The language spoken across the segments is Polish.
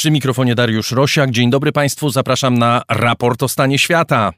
Przy mikrofonie Dariusz Rosiak. Dzień dobry Państwu, zapraszam na raport o stanie świata.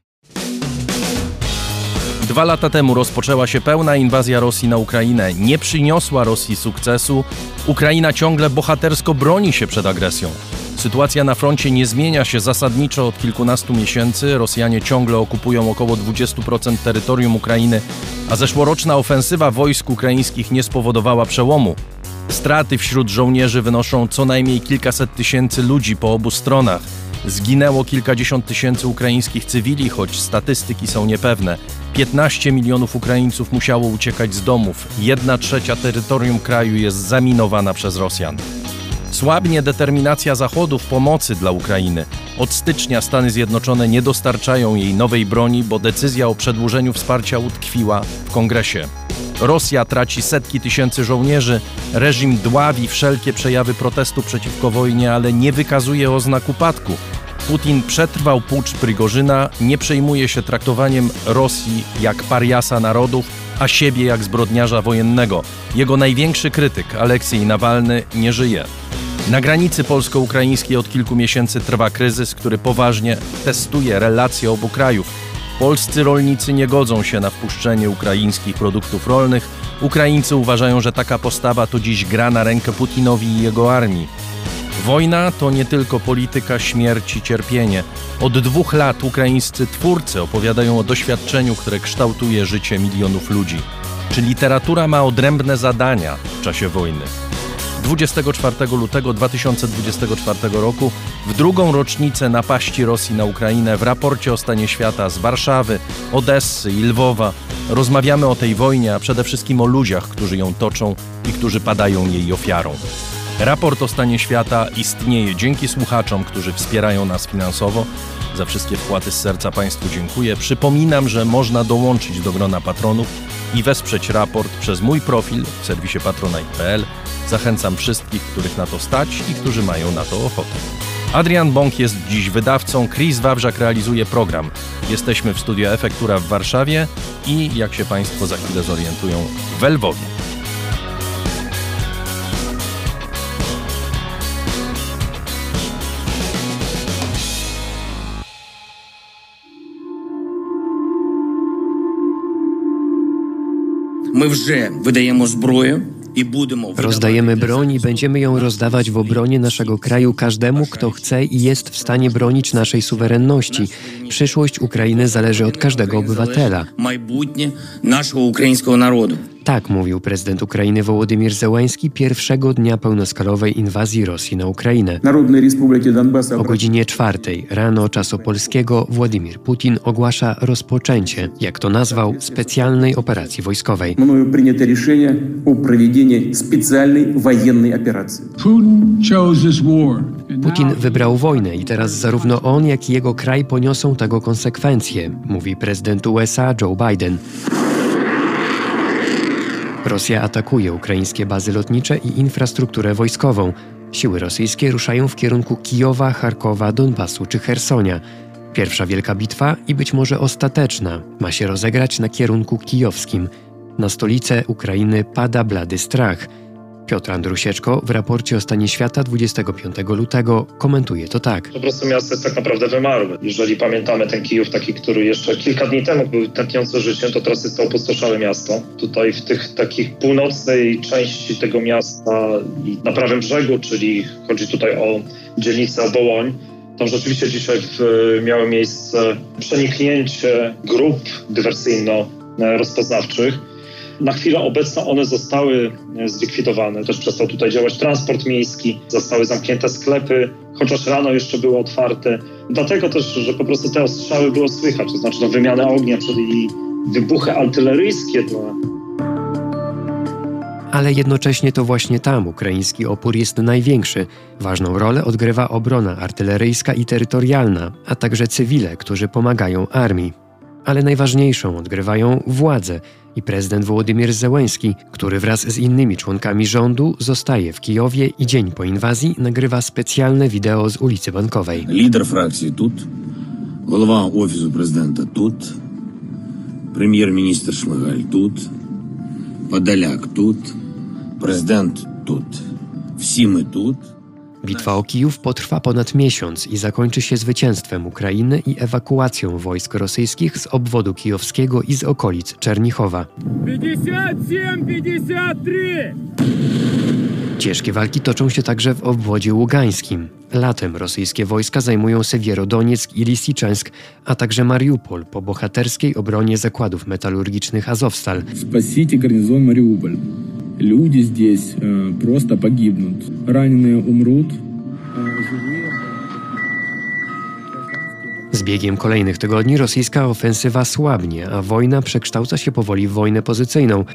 2 lata temu rozpoczęła się pełna inwazja Rosji na Ukrainę. Nie przyniosła Rosji sukcesu. Ukraina ciągle bohatersko broni się przed agresją. Sytuacja na froncie nie zmienia się zasadniczo od kilkunastu miesięcy. Rosjanie ciągle okupują około 20% terytorium Ukrainy, a zeszłoroczna ofensywa wojsk ukraińskich nie spowodowała przełomu. Straty wśród żołnierzy wynoszą co najmniej kilkaset tysięcy ludzi po obu stronach. Zginęło kilkadziesiąt tysięcy ukraińskich cywili, choć statystyki są niepewne. 15 milionów Ukraińców musiało uciekać z domów. 1/3 terytorium kraju jest zaminowana przez Rosjan. Słabnie determinacja Zachodu w pomocy dla Ukrainy. Od stycznia Stany Zjednoczone nie dostarczają jej nowej broni, bo decyzja o przedłużeniu wsparcia utkwiła w Kongresie. Rosja traci setki tysięcy żołnierzy, reżim dławi wszelkie przejawy protestu przeciwko wojnie, ale nie wykazuje oznak upadku. Putin przetrwał pucz Prigorzyna, nie przejmuje się traktowaniem Rosji jak pariasa narodów, a siebie jak zbrodniarza wojennego. Jego największy krytyk, Aleksiej Nawalny, nie żyje. Na granicy polsko-ukraińskiej od kilku miesięcy trwa kryzys, który poważnie testuje relacje obu krajów. Polscy rolnicy nie godzą się na wpuszczenie ukraińskich produktów rolnych. Ukraińcy uważają, że taka postawa to dziś gra na rękę Putinowi i jego armii. Wojna to nie tylko polityka, śmierć i cierpienie. Od 2 lat ukraińscy twórcy opowiadają o doświadczeniu, które kształtuje życie milionów ludzi. Czy literatura ma odrębne zadania w czasie wojny? 24 lutego 2024 roku, w 2. rocznicę napaści Rosji na Ukrainę, w raporcie o stanie świata z Warszawy, Odessy i Lwowa rozmawiamy o tej wojnie, a przede wszystkim o ludziach, którzy ją toczą i którzy padają jej ofiarą. Raport o stanie świata istnieje dzięki słuchaczom, którzy wspierają nas finansowo. Za wszystkie wpłaty z serca Państwu dziękuję. Przypominam, że można dołączyć do grona patronów i wesprzeć raport przez mój profil w serwisie patronite.pl. Zachęcam wszystkich, których na to stać i którzy mają na to ochotę. Adrian Bąk jest dziś wydawcą, Chris Wawrzak realizuje program. Jesteśmy w studiu Efektura w Warszawie i, jak się Państwo za chwilę zorientują, w Lwowie. My вже видаємо зброю. Rozdajemy broń i będziemy ją rozdawać w obronie naszego kraju każdemu, kto chce i jest w stanie bronić naszej suwerenności. Przyszłość Ukrainy zależy od każdego obywatela. Майбутнє naszego ukraińskiego narodu. Tak mówił prezydent Ukrainy Wołodymyr Zełański pierwszego dnia pełnoskalowej inwazji Rosji na Ukrainę. O godzinie 4 rano czasu polskiego Władimir Putin ogłasza rozpoczęcie, jak to nazwał, specjalnej operacji wojskowej. Putin wybrał wojnę i teraz zarówno on, jak i jego kraj poniosą tego konsekwencje, mówi prezydent USA Joe Biden. Rosja atakuje ukraińskie bazy lotnicze i infrastrukturę wojskową. Siły rosyjskie ruszają w kierunku Kijowa, Charkowa, Donbasu czy Chersonia. Pierwsza wielka bitwa i być może ostateczna ma się rozegrać na kierunku kijowskim. Na stolicę Ukrainy pada blady strach. Piotr Andrusieczko w raporcie o stanie świata 25 lutego komentuje to tak. Po prostu miasto jest tak naprawdę wymarłe. Jeżeli pamiętamy ten Kijów taki, który jeszcze kilka dni temu był tętniący życiem, to teraz jest to opustoszałe miasto. Tutaj w tych takich północnej części tego miasta i na prawym brzegu, czyli chodzi tutaj o dzielnicę Wołoń, tam rzeczywiście dzisiaj miało miejsce przeniknięcie grup dywersyjno-rozpoznawczych. Na chwilę obecną one zostały zlikwidowane. Też przestał tutaj działać transport miejski, zostały zamknięte sklepy, chociaż rano jeszcze były otwarte. Dlatego też, że po prostu te ostrzały było słychać, to znaczy wymianę ognia, czyli wybuchy artyleryjskie. Ale jednocześnie to właśnie tam ukraiński opór jest największy. Ważną rolę odgrywa obrona artyleryjska i terytorialna, a także cywile, którzy pomagają armii. Ale najważniejszą odgrywają władze i prezydent Wołodymyr Zełański, który wraz z innymi członkami rządu zostaje w Kijowie i dzień po inwazji nagrywa specjalne wideo z ulicy Bankowej. Lider frakcji тут, голова офісу президента тут, прем'єр-міністр Шмигаль тут, Подоляк тут, президент тут. Всі ми тут. Bitwa o Kijów potrwa ponad miesiąc i zakończy się zwycięstwem Ukrainy i ewakuacją wojsk rosyjskich z obwodu kijowskiego i z okolic Czernichowa. 57-53! Ciężkie walki toczą się także w obwodzie ługańskim. Latem rosyjskie wojska zajmują Siewierodonieck i Lisiczensk, a także Mariupol po bohaterskiej obronie zakładów metalurgicznych Azovstal. Спасите гарнизон Мариуполь. Люди здесь просто погибнут. Раненые умрут. Z biegiem kolejnych tygodni rosyjska ofensywa słabnie, a wojna przekształca się powoli w wojnę pozycyjną.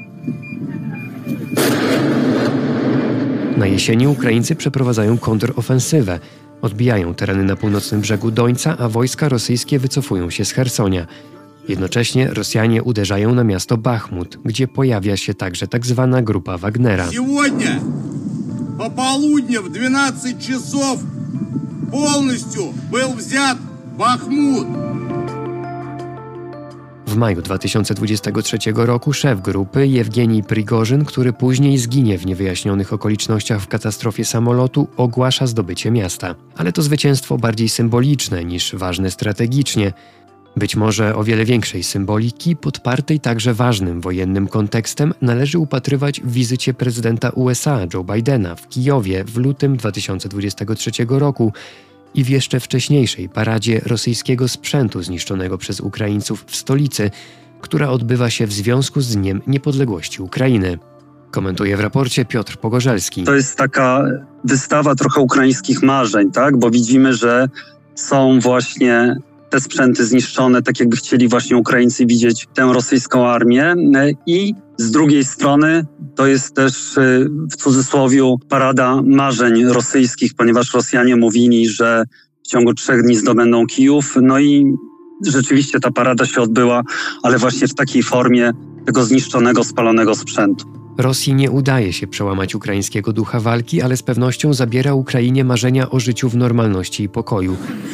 Na jesieni Ukraińcy przeprowadzają kontrofensywę. Odbijają tereny na północnym brzegu Dońca, a wojska rosyjskie wycofują się z Chersonia. Jednocześnie Rosjanie uderzają na miasto Bachmut, gdzie pojawia się także tzw. grupa Wagnera. Сегодня по полудню в 12 часов полностью был взят Бахмут. W maju 2023 roku szef grupy Jewgenij Prigorzyn, który później zginie w niewyjaśnionych okolicznościach w katastrofie samolotu, ogłasza zdobycie miasta. Ale to zwycięstwo bardziej symboliczne niż ważne strategicznie. Być może o wiele większej symboliki, podpartej także ważnym wojennym kontekstem, należy upatrywać w wizycie prezydenta USA Joe Bidena w Kijowie w lutym 2023 roku i w jeszcze wcześniejszej paradzie rosyjskiego sprzętu zniszczonego przez Ukraińców w stolicy, która odbywa się w związku z Dniem Niepodległości Ukrainy. Komentuje w raporcie Piotr Pogorzelski. To jest taka wystawa trochę ukraińskich marzeń, tak? Bo widzimy, że są właśnie te sprzęty zniszczone, tak jakby chcieli właśnie Ukraińcy widzieć tę rosyjską armię. I z drugiej strony to jest też w cudzysłowie parada marzeń rosyjskich, ponieważ Rosjanie mówili, że w ciągu 3 dni zdobędą Kijów. No i rzeczywiście ta parada się odbyła, ale właśnie w takiej formie tego zniszczonego, spalonego sprzętu. Rosji nie udaje się przełamać ukraińskiego ducha walki, ale z pewnością zabiera Ukrainie marzenia o życiu w normalności i pokoju.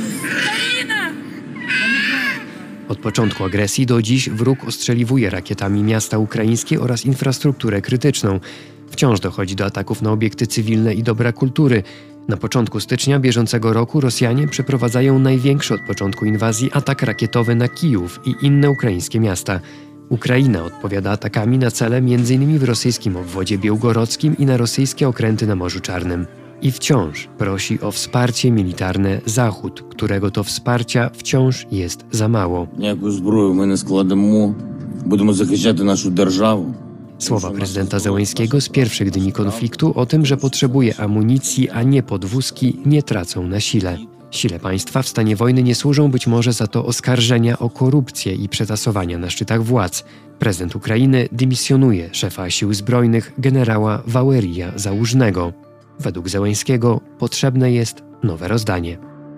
Od początku agresji do dziś wróg ostrzeliwuje rakietami miasta ukraińskie oraz infrastrukturę krytyczną. Wciąż dochodzi do ataków na obiekty cywilne i dobra kultury. Na początku stycznia bieżącego roku Rosjanie przeprowadzają największy od początku inwazji atak rakietowy na Kijów i inne ukraińskie miasta. Ukraina odpowiada atakami na cele m.in. w rosyjskim obwodzie białgorodzkim i na rosyjskie okręty na Morzu Czarnym. I wciąż prosi o wsparcie militarne Zachód, którego to wsparcia wciąż jest za mało. Ніяку зброю ми не складемо. Будемо захищати нашу державу. Słowa prezydenta Zełenskiego z pierwszych dni konfliktu o tym, że potrzebuje amunicji, a nie podwózki, nie tracą na sile. Sile państwa w stanie wojny nie służą być może za to oskarżenia o korupcję i przetasowania na szczytach władz. Prezydent Ukrainy dymisjonuje szefa sił zbrojnych generała Walerija Załużnego. Według Zełenskiego potrzebne jest nowe rozdanie.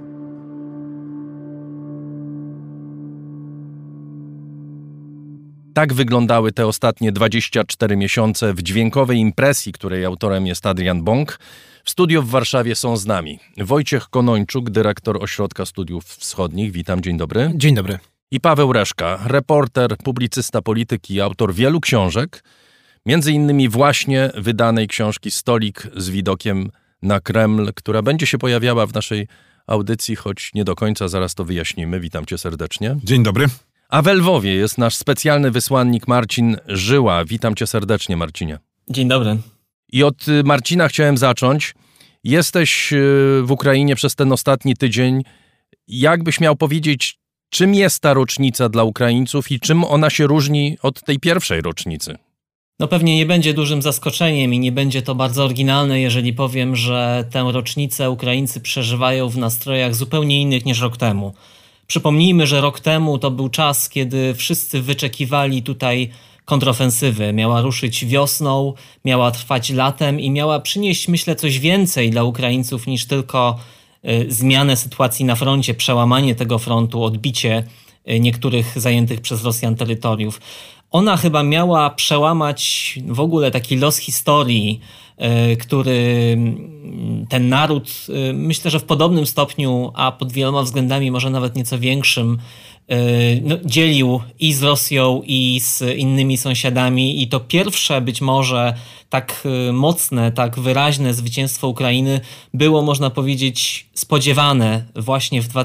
Tak wyglądały te ostatnie 24 miesiące w dźwiękowej impresji, której autorem jest Adrian Bąk. W studiu w Warszawie są z nami Wojciech Konończuk, dyrektor Ośrodka Studiów Wschodnich. Witam, dzień dobry. Dzień dobry. I Paweł Reszka, reporter, publicysta polityki i autor wielu książek, między innymi właśnie wydanej książki Stolik z widokiem na Kreml, która będzie się pojawiała w naszej audycji, choć nie do końca, zaraz to wyjaśnimy. Witam cię serdecznie. Dzień dobry. A w Lwowie jest nasz specjalny wysłannik Marcin Żyła. Witam cię serdecznie, Marcinie. Dzień dobry. I od Marcina chciałem zacząć. Jesteś w Ukrainie przez ten ostatni tydzień. Jakbyś miał powiedzieć, czym jest ta rocznica dla Ukraińców i czym ona się różni od tej pierwszej rocznicy? No pewnie nie będzie dużym zaskoczeniem i nie będzie to bardzo oryginalne, jeżeli powiem, że tę rocznicę Ukraińcy przeżywają w nastrojach zupełnie innych niż rok temu. Przypomnijmy, że rok temu to był czas, kiedy wszyscy wyczekiwali tutaj kontrofensywy. Miała ruszyć wiosną, miała trwać latem i miała przynieść, myślę, coś więcej dla Ukraińców niż tylko zmianę sytuacji na froncie, przełamanie tego frontu, odbicie niektórych zajętych przez Rosjan terytoriów. Ona chyba miała przełamać w ogóle taki los historii, który ten naród, myślę, że w podobnym stopniu, a pod wieloma względami może nawet nieco większym, dzielił i z Rosją, i z innymi sąsiadami, i to pierwsze być może tak mocne, tak wyraźne zwycięstwo Ukrainy było, można powiedzieć, spodziewane właśnie w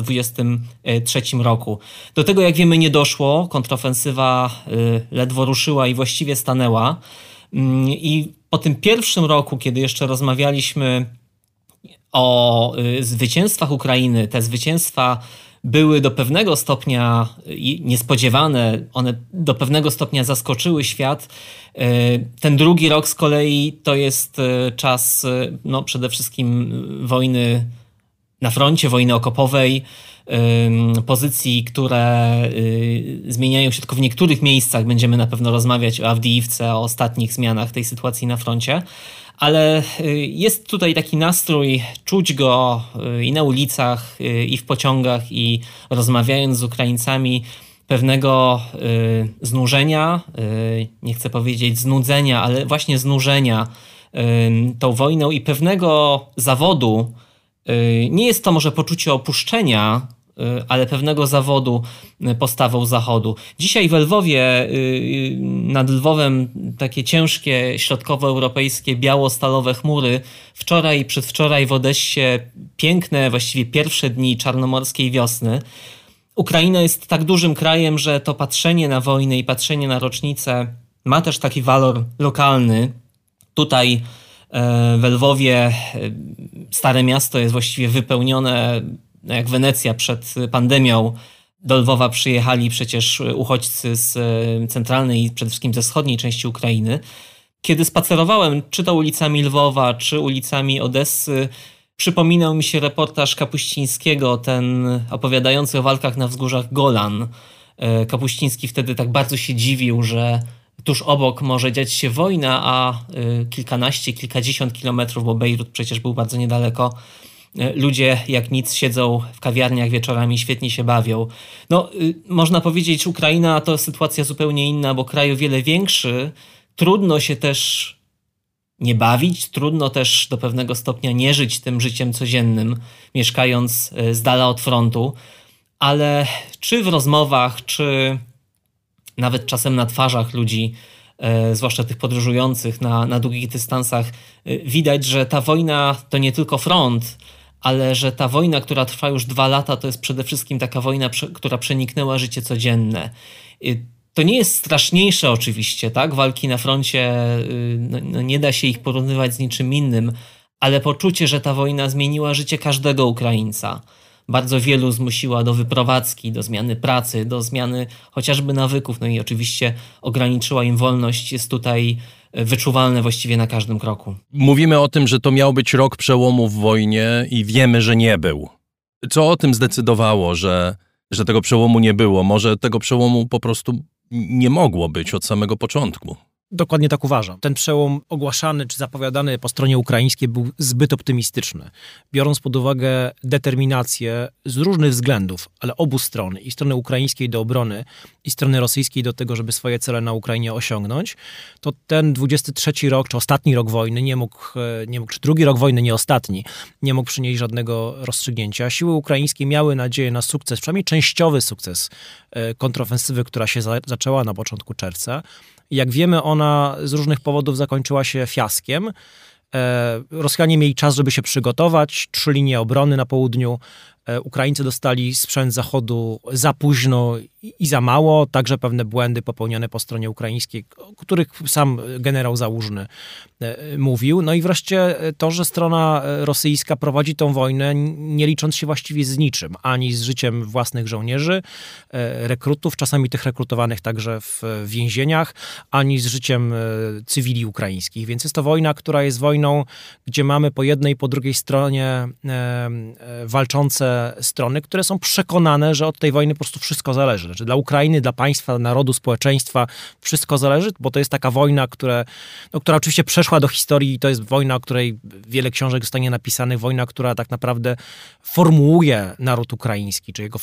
2023 roku. Do tego, jak wiemy, nie doszło. Kontrofensywa ledwo ruszyła i właściwie stanęła. I po tym pierwszym roku, kiedy jeszcze rozmawialiśmy o zwycięstwach Ukrainy, te zwycięstwa były do pewnego stopnia niespodziewane, one do pewnego stopnia zaskoczyły świat. Ten drugi rok z kolei to jest czas przede wszystkim wojny na froncie, wojny okopowej, pozycji, które zmieniają się tylko w niektórych miejscach. Będziemy na pewno rozmawiać o Awdijiwce, o ostatnich zmianach tej sytuacji na froncie. Ale jest tutaj taki nastrój, czuć go i na ulicach, i w pociągach, i rozmawiając z Ukraińcami, pewnego znużenia, nie chcę powiedzieć znudzenia, ale właśnie znużenia tą wojną i pewnego zawodu. Nie jest to może poczucie opuszczenia, ale pewnego zawodu postawą Zachodu. Dzisiaj w Lwowie, nad Lwowem takie ciężkie, środkowoeuropejskie, biało-stalowe chmury. Wczoraj i przedwczoraj w Odessie piękne, właściwie pierwsze dni czarnomorskiej wiosny. Ukraina jest tak dużym krajem, że to patrzenie na wojnę i patrzenie na rocznicę ma też taki walor lokalny. Tutaj w Lwowie Stare Miasto jest właściwie wypełnione, jak Wenecja przed pandemią. Do Lwowa przyjechali przecież uchodźcy z centralnej i przede wszystkim ze wschodniej części Ukrainy. Kiedy spacerowałem czy to ulicami Lwowa, czy ulicami Odessy, przypominał mi się reportaż Kapuścińskiego, ten opowiadający o walkach na wzgórzach Golan. Kapuściński wtedy tak bardzo się dziwił, że tuż obok może dziać się wojna, a kilkanaście, kilkadziesiąt kilometrów, bo Bejrut przecież był bardzo niedaleko, ludzie jak nic siedzą w kawiarniach wieczorami, świetnie się bawią. Można powiedzieć, Ukraina to sytuacja zupełnie inna, bo kraj o wiele większy. Trudno się też nie bawić, trudno też do pewnego stopnia nie żyć tym życiem codziennym, mieszkając z dala od frontu, ale czy w rozmowach, czy nawet czasem na twarzach ludzi, zwłaszcza tych podróżujących na długich dystansach, widać, że ta wojna to nie tylko front, ale że ta wojna, która trwa już 2 lata, to jest przede wszystkim taka wojna, która przeniknęła życie codzienne. To nie jest straszniejsze oczywiście, tak? Walki na froncie, nie da się ich porównywać z niczym innym, ale poczucie, że ta wojna zmieniła życie każdego Ukraińca. Bardzo wielu zmusiła do wyprowadzki, do zmiany pracy, do zmiany chociażby nawyków, i oczywiście ograniczyła im wolność, jest tutaj wyczuwalne właściwie na każdym kroku. Mówimy o tym, że to miał być rok przełomu w wojnie i wiemy, że nie był. Co o tym zdecydowało, że tego przełomu nie było? Może tego przełomu po prostu nie mogło być od samego początku? Dokładnie tak uważam. Ten przełom ogłaszany czy zapowiadany po stronie ukraińskiej był zbyt optymistyczny. Biorąc pod uwagę determinację z różnych względów, ale obu stron, i strony ukraińskiej do obrony, i strony rosyjskiej do tego, żeby swoje cele na Ukrainie osiągnąć, to ten 23 rok, czy ostatni rok wojny nie mógł, czy drugi rok wojny, nie ostatni, nie mógł przynieść żadnego rozstrzygnięcia. Siły ukraińskie miały nadzieję na sukces, przynajmniej częściowy sukces kontrofensywy, która się zaczęła na początku czerwca. Jak wiemy, ona z różnych powodów zakończyła się fiaskiem. Rosjanie mieli czas, żeby się przygotować. 3 linie obrony na południu. Ukraińcy dostali sprzęt Zachodu za późno i za mało. Także pewne błędy popełnione po stronie ukraińskiej, o których sam generał Załużny mówił. I wreszcie to, że strona rosyjska prowadzi tą wojnę, nie licząc się właściwie z niczym. Ani z życiem własnych żołnierzy, rekrutów, czasami tych rekrutowanych także w więzieniach, ani z życiem cywili ukraińskich. Więc jest to wojna, która jest wojną, gdzie mamy po jednej i po drugiej stronie walczące strony, które są przekonane, że od tej wojny po prostu wszystko zależy. Znaczy dla Ukrainy, dla państwa, narodu, społeczeństwa wszystko zależy, bo to jest taka wojna, która oczywiście przeszła do historii i to jest wojna, o której wiele książek zostanie napisanych, wojna, która tak naprawdę formułuje naród ukraiński, czyli jego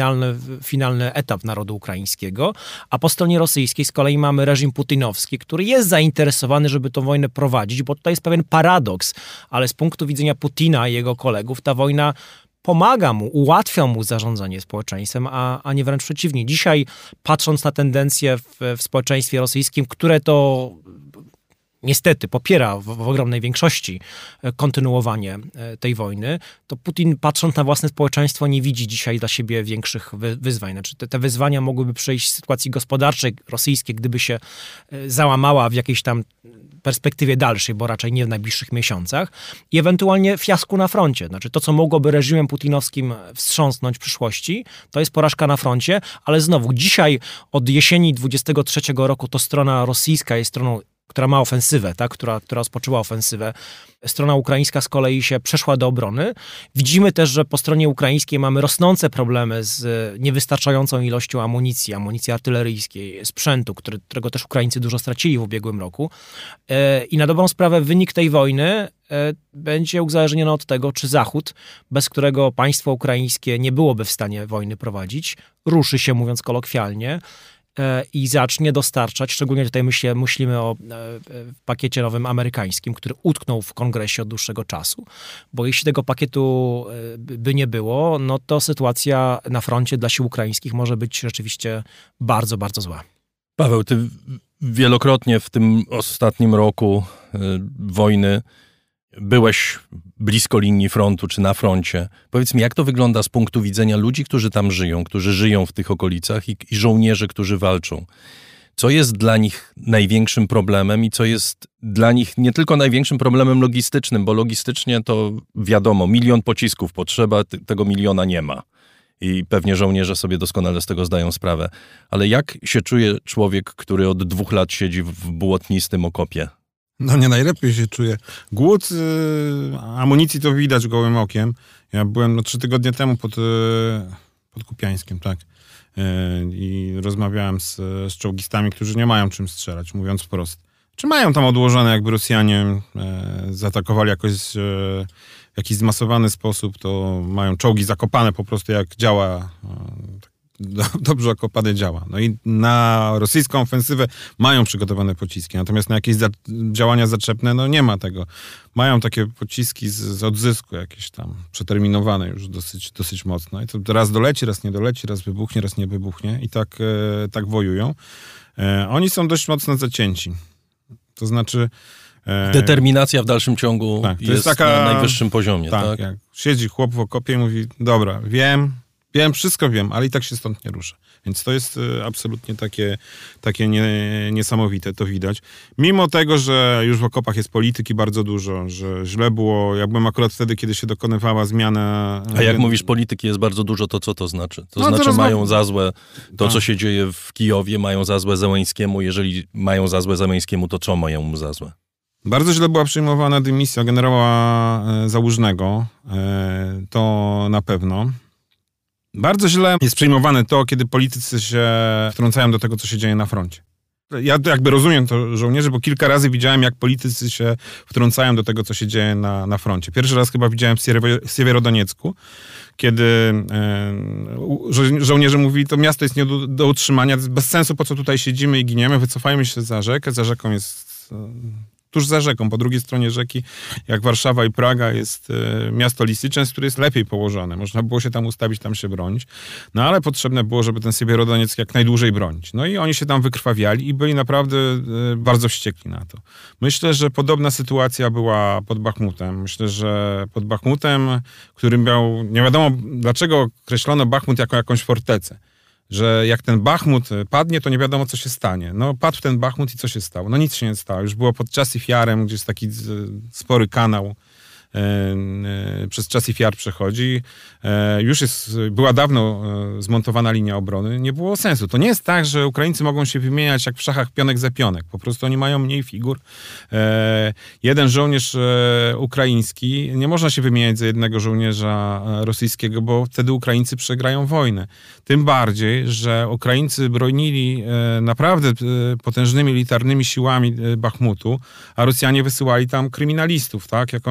finalny etap narodu ukraińskiego, a po stronie rosyjskiej z kolei mamy reżim putinowski, który jest zainteresowany, żeby tę wojnę prowadzić, bo tutaj jest pewien paradoks, ale z punktu widzenia Putina i jego kolegów ta wojna pomaga mu, ułatwia mu zarządzanie społeczeństwem, a nie wręcz przeciwnie. Dzisiaj, patrząc na tendencje w społeczeństwie rosyjskim, które to niestety popiera w ogromnej większości kontynuowanie tej wojny, to Putin, patrząc na własne społeczeństwo, nie widzi dzisiaj dla siebie większych wyzwań. Znaczy, te wyzwania mogłyby przyjść w sytuacji gospodarczej rosyjskiej, gdyby się załamała w jakiejś tam perspektywie dalszej, bo raczej nie w najbliższych miesiącach, i ewentualnie fiasku na froncie. Znaczy to, co mogłoby reżimem putinowskim wstrząsnąć w przyszłości, to jest porażka na froncie, ale znowu, dzisiaj od jesieni 23 roku to strona rosyjska jest stroną, która ma ofensywę, tak? która rozpoczęła ofensywę. Strona ukraińska z kolei się przeszła do obrony. Widzimy też, że po stronie ukraińskiej mamy rosnące problemy z niewystarczającą ilością amunicji artyleryjskiej, sprzętu, którego też Ukraińcy dużo stracili w ubiegłym roku. I na dobrą sprawę wynik tej wojny będzie uzależniony od tego, czy Zachód, bez którego państwo ukraińskie nie byłoby w stanie wojny prowadzić, ruszy się, mówiąc kolokwialnie, i zacznie dostarczać, szczególnie tutaj myślimy o pakiecie nowym amerykańskim, który utknął w kongresie od dłuższego czasu, bo jeśli tego pakietu by nie było, no to sytuacja na froncie dla sił ukraińskich może być rzeczywiście bardzo, bardzo zła. Paweł, ty wielokrotnie w tym ostatnim roku wojny byłeś blisko linii frontu czy na froncie. Powiedz mi, jak to wygląda z punktu widzenia ludzi, którzy tam żyją, którzy żyją w tych okolicach i żołnierzy, którzy walczą? Co jest dla nich największym problemem i co jest dla nich nie tylko największym problemem logistycznym, bo logistycznie to wiadomo, 1 000 000 pocisków potrzeba, tego 1 000 000 nie ma. I pewnie żołnierze sobie doskonale z tego zdają sprawę. Ale jak się czuje człowiek, który od 2 lat siedzi w błotnistym okopie? No nie najlepiej się czuję. Głód amunicji to widać gołym okiem. Ja byłem 3 tygodnie temu pod Kupiańskiem, tak. I rozmawiałem z czołgistami, którzy nie mają czym strzelać, mówiąc wprost. Czy mają tam odłożone, jakby Rosjanie zaatakowali jakoś w jakiś zmasowany sposób, to mają czołgi zakopane po prostu, jak działa, dobrze okopane działa. No i na rosyjską ofensywę mają przygotowane pociski, natomiast na jakieś działania zaczepne, no nie ma tego. Mają takie pociski z odzysku jakieś tam, przeterminowane już dosyć mocno. I to raz doleci, raz nie doleci, raz wybuchnie, raz nie wybuchnie i tak wojują. Oni są dość mocno zacięci. To znaczy... Determinacja w dalszym ciągu tak, jest na najwyższym poziomie. Tak, jak siedzi chłop w okopie i mówi, dobra, wiem, wszystko wiem, ale i tak się stąd nie ruszę. Więc to jest absolutnie takie niesamowite, to widać. Mimo tego, że już w okopach jest polityki bardzo dużo, że źle było, ja byłem akurat wtedy, kiedy się dokonywała zmiana... A jak mówisz polityki jest bardzo dużo, to co to znaczy? To znaczy mają za złe to, co się dzieje w Kijowie, mają za złe Zełenskiemu. Jeżeli mają za złe Zełenskiemu, to co mają mu za złe? Bardzo źle była przyjmowana dymisja generała Załużnego, to na pewno. Bardzo źle jest przyjmowane to, kiedy politycy się wtrącają do tego, co się dzieje na froncie. Ja jakby rozumiem to żołnierzy, bo kilka razy widziałem, jak politycy się wtrącają do tego, co się dzieje na froncie. Pierwszy raz chyba widziałem w Siewierodoniecku, kiedy żołnierze mówili, to miasto jest nie do utrzymania, bez sensu, po co tutaj siedzimy i giniemy, wycofajmy się za rzekę. Za rzeką jest... Tuż za rzeką, po drugiej stronie rzeki, jak Warszawa i Praga, jest miasto Lisyczęsk, które jest lepiej położone. Można było się tam ustawić, tam się bronić. No ale potrzebne było, żeby ten Siewierodonieck jak najdłużej bronić. No i oni się tam wykrwawiali i byli naprawdę bardzo wściekli na to. Myślę, że podobna sytuacja była pod Bachmutem. Myślę, że pod Bachmutem, którym miał... Nie wiadomo, dlaczego określono Bachmut jako jakąś fortecę. Że jak ten Bachmut padnie, to nie wiadomo, co się stanie. No padł ten Bachmut i co się stało? No nic się nie stało. Już było pod Czasów Jarem, gdzie jest taki spory kanał, przez Czasów Jar przechodzi. Już była dawno zmontowana linia obrony. Nie było sensu. To nie jest tak, że Ukraińcy mogą się wymieniać jak w szachach pionek za pionek. Po prostu oni mają mniej figur. Jeden żołnierz ukraiński, nie można się wymieniać za jednego żołnierza rosyjskiego, bo wtedy Ukraińcy przegrają wojnę. Tym bardziej, że Ukraińcy bronili naprawdę potężnymi militarnymi siłami Bachmutu, a Rosjanie wysyłali tam kryminalistów, tak, jako mięso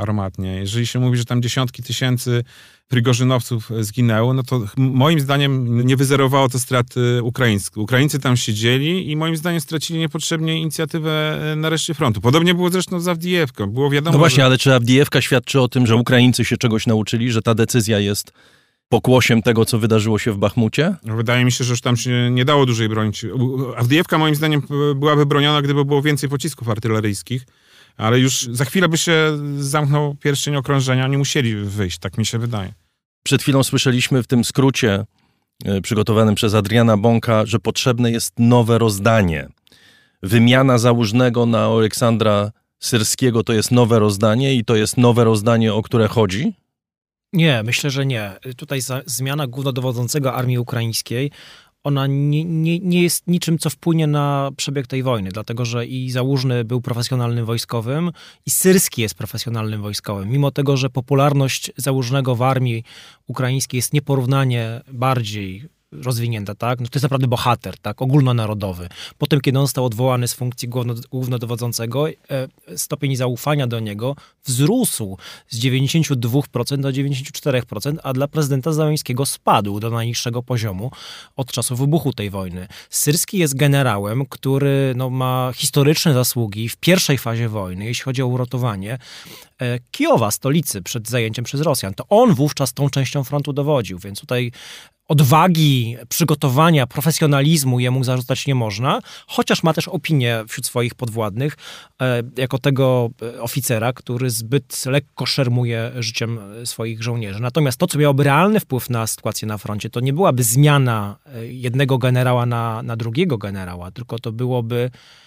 armatnie, jeżeli się mówi, że tam dziesiątki tysięcy Prigorzynowców zginęło, no to moim zdaniem nie wyzerowało to straty ukraińskie. Ukraińcy tam siedzieli i moim zdaniem stracili niepotrzebnie inicjatywę na reszcie frontu. Podobnie było zresztą z Awdijewką. Było wiadomo, no właśnie, ale czy Awdijewka świadczy o tym, że Ukraińcy się czegoś nauczyli, że ta decyzja jest pokłosiem tego, co wydarzyło się w Bachmucie? Wydaje mi się, że już tam się nie dało dłużej bronić. Awdijewka moim zdaniem byłaby broniona, gdyby było więcej pocisków artyleryjskich, ale już za chwilę by się zamknął pierścień okrążenia, nie musieli wyjść, tak mi się wydaje. Przed chwilą słyszeliśmy w tym skrócie przygotowanym przez Adriana Bąka, że potrzebne jest nowe rozdanie. Wymiana Załużnego na Aleksandra Syrskiego to jest nowe rozdanie i to jest nowe rozdanie, o które chodzi? Nie, myślę, że nie. Tutaj zmiana głównodowodzącego armii ukraińskiej, ona nie jest niczym, co wpłynie na przebieg tej wojny, dlatego że i Załużny był profesjonalnym wojskowym, i Syrski jest profesjonalnym wojskowym. Mimo tego, że popularność Załużnego w armii ukraińskiej jest nieporównanie bardziej rozwinięta, tak? No to jest naprawdę bohater, tak? Ogólnonarodowy. Potem, kiedy on został odwołany z funkcji głównodowodzącego, stopień zaufania do niego wzrósł z 92% do 94%, a dla prezydenta Zełenskiego spadł do najniższego poziomu od czasu wybuchu tej wojny. Syrski jest generałem, który ma historyczne zasługi w pierwszej fazie wojny, jeśli chodzi o uratowanie Kijowa, stolicy, przed zajęciem przez Rosjan. To on wówczas tą częścią frontu dowodził, więc tutaj odwagi, przygotowania, profesjonalizmu jemu zarzucać nie można, chociaż ma też opinię wśród swoich podwładnych jako tego oficera, który zbyt lekko szermuje życiem swoich żołnierzy. Natomiast to, co miałoby realny wpływ na sytuację na froncie, to nie byłaby zmiana jednego generała na drugiego generała, tylko to byłoby,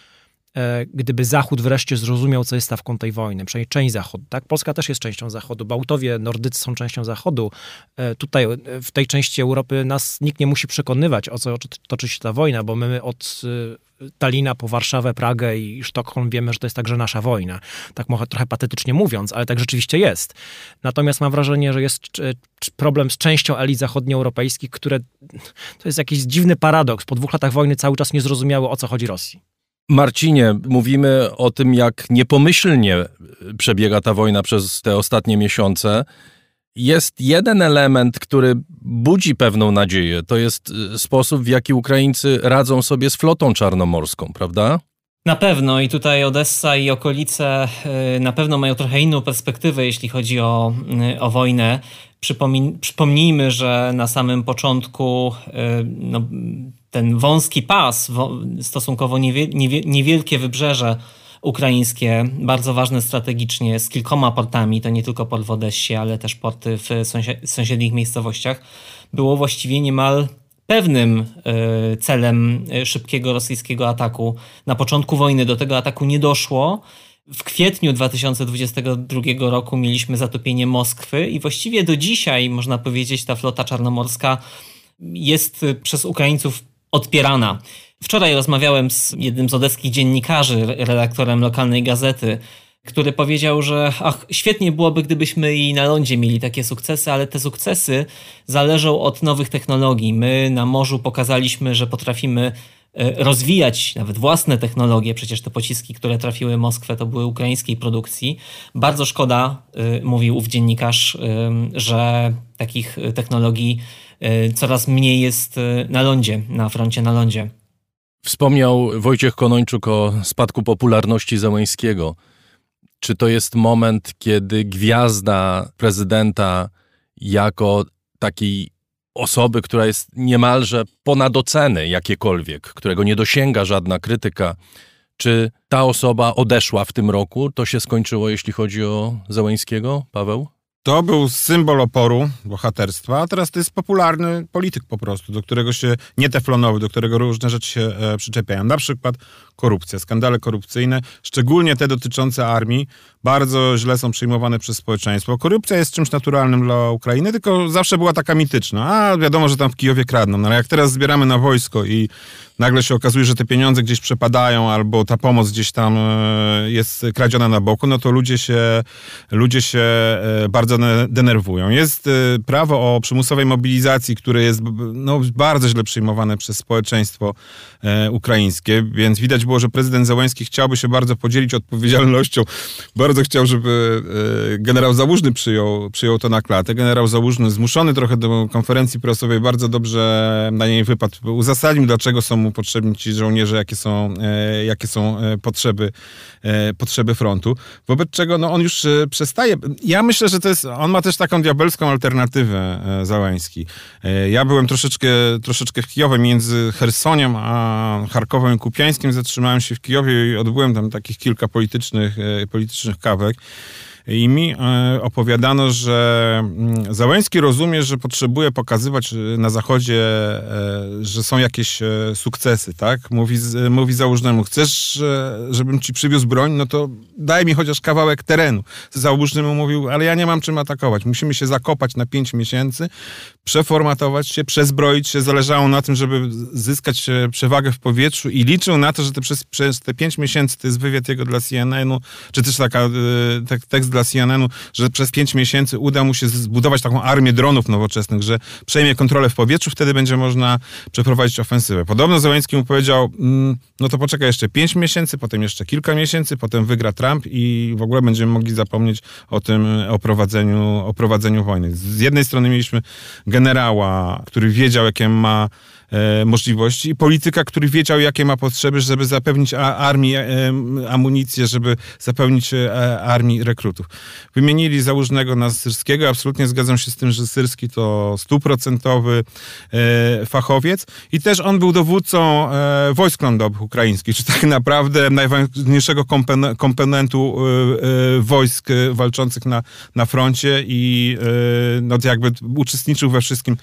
gdyby Zachód wreszcie zrozumiał, co jest stawką tej wojny, przynajmniej część Zachodu. Tak? Polska też jest częścią Zachodu. Bałtowie, Nordycy są częścią Zachodu. Tutaj, w tej części Europy nas nikt nie musi przekonywać, o co toczy się ta wojna, bo my od Talina po Warszawę, Pragę i Sztokholm wiemy, że to jest także nasza wojna. Tak trochę patetycznie mówiąc, ale tak rzeczywiście jest. Natomiast mam wrażenie, że jest problem z częścią elit zachodnioeuropejskich, które to jest jakiś dziwny paradoks. Po 2 latach wojny cały czas nie zrozumiało, o co chodzi Rosji. Marcinie, mówimy o tym, jak niepomyślnie przebiega ta wojna przez te ostatnie miesiące. Jest jeden element, który budzi pewną nadzieję. To jest sposób, w jaki Ukraińcy radzą sobie z flotą czarnomorską, prawda? Na pewno i tutaj Odessa i okolice na pewno mają trochę inną perspektywę, jeśli chodzi o wojnę. Przypomnijmy, że na samym początku ten wąski pas, stosunkowo niewielkie wybrzeże ukraińskie, bardzo ważne strategicznie, z kilkoma portami, to nie tylko port w Odessie, ale też porty w sąsiednich miejscowościach, było właściwie niemal pewnym celem szybkiego rosyjskiego ataku. Na początku wojny do tego ataku nie doszło. W kwietniu 2022 roku mieliśmy zatopienie Moskwy i właściwie do dzisiaj, można powiedzieć, ta flota czarnomorska jest przez Ukraińców odpierana. Wczoraj rozmawiałem z jednym z odeskich dziennikarzy, redaktorem lokalnej gazety, który powiedział, że świetnie byłoby, gdybyśmy i na lądzie mieli takie sukcesy, ale te sukcesy zależą od nowych technologii. My na morzu pokazaliśmy, że potrafimy rozwijać nawet własne technologie. Przecież te pociski, które trafiły Moskwę, to były ukraińskiej produkcji. Bardzo szkoda, mówił ów dziennikarz, że takich technologii coraz mniej jest na lądzie, na froncie na lądzie. Wspomniał Wojciech Konończuk o spadku popularności Zełenskiego. Czy to jest moment, kiedy gwiazda prezydenta jako takiej osoby, która jest niemalże ponad oceny jakiekolwiek, którego nie dosięga żadna krytyka, czy ta osoba odeszła w tym roku? To się skończyło, jeśli chodzi o Zełenskiego, Paweł? To był symbol oporu, bohaterstwa, a teraz to jest popularny polityk po prostu, do którego się, nie teflonowy, do którego różne rzeczy się przyczepiają. Na przykład korupcja, skandale korupcyjne, szczególnie te dotyczące armii, bardzo źle są przyjmowane przez społeczeństwo. Korupcja jest czymś naturalnym dla Ukrainy, tylko zawsze była taka mityczna. A wiadomo, że tam w Kijowie kradną, no ale jak teraz zbieramy na wojsko i nagle się okazuje, że te pieniądze gdzieś przepadają albo ta pomoc gdzieś tam jest kradziona na boku, no to ludzie się bardzo denerwują. Jest prawo o przymusowej mobilizacji, które jest bardzo źle przyjmowane przez społeczeństwo ukraińskie, więc widać było, że prezydent Zełenski chciałby się bardzo podzielić odpowiedzialnością. Bardzo chciał, żeby generał Załużny przyjął to na klatę. Generał Załużny, zmuszony trochę do konferencji prasowej, bardzo dobrze na niej wypadł. Uzasadnił, dlaczego są mu potrzebni ci żołnierze, jakie są potrzeby frontu. Wobec czego on już przestaje. Ja myślę, że on ma też taką diabelską alternatywę, Zełenski. Ja byłem troszeczkę w Kijowie między Chersoniem a Charkowem i Kupiańskiem. Zatrzymałem się w Kijowie i odbyłem tam takich kilka politycznych kawek. I mi opowiadano, że Zełenski rozumie, że potrzebuje pokazywać na Zachodzie, że są jakieś sukcesy, tak? Mówi Załużnemu, chcesz, żebym ci przywiózł broń? No to daj mi chociaż kawałek terenu. Załużny mu mówił, ale ja nie mam czym atakować. Musimy się zakopać na 5 miesięcy, przeformatować się, przezbroić się. Zależało na tym, żeby zyskać przewagę w powietrzu i liczył na to, że przez te 5 miesięcy, to jest wywiad jego dla CNN-u, czy też tekst dla CNN-u, że przez 5 miesięcy uda mu się zbudować taką armię dronów nowoczesnych, że przejmie kontrolę w powietrzu, wtedy będzie można przeprowadzić ofensywę. Podobno Zełenski mu powiedział, no to poczekaj jeszcze 5 miesięcy, potem jeszcze kilka miesięcy, potem wygra Trump i w ogóle będziemy mogli zapomnieć o prowadzeniu wojny. Z jednej strony mieliśmy generała, który wiedział, jakie ma możliwości, i polityka, który wiedział, jakie ma potrzeby, żeby zapewnić armii amunicję, żeby zapewnić armii rekrutów. Wymienili Załużnego na Syrskiego. Absolutnie zgadzam się z tym, że Syrski to 100% fachowiec i też on był dowódcą wojsk lądowych ukraińskich, czy tak naprawdę najważniejszego komponentu wojsk walczących na froncie i jakby uczestniczył we wszystkim,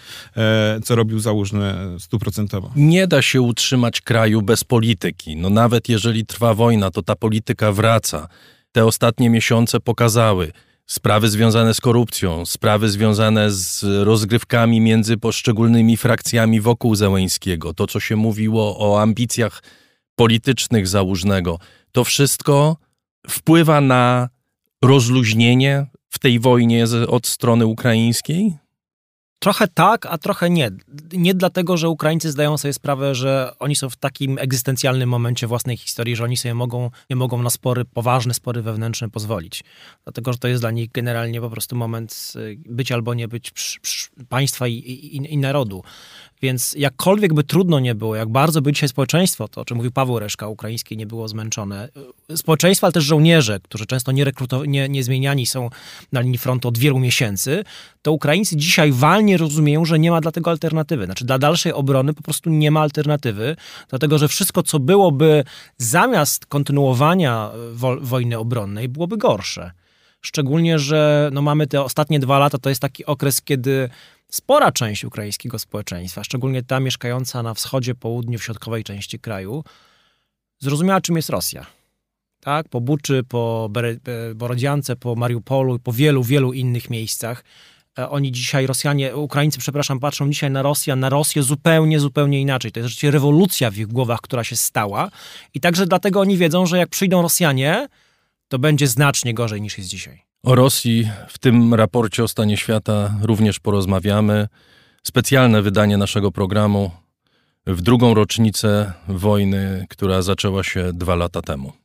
co robił Załużny 100%. Nie da się utrzymać kraju bez polityki. No nawet jeżeli trwa wojna, to ta polityka wraca. Te ostatnie miesiące pokazały sprawy związane z korupcją, sprawy związane z rozgrywkami między poszczególnymi frakcjami wokół Zełenskiego, to co się mówiło o ambicjach politycznych Załużnego. To wszystko wpływa na rozluźnienie w tej wojnie od strony ukraińskiej? Trochę tak, a trochę nie. Nie dlatego, że Ukraińcy zdają sobie sprawę, że oni są w takim egzystencjalnym momencie własnej historii, że oni sobie nie mogą na poważne spory wewnętrzne pozwolić. Dlatego, że to jest dla nich generalnie po prostu moment być albo nie być państwa i narodu. Więc jakkolwiek by trudno nie było, jak bardzo by dzisiaj społeczeństwo, to o czym mówił Paweł Reszka, ukraińskie, nie było zmęczone. Społeczeństwo, ale też żołnierze, którzy często nie zmieniani są na linii frontu od wielu miesięcy, to Ukraińcy dzisiaj walnie rozumieją, że nie ma dla tego alternatywy. Znaczy dla dalszej obrony po prostu nie ma alternatywy, dlatego że wszystko, co byłoby zamiast kontynuowania wojny obronnej, byłoby gorsze. Szczególnie, że mamy te ostatnie 2 lata, to jest taki okres, kiedy spora część ukraińskiego społeczeństwa, szczególnie ta mieszkająca na wschodzie, południu, w środkowej części kraju, zrozumiała, czym jest Rosja. Tak? Po Buczy, po Borodziance, po Mariupolu, po wielu, wielu innych miejscach. Oni dzisiaj, Ukraińcy, patrzą dzisiaj na Rosję zupełnie, zupełnie inaczej. To jest rzeczywiście rewolucja w ich głowach, która się stała. I także dlatego oni wiedzą, że jak przyjdą Rosjanie, to będzie znacznie gorzej niż jest dzisiaj. O Rosji w tym raporcie o stanie świata również porozmawiamy. Specjalne wydanie naszego programu w 2. rocznicę wojny, która zaczęła się 2 lata temu.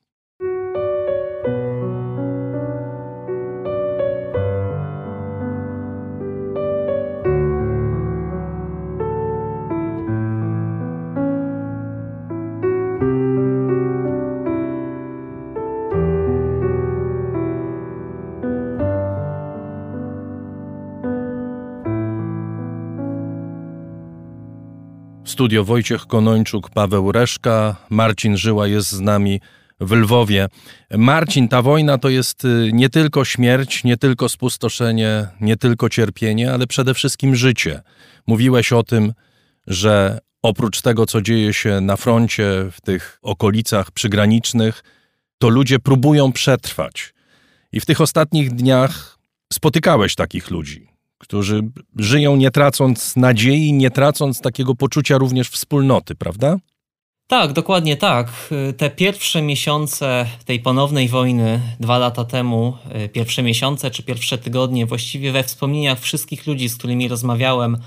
Studio Wojciech Konończuk, Paweł Reszka, Marcin Żyła jest z nami w Lwowie. Marcin, ta wojna to jest nie tylko śmierć, nie tylko spustoszenie, nie tylko cierpienie, ale przede wszystkim życie. Mówiłeś o tym, że oprócz tego, co dzieje się na froncie, w tych okolicach przygranicznych, to ludzie próbują przetrwać. I w tych ostatnich dniach spotykałeś takich ludzi, którzy żyją nie tracąc nadziei, nie tracąc takiego poczucia również wspólnoty, prawda? Tak, dokładnie tak. Te pierwsze miesiące tej ponownej wojny 2 lata temu, pierwsze miesiące czy pierwsze tygodnie, właściwie we wspomnieniach wszystkich ludzi, z którymi rozmawiałem,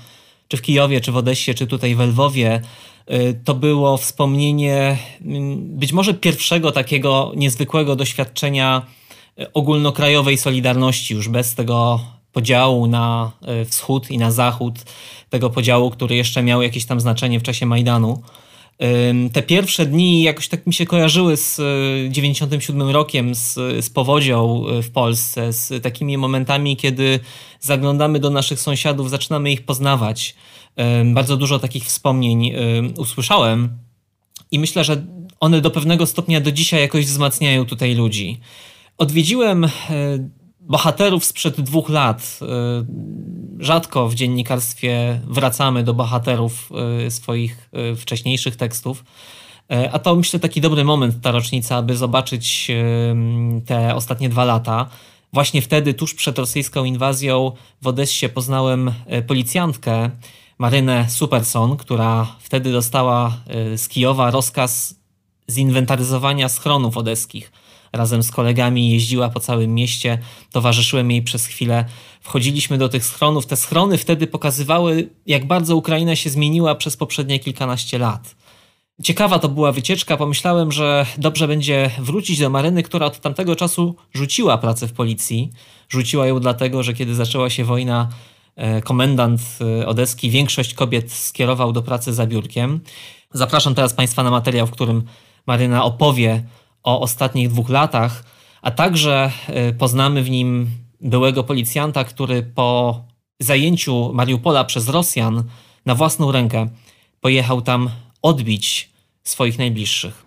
czy w Kijowie, czy w Odessie, czy tutaj w Lwowie, to było wspomnienie być może pierwszego takiego niezwykłego doświadczenia ogólnokrajowej solidarności, już bez tego podziału na wschód i na zachód, tego podziału, który jeszcze miał jakieś tam znaczenie w czasie Majdanu. Te pierwsze dni jakoś tak mi się kojarzyły z 97 rokiem, z powodzią w Polsce, z takimi momentami, kiedy zaglądamy do naszych sąsiadów, zaczynamy ich poznawać. Bardzo dużo takich wspomnień usłyszałem i myślę, że one do pewnego stopnia do dzisiaj jakoś wzmacniają tutaj ludzi. Odwiedziłem bohaterów sprzed 2 lat. Rzadko w dziennikarstwie wracamy do bohaterów swoich wcześniejszych tekstów, a to myślę taki dobry moment, ta rocznica, aby zobaczyć te ostatnie 2 lata. Właśnie wtedy, tuż przed rosyjską inwazją, w Odessie poznałem policjantkę Marynę Superson, która wtedy dostała z Kijowa rozkaz zinwentaryzowania schronów odeskich. Razem z kolegami jeździła po całym mieście, towarzyszyłem jej przez chwilę. Wchodziliśmy do tych schronów. Te schrony wtedy pokazywały, jak bardzo Ukraina się zmieniła przez poprzednie kilkanaście lat. Ciekawa to była wycieczka. Pomyślałem, że dobrze będzie wrócić do Maryny, która od tamtego czasu rzuciła pracę w policji. Rzuciła ją dlatego, że kiedy zaczęła się wojna, komendant odeski większość kobiet skierował do pracy za biurkiem. Zapraszam teraz Państwa na materiał, w którym Maryna opowie o ostatnich 2 latach, a także poznamy w nim byłego policjanta, który po zajęciu Mariupola przez Rosjan na własną rękę pojechał tam odbić swoich najbliższych.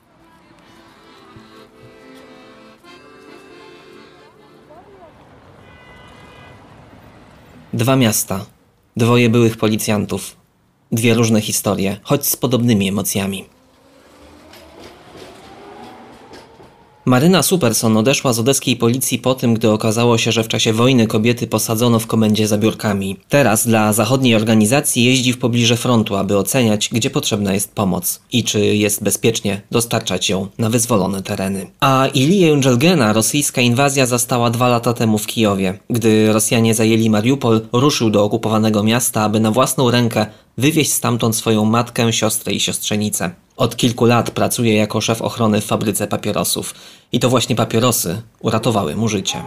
Dwa miasta, 2 byłych policjantów, 2 różne historie, choć z podobnymi emocjami. Maryna Superson odeszła z odeskiej policji po tym, gdy okazało się, że w czasie wojny kobiety posadzono w komendzie za biurkami. Teraz dla zachodniej organizacji jeździ w pobliże frontu, aby oceniać, gdzie potrzebna jest pomoc i czy jest bezpiecznie dostarczać ją na wyzwolone tereny. A Iliję Jądżelgena rosyjska inwazja zastała 2 lata temu w Kijowie. Gdy Rosjanie zajęli Mariupol, ruszył do okupowanego miasta, aby na własną rękę wywieźć stamtąd swoją matkę, siostrę i siostrzenicę. Od kilku lat pracuje jako szef ochrony w fabryce papierosów. I to właśnie papierosy uratowały mu życie.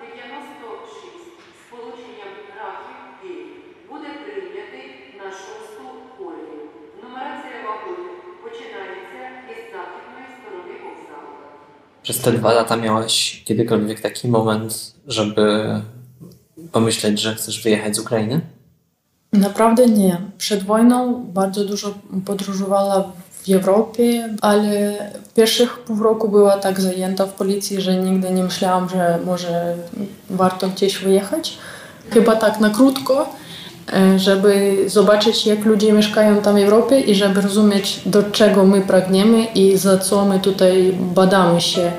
Przez te 2 lata miałaś kiedykolwiek taki moment, żeby pomyśleć, że chcesz wyjechać z Ukrainy? Naprawdę nie. Przed wojną bardzo dużo podróżowała w Europie, ale w pierwszych pół roku była tak zajęta w policji, że nigdy nie myślałam, że może warto gdzieś wyjechać. Chyba tak na krótko, żeby zobaczyć, jak ludzie mieszkają tam w Europie i żeby rozumieć, do czego my pragniemy i za co my tutaj badamy się.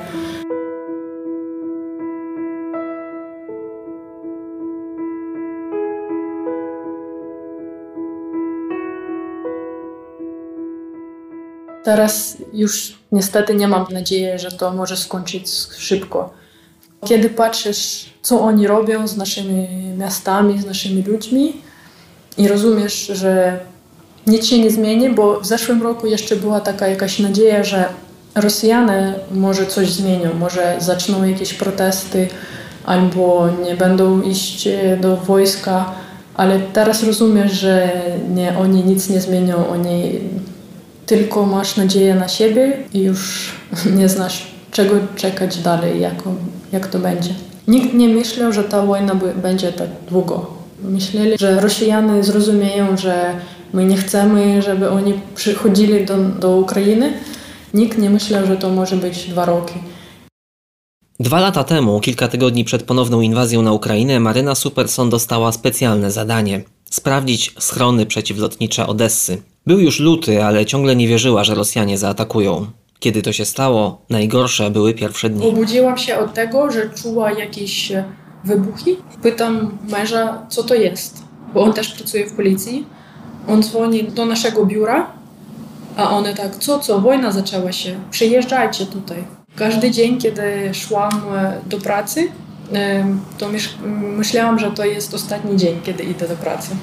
Teraz już niestety nie mam nadziei, że to może skończyć szybko. Kiedy patrzysz, co oni robią z naszymi miastami, z naszymi ludźmi i rozumiesz, że nic się nie zmieni, bo w zeszłym roku jeszcze była taka jakaś nadzieja, że Rosjanie może coś zmienią, może zaczną jakieś protesty albo nie będą iść do wojska, ale teraz rozumiesz, że nie, oni nic nie zmienią, oni tylko masz nadzieję na siebie i już nie znasz, czego czekać dalej, jak to będzie. Nikt nie myślał, że ta wojna będzie tak długo. Myśleli, że Rosjanie zrozumieją, że my nie chcemy, żeby oni przychodzili do Ukrainy. Nikt nie myślał, że to może być 2 roki. 2 lata temu, kilka tygodni przed ponowną inwazją na Ukrainę, Maryna Superson dostała specjalne zadanie – sprawdzić schrony przeciwlotnicze Odessy. Był już luty, ale ciągle nie wierzyła, że Rosjanie zaatakują. Kiedy to się stało, najgorsze były pierwsze dni. Obudziłam się od tego, że czuła jakieś wybuchy. Pytam męża, co to jest, bo on też pracuje w policji. On dzwoni do naszego biura, a one tak, co, wojna zaczęła się, przyjeżdżajcie tutaj. Każdy dzień, kiedy szłam do pracy, to myślałam, że to jest ostatni dzień, kiedy idę do pracy.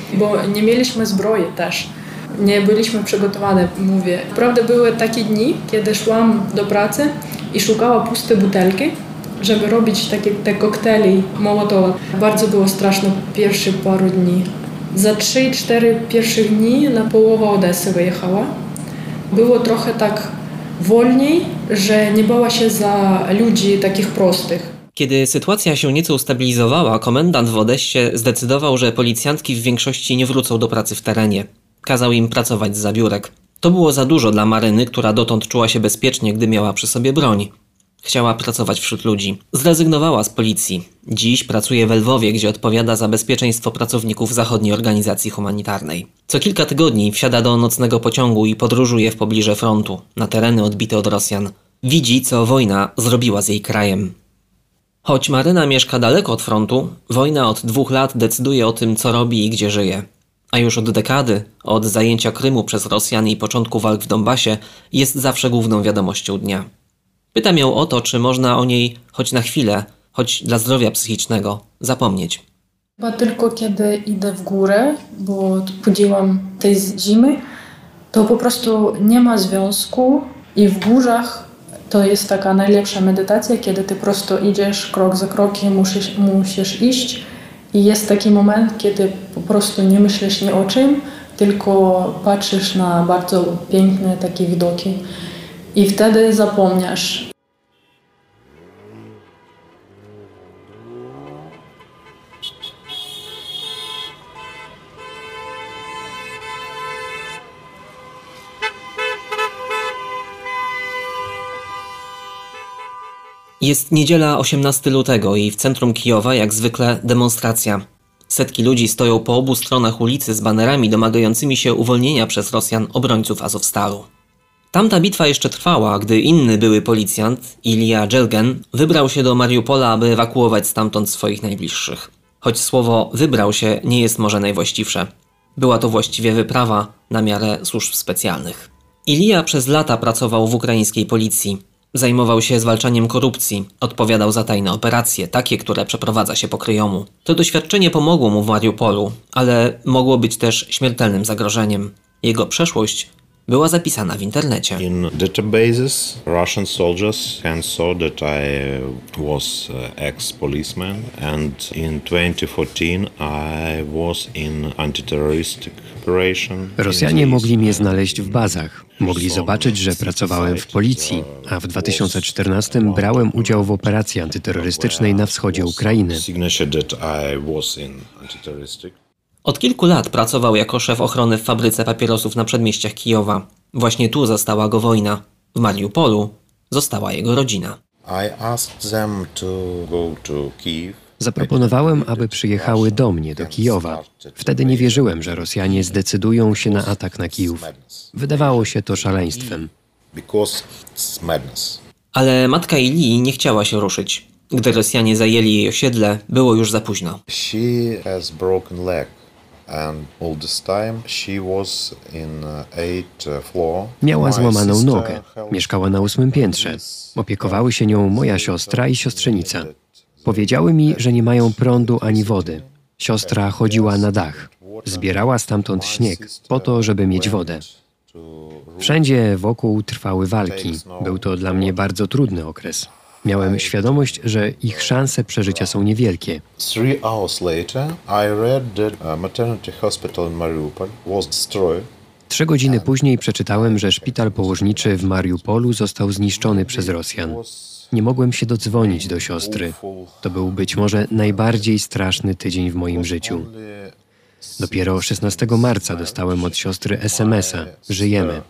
bo nie mieliśmy zbroi też. Nie byliśmy przygotowane, mówię. Prawda, były takie dni, kiedy szłam do pracy i szukała puste butelki, żeby robić te koktajle Mołotowa. Bardzo było straszno pierwsze paru dni. Za 3-4 pierwszych dni na połowę Odessy wyjechała. Było trochę tak wolniej, że nie bała się za ludzi takich prostych. Kiedy sytuacja się nieco ustabilizowała, komendant w Odessie zdecydował, że policjantki w większości nie wrócą do pracy w terenie. Kazał im pracować zza biurek. To było za dużo dla Maryny, która dotąd czuła się bezpiecznie, gdy miała przy sobie broń. Chciała pracować wśród ludzi. Zrezygnowała z policji. Dziś pracuje w Lwowie, gdzie odpowiada za bezpieczeństwo pracowników zachodniej organizacji humanitarnej. Co kilka tygodni wsiada do nocnego pociągu i podróżuje w pobliże frontu, na tereny odbite od Rosjan. Widzi, co wojna zrobiła z jej krajem. Choć Maryna mieszka daleko od frontu, wojna od 2 lat decyduje o tym, co robi i gdzie żyje. A już od dekady, od zajęcia Krymu przez Rosjan i początku walk w Donbasie, jest zawsze główną wiadomością dnia. Pytam ją o to, czy można o niej choć na chwilę, choć dla zdrowia psychicznego, zapomnieć. Chyba tylko kiedy idę w górę, bo chodziłam tej zimy, to po prostu nie ma związku i w górzach to jest taka najlepsza medytacja, kiedy ty prosto idziesz krok za krokiem, musisz iść i jest taki moment, kiedy po prostu nie myślisz ni o czym, tylko patrzysz na bardzo piękne takie widoki i wtedy zapomnisz. Jest niedziela 18 lutego i w centrum Kijowa jak zwykle demonstracja. Setki ludzi stoją po obu stronach ulicy z banerami domagającymi się uwolnienia przez Rosjan obrońców Azowstalu. Tamta bitwa jeszcze trwała, gdy inny były policjant, Ilija Dżelgen, wybrał się do Mariupola, aby ewakuować stamtąd swoich najbliższych. Choć słowo wybrał się nie jest może najwłaściwsze. Była to właściwie wyprawa na miarę służb specjalnych. Ilija przez lata pracował w ukraińskiej policji. Zajmował się zwalczaniem korupcji, odpowiadał za tajne operacje, takie, które przeprowadza się po kryjomu. To doświadczenie pomogło mu w Mariupolu, ale mogło być też śmiertelnym zagrożeniem. Jego przeszłość była zapisana w internecie. In databases, Russian soldiers can saw that I was ex-policeman and in 2014 I was in anti-terroristic operation. Rosjanie mogli mnie znaleźć w bazach. Mogli zobaczyć, że pracowałem w policji, a w 2014 brałem udział w operacji antyterrorystycznej na wschodzie Ukrainy. Od kilku lat pracował jako szef ochrony w fabryce papierosów na przedmieściach Kijowa. Właśnie tu zastała go wojna. W Mariupolu została jego rodzina. Zaproponowałem, aby przyjechały do mnie, do Kijowa. Wtedy nie wierzyłem, że Rosjanie zdecydują się na atak na Kijów. Wydawało się to szaleństwem. Ale matka Ilii nie chciała się ruszyć. Gdy Rosjanie zajęli jej osiedle, było już za późno. Miała złamaną nogę. Mieszkała na 8. piętrze. Opiekowały się nią moja siostra i siostrzenica. Powiedziały mi, że nie mają prądu ani wody. Siostra chodziła na dach. Zbierała stamtąd śnieg po to, żeby mieć wodę. Wszędzie wokół trwały walki. Był to dla mnie bardzo trudny okres. Miałem świadomość, że ich szanse przeżycia są niewielkie. 3 hours later, I read that maternity hospital in Mariupol was destroyed. 3 godziny później przeczytałem, że szpital położniczy w Mariupolu został zniszczony przez Rosjan. Nie mogłem się dodzwonić do siostry. To był być może najbardziej straszny tydzień w moim życiu. Dopiero 16 marca dostałem od siostry SMS-a. Żyjemy.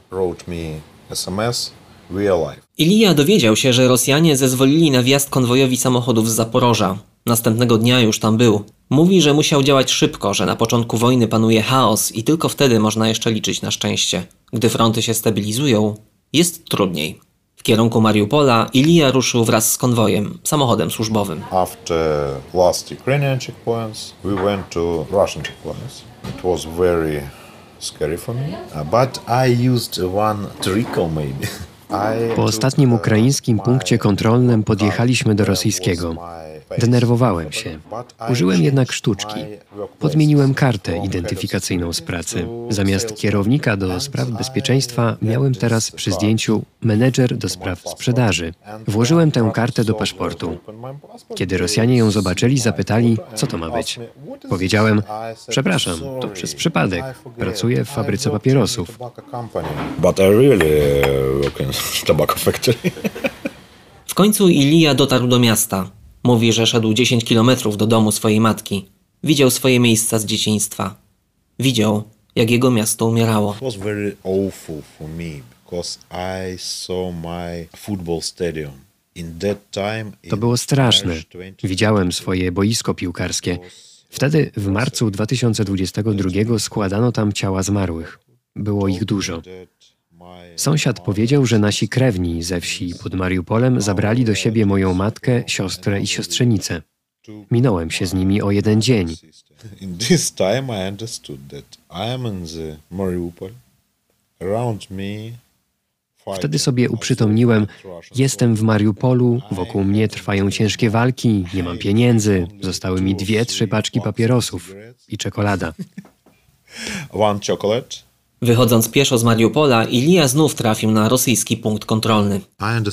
Ilija dowiedział się, że Rosjanie zezwolili na wjazd konwojowi samochodów z Zaporoża. Następnego dnia już tam był. Mówi, że musiał działać szybko, że na początku wojny panuje chaos i tylko wtedy można jeszcze liczyć na szczęście. Gdy fronty się stabilizują, jest trudniej. W kierunku Mariupola Ilija ruszył wraz z konwojem, samochodem służbowym. After last Ukrainian checkpoints, we went to Russian checkpoints. It was very scary for me, but I used one trickle maybe. Po ostatnim ukraińskim punkcie kontrolnym podjechaliśmy do rosyjskiego. Denerwowałem się. Użyłem jednak sztuczki. Podmieniłem kartę identyfikacyjną z pracy. Zamiast kierownika do spraw bezpieczeństwa miałem teraz przy zdjęciu menedżer do spraw sprzedaży. Włożyłem tę kartę do paszportu. Kiedy Rosjanie ją zobaczyli, zapytali, co to ma być. Powiedziałem, przepraszam, to przez przypadek. Pracuję w fabryce papierosów. W końcu Ilija dotarł do miasta. Mówi, że szedł 10 kilometrów do domu swojej matki. Widział swoje miejsca z dzieciństwa. Widział, jak jego miasto umierało. To było straszne. Widziałem swoje boisko piłkarskie. Wtedy, w marcu 2022, składano tam ciała zmarłych. Było ich dużo. Sąsiad powiedział, że nasi krewni ze wsi pod Mariupolem zabrali do siebie moją matkę, siostrę i siostrzenicę. Minąłem się z nimi o 1 dzień. Wtedy sobie uprzytomniłem, jestem w Mariupolu, wokół mnie trwają ciężkie walki, nie mam pieniędzy, zostały mi 2-3 paczki papierosów i czekolada. Wychodząc pieszo z Mariupola, Ilija znów trafił na rosyjski punkt kontrolny.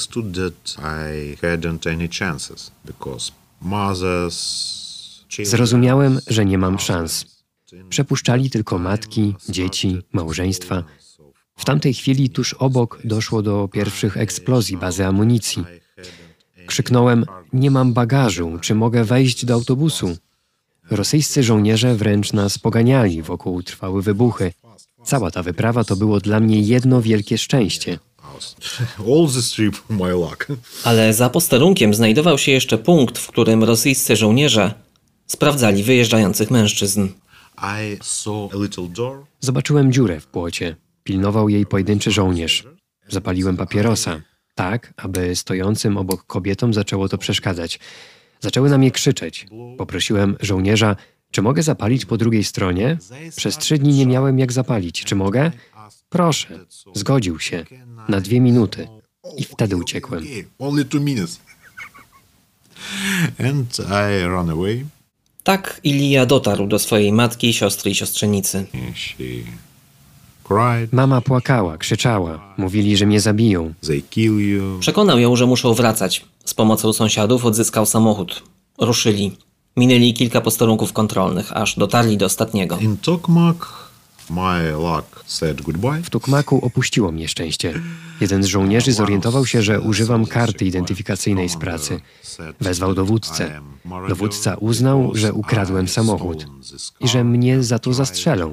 Zrozumiałem, że nie mam szans. Przepuszczali tylko matki, dzieci, małżeństwa. W tamtej chwili tuż obok doszło do pierwszych eksplozji bazy amunicji. Krzyknąłem, nie mam bagażu, czy mogę wejść do autobusu? Rosyjscy żołnierze wręcz nas poganiali, wokół trwały wybuchy. Cała ta wyprawa to było dla mnie jedno wielkie szczęście. Ale za posterunkiem znajdował się jeszcze punkt, w którym rosyjscy żołnierze sprawdzali wyjeżdżających mężczyzn. Zobaczyłem dziurę w płocie. Pilnował jej pojedynczy żołnierz. Zapaliłem papierosa, tak, aby stojącym obok kobietom zaczęło to przeszkadzać. Zaczęły na mnie krzyczeć. Poprosiłem żołnierza, czy mogę zapalić po drugiej stronie? Przez 3 dni nie miałem jak zapalić. Czy mogę? Proszę. Zgodził się. Na 2 minuty. I wtedy uciekłem. Tak Ilija dotarł do swojej matki, siostry i siostrzenicy. Mama płakała, krzyczała. Mówili, że mnie zabiją. Przekonał ją, że muszą wracać. Z pomocą sąsiadów odzyskał samochód. Ruszyli. Minęli kilka posterunków kontrolnych, aż dotarli do ostatniego. W Tukmaku opuściło mnie szczęście. Jeden z żołnierzy zorientował się, że używam karty identyfikacyjnej z pracy. Wezwał dowódcę. Dowódca uznał, że ukradłem samochód i że mnie za to zastrzelą.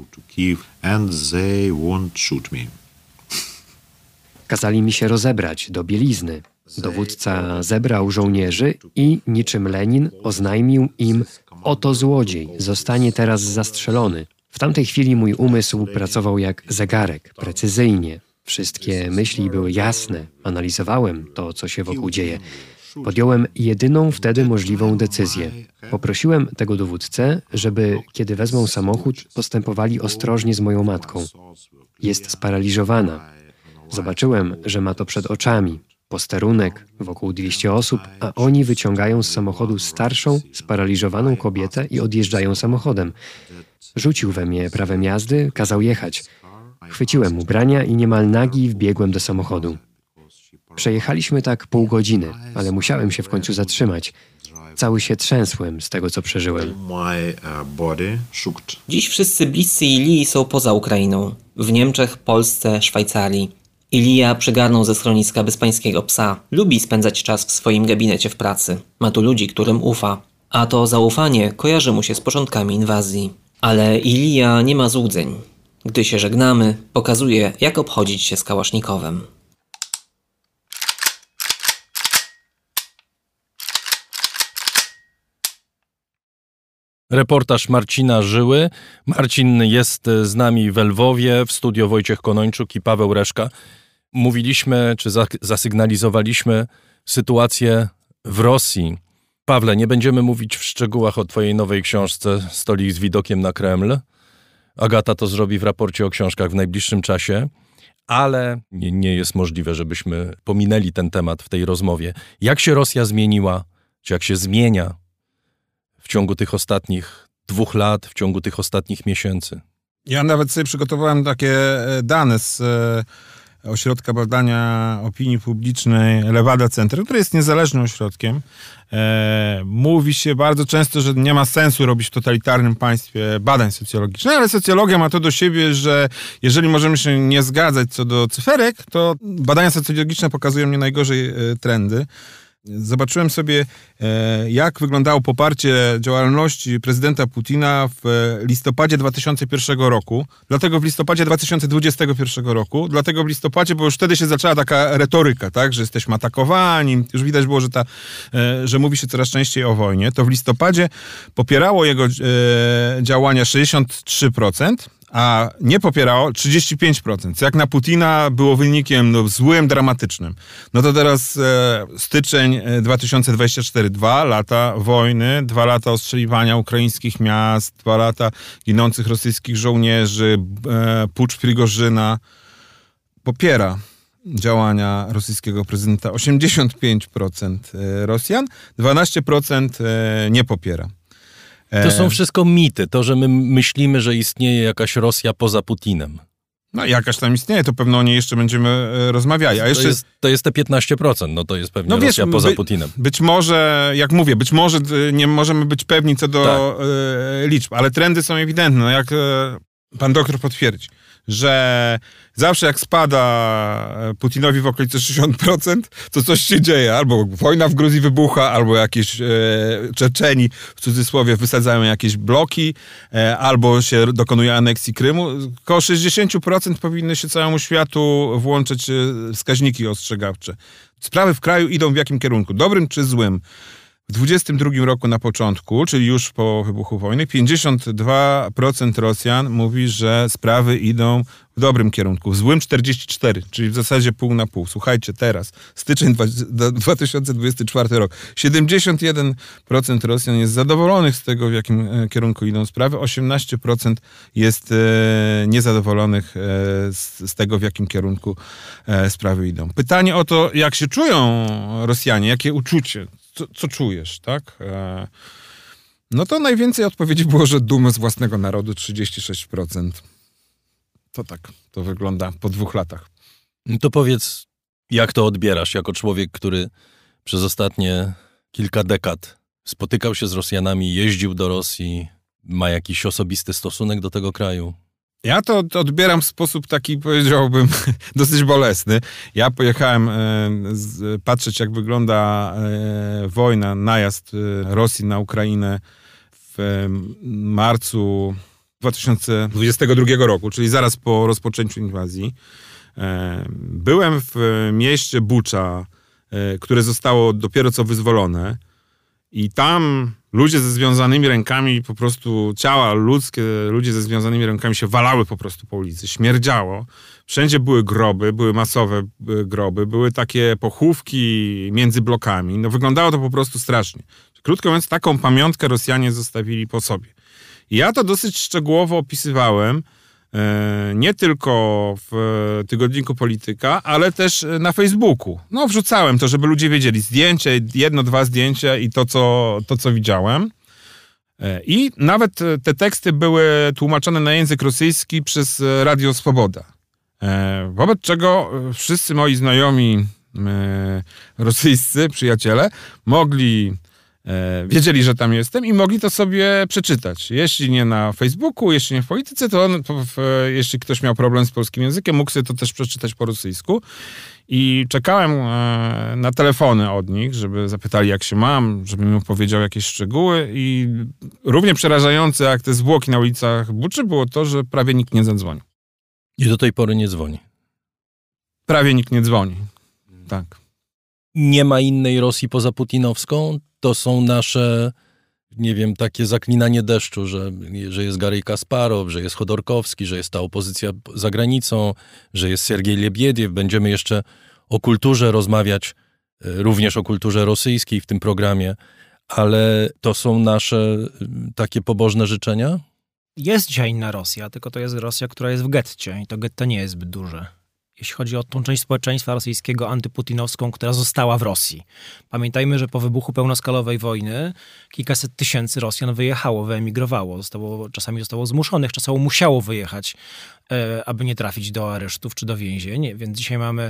Kazali mi się rozebrać do bielizny. Dowódca zebrał żołnierzy i, niczym Lenin, oznajmił im, oto złodziej, zostanie teraz zastrzelony. W tamtej chwili mój umysł pracował jak zegarek, precyzyjnie. Wszystkie myśli były jasne. Analizowałem to, co się wokół dzieje. Podjąłem jedyną wtedy możliwą decyzję. Poprosiłem tego dowódcę, żeby, kiedy wezmą samochód, postępowali ostrożnie z moją matką. Jest sparaliżowana. Zobaczyłem, że ma to przed oczami. Posterunek, wokół 200 osób, a oni wyciągają z samochodu starszą, sparaliżowaną kobietę i odjeżdżają samochodem. Rzucił we mnie prawem jazdy, kazał jechać. Chwyciłem ubrania i niemal nagi wbiegłem do samochodu. Przejechaliśmy tak pół godziny, ale musiałem się w końcu zatrzymać. Cały się trzęsłem z tego, co przeżyłem. Dziś wszyscy bliscy Ilii są poza Ukrainą. W Niemczech, Polsce, Szwajcarii. Ilija przygarnął ze schroniska bezpańskiego psa. Lubi spędzać czas w swoim gabinecie w pracy. Ma tu ludzi, którym ufa. A to zaufanie kojarzy mu się z początkami inwazji. Ale Ilija nie ma złudzeń. Gdy się żegnamy, pokazuje, jak obchodzić się z kałasznikowem. Reportaż Marcina Żyły. Marcin jest z nami w Lwowie, w studio Wojciech Konończuk i Paweł Reszka. Mówiliśmy, czy zasygnalizowaliśmy sytuację w Rosji. Pawle, nie będziemy mówić w szczegółach o twojej nowej książce Stolik z widokiem na Kreml. Agata to zrobi w raporcie o książkach w najbliższym czasie, ale nie jest możliwe, żebyśmy pominęli ten temat w tej rozmowie. Jak się Rosja zmieniła? czy jak się zmienia w ciągu tych ostatnich 2 lat, w ciągu tych ostatnich miesięcy. Ja nawet sobie przygotowałem takie dane z Ośrodka Badania Opinii Publicznej Levada Center, który jest niezależnym ośrodkiem. Mówi się bardzo często, że nie ma sensu robić w totalitarnym państwie badań socjologicznych, ale socjologia ma to do siebie, że jeżeli możemy się nie zgadzać co do cyferek, to badania socjologiczne pokazują nie najgorzej trendy. Zobaczyłem sobie, jak wyglądało poparcie działalności prezydenta Putina w listopadzie 2001 roku, dlatego w listopadzie 2021 roku, dlatego w listopadzie, bo już wtedy się zaczęła taka retoryka, tak, że jesteśmy atakowani, już widać było, że mówi się coraz częściej o wojnie, to w listopadzie popierało jego działania 63%, a nie popierało 35%, co jak na Putina było wynikiem złym, dramatycznym. No to teraz styczeń 2024, 2 lata wojny, 2 lata ostrzeliwania ukraińskich miast, 2 lata ginących rosyjskich żołnierzy, pucz Prigorzyna. Popiera działania rosyjskiego prezydenta 85% Rosjan, 12% nie popiera. To są wszystko mity, to, że my myślimy, że istnieje jakaś Rosja poza Putinem. No jakaś tam istnieje, to pewno o niej jeszcze będziemy rozmawiali. A jeszcze to jest te 15%, no to jest pewnie Rosja poza Putinem. Być może, jak mówię, być może nie możemy być pewni co do liczb, ale trendy są ewidentne. No jak pan doktor potwierdzi, że zawsze jak spada Putinowi w okolicy 60%, to coś się dzieje. Albo wojna w Gruzji wybucha, albo jakieś Czeczeni, w cudzysłowie, wysadzają jakieś bloki, albo się dokonuje aneksji Krymu. Koło 60% powinny się całemu światu włączyć wskaźniki ostrzegawcze. Sprawy w kraju idą w jakim kierunku? Dobrym czy złym? W 2022 roku na początku, czyli już po wybuchu wojny, 52% Rosjan mówi, że sprawy idą w dobrym kierunku. W złym 44%, czyli w zasadzie pół na pół. Słuchajcie, teraz, styczeń 2024 rok, 71% Rosjan jest zadowolonych z tego, w jakim kierunku idą sprawy, 18% jest niezadowolonych z tego, w jakim kierunku sprawy idą. Pytanie o to, jak się czują Rosjanie, jakie uczucie, co czujesz, tak? No to najwięcej odpowiedzi było, że dumę z własnego narodu 36%. To tak, to wygląda po 2 latach. To powiedz, jak to odbierasz jako człowiek, który przez ostatnie kilka dekad spotykał się z Rosjanami, jeździł do Rosji, ma jakiś osobisty stosunek do tego kraju? Ja to odbieram w sposób taki, powiedziałbym, dosyć bolesny. Ja pojechałem patrzeć, jak wygląda wojna, najazd Rosji na Ukrainę w marcu 2022 roku, czyli zaraz po rozpoczęciu inwazji. Byłem w mieście Bucza, które zostało dopiero co wyzwolone i tam ludzie ze związanymi rękami, po prostu ciała ludzkie, ludzie ze związanymi rękami się walały po prostu po ulicy, śmierdziało. Wszędzie były groby, były masowe groby, były takie pochówki między blokami. No wyglądało to po prostu strasznie. Krótko mówiąc, taką pamiątkę Rosjanie zostawili po sobie. I ja to dosyć szczegółowo opisywałem, nie tylko w tygodniku Polityka, ale też na Facebooku. No wrzucałem to, żeby ludzie wiedzieli zdjęcie, 1-2 zdjęcia i to, co widziałem. I nawet te teksty były tłumaczone na język rosyjski przez Radio Swoboda. Wobec czego wszyscy moi znajomi rosyjscy przyjaciele wiedzieli, że tam jestem i mogli to sobie przeczytać. Jeśli nie na Facebooku, jeśli nie w Polityce, to jeśli ktoś miał problem z polskim językiem, mógł sobie to też przeczytać po rosyjsku. I czekałem na telefony od nich, żeby zapytali, jak się mam, żebym im powiedział jakieś szczegóły. I równie przerażające jak te zwłoki na ulicach Buczy było to, że prawie nikt nie zadzwonił. I do tej pory nie dzwoni. Prawie nikt nie dzwoni. Tak. Nie ma innej Rosji poza putinowską? To są nasze, nie wiem, takie zaklinanie deszczu, że jest Garry Kasparow, że jest Chodorkowski, że jest ta opozycja za granicą, że jest Sergiej Lebiediew. Będziemy jeszcze o kulturze rozmawiać, również o kulturze rosyjskiej w tym programie, ale to są nasze takie pobożne życzenia? Jest dzisiaj inna Rosja, tylko to jest Rosja, która jest w getcie i to getto nie jest zbyt duże. jeśli chodzi o tą część społeczeństwa rosyjskiego antyputinowską, która została w Rosji. Pamiętajmy, że po wybuchu pełnoskalowej wojny kilkaset tysięcy Rosjan wyjechało, wyemigrowało. Czasami zostało zmuszonych, czasami musiało wyjechać, aby nie trafić do aresztów czy do więzień. Więc dzisiaj mamy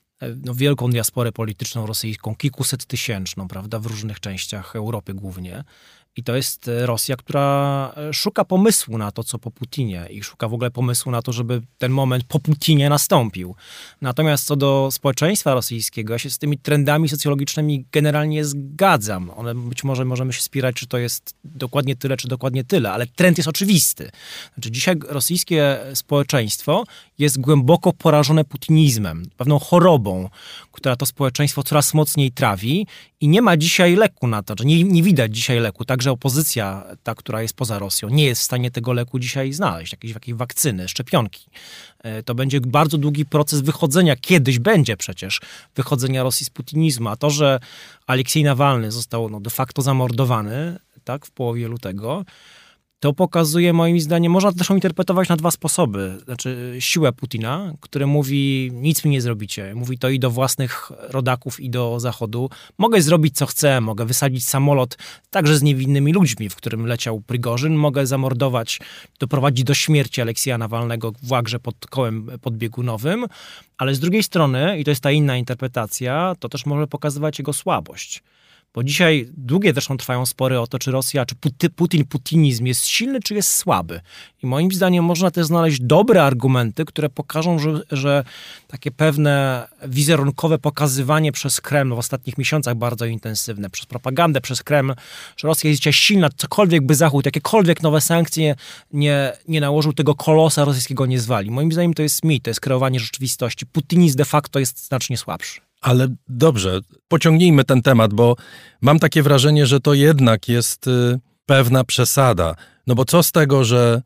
wielką diasporę polityczną rosyjską, kilkusettysięczną, prawda, w różnych częściach Europy głównie. I to jest Rosja, która szuka pomysłu na to, co po Putinie i szuka w ogóle pomysłu na to, żeby ten moment po Putinie nastąpił. Natomiast co do społeczeństwa rosyjskiego, ja się z tymi trendami socjologicznymi generalnie zgadzam. One być może możemy się spierać, czy to jest dokładnie tyle, czy dokładnie tyle, ale trend jest oczywisty. Znaczy dzisiaj rosyjskie społeczeństwo jest głęboko porażone putinizmem, pewną chorobą, która to społeczeństwo coraz mocniej trawi i nie ma dzisiaj leku na to, że nie widać dzisiaj leku. Także opozycja, ta, która jest poza Rosją, nie jest w stanie tego leku dzisiaj znaleźć, jakiejś wakcyny, szczepionki. To będzie bardzo długi proces wychodzenia, kiedyś będzie przecież, wychodzenia Rosji z putinizmu. A to, że Aleksiej Nawalny został de facto zamordowany, tak, w połowie lutego, to pokazuje, moim zdaniem, można to też interpretować na dwa sposoby. Znaczy siłę Putina, który mówi, nic mi nie zrobicie. Mówi to i do własnych rodaków, i do Zachodu. Mogę zrobić, co chcę. Mogę wysadzić samolot także z niewinnymi ludźmi, w którym leciał Prigorzyn. Mogę zamordować, doprowadzić do śmierci Aleksieja Nawalnego w łagrze pod kołem podbiegunowym. Ale z drugiej strony, i to jest ta inna interpretacja, to też może pokazywać jego słabość. Bo dzisiaj długie zresztą trwają spory o to, czy Rosja, czy putinizm jest silny, czy jest słaby. I moim zdaniem można też znaleźć dobre argumenty, które pokażą, że takie pewne wizerunkowe pokazywanie przez Kreml w ostatnich miesiącach bardzo intensywne, przez propagandę, przez Kreml, że Rosja jest dzisiaj silna, cokolwiek by Zachód, jakiekolwiek nowe sankcje nie nałożył, tego kolosa rosyjskiego nie zwali. Moim zdaniem to jest mit, to jest kreowanie rzeczywistości. Putinizm de facto jest znacznie słabszy. Ale dobrze, pociągnijmy ten temat, bo mam takie wrażenie, że to jednak jest pewna przesada. No bo co z tego, że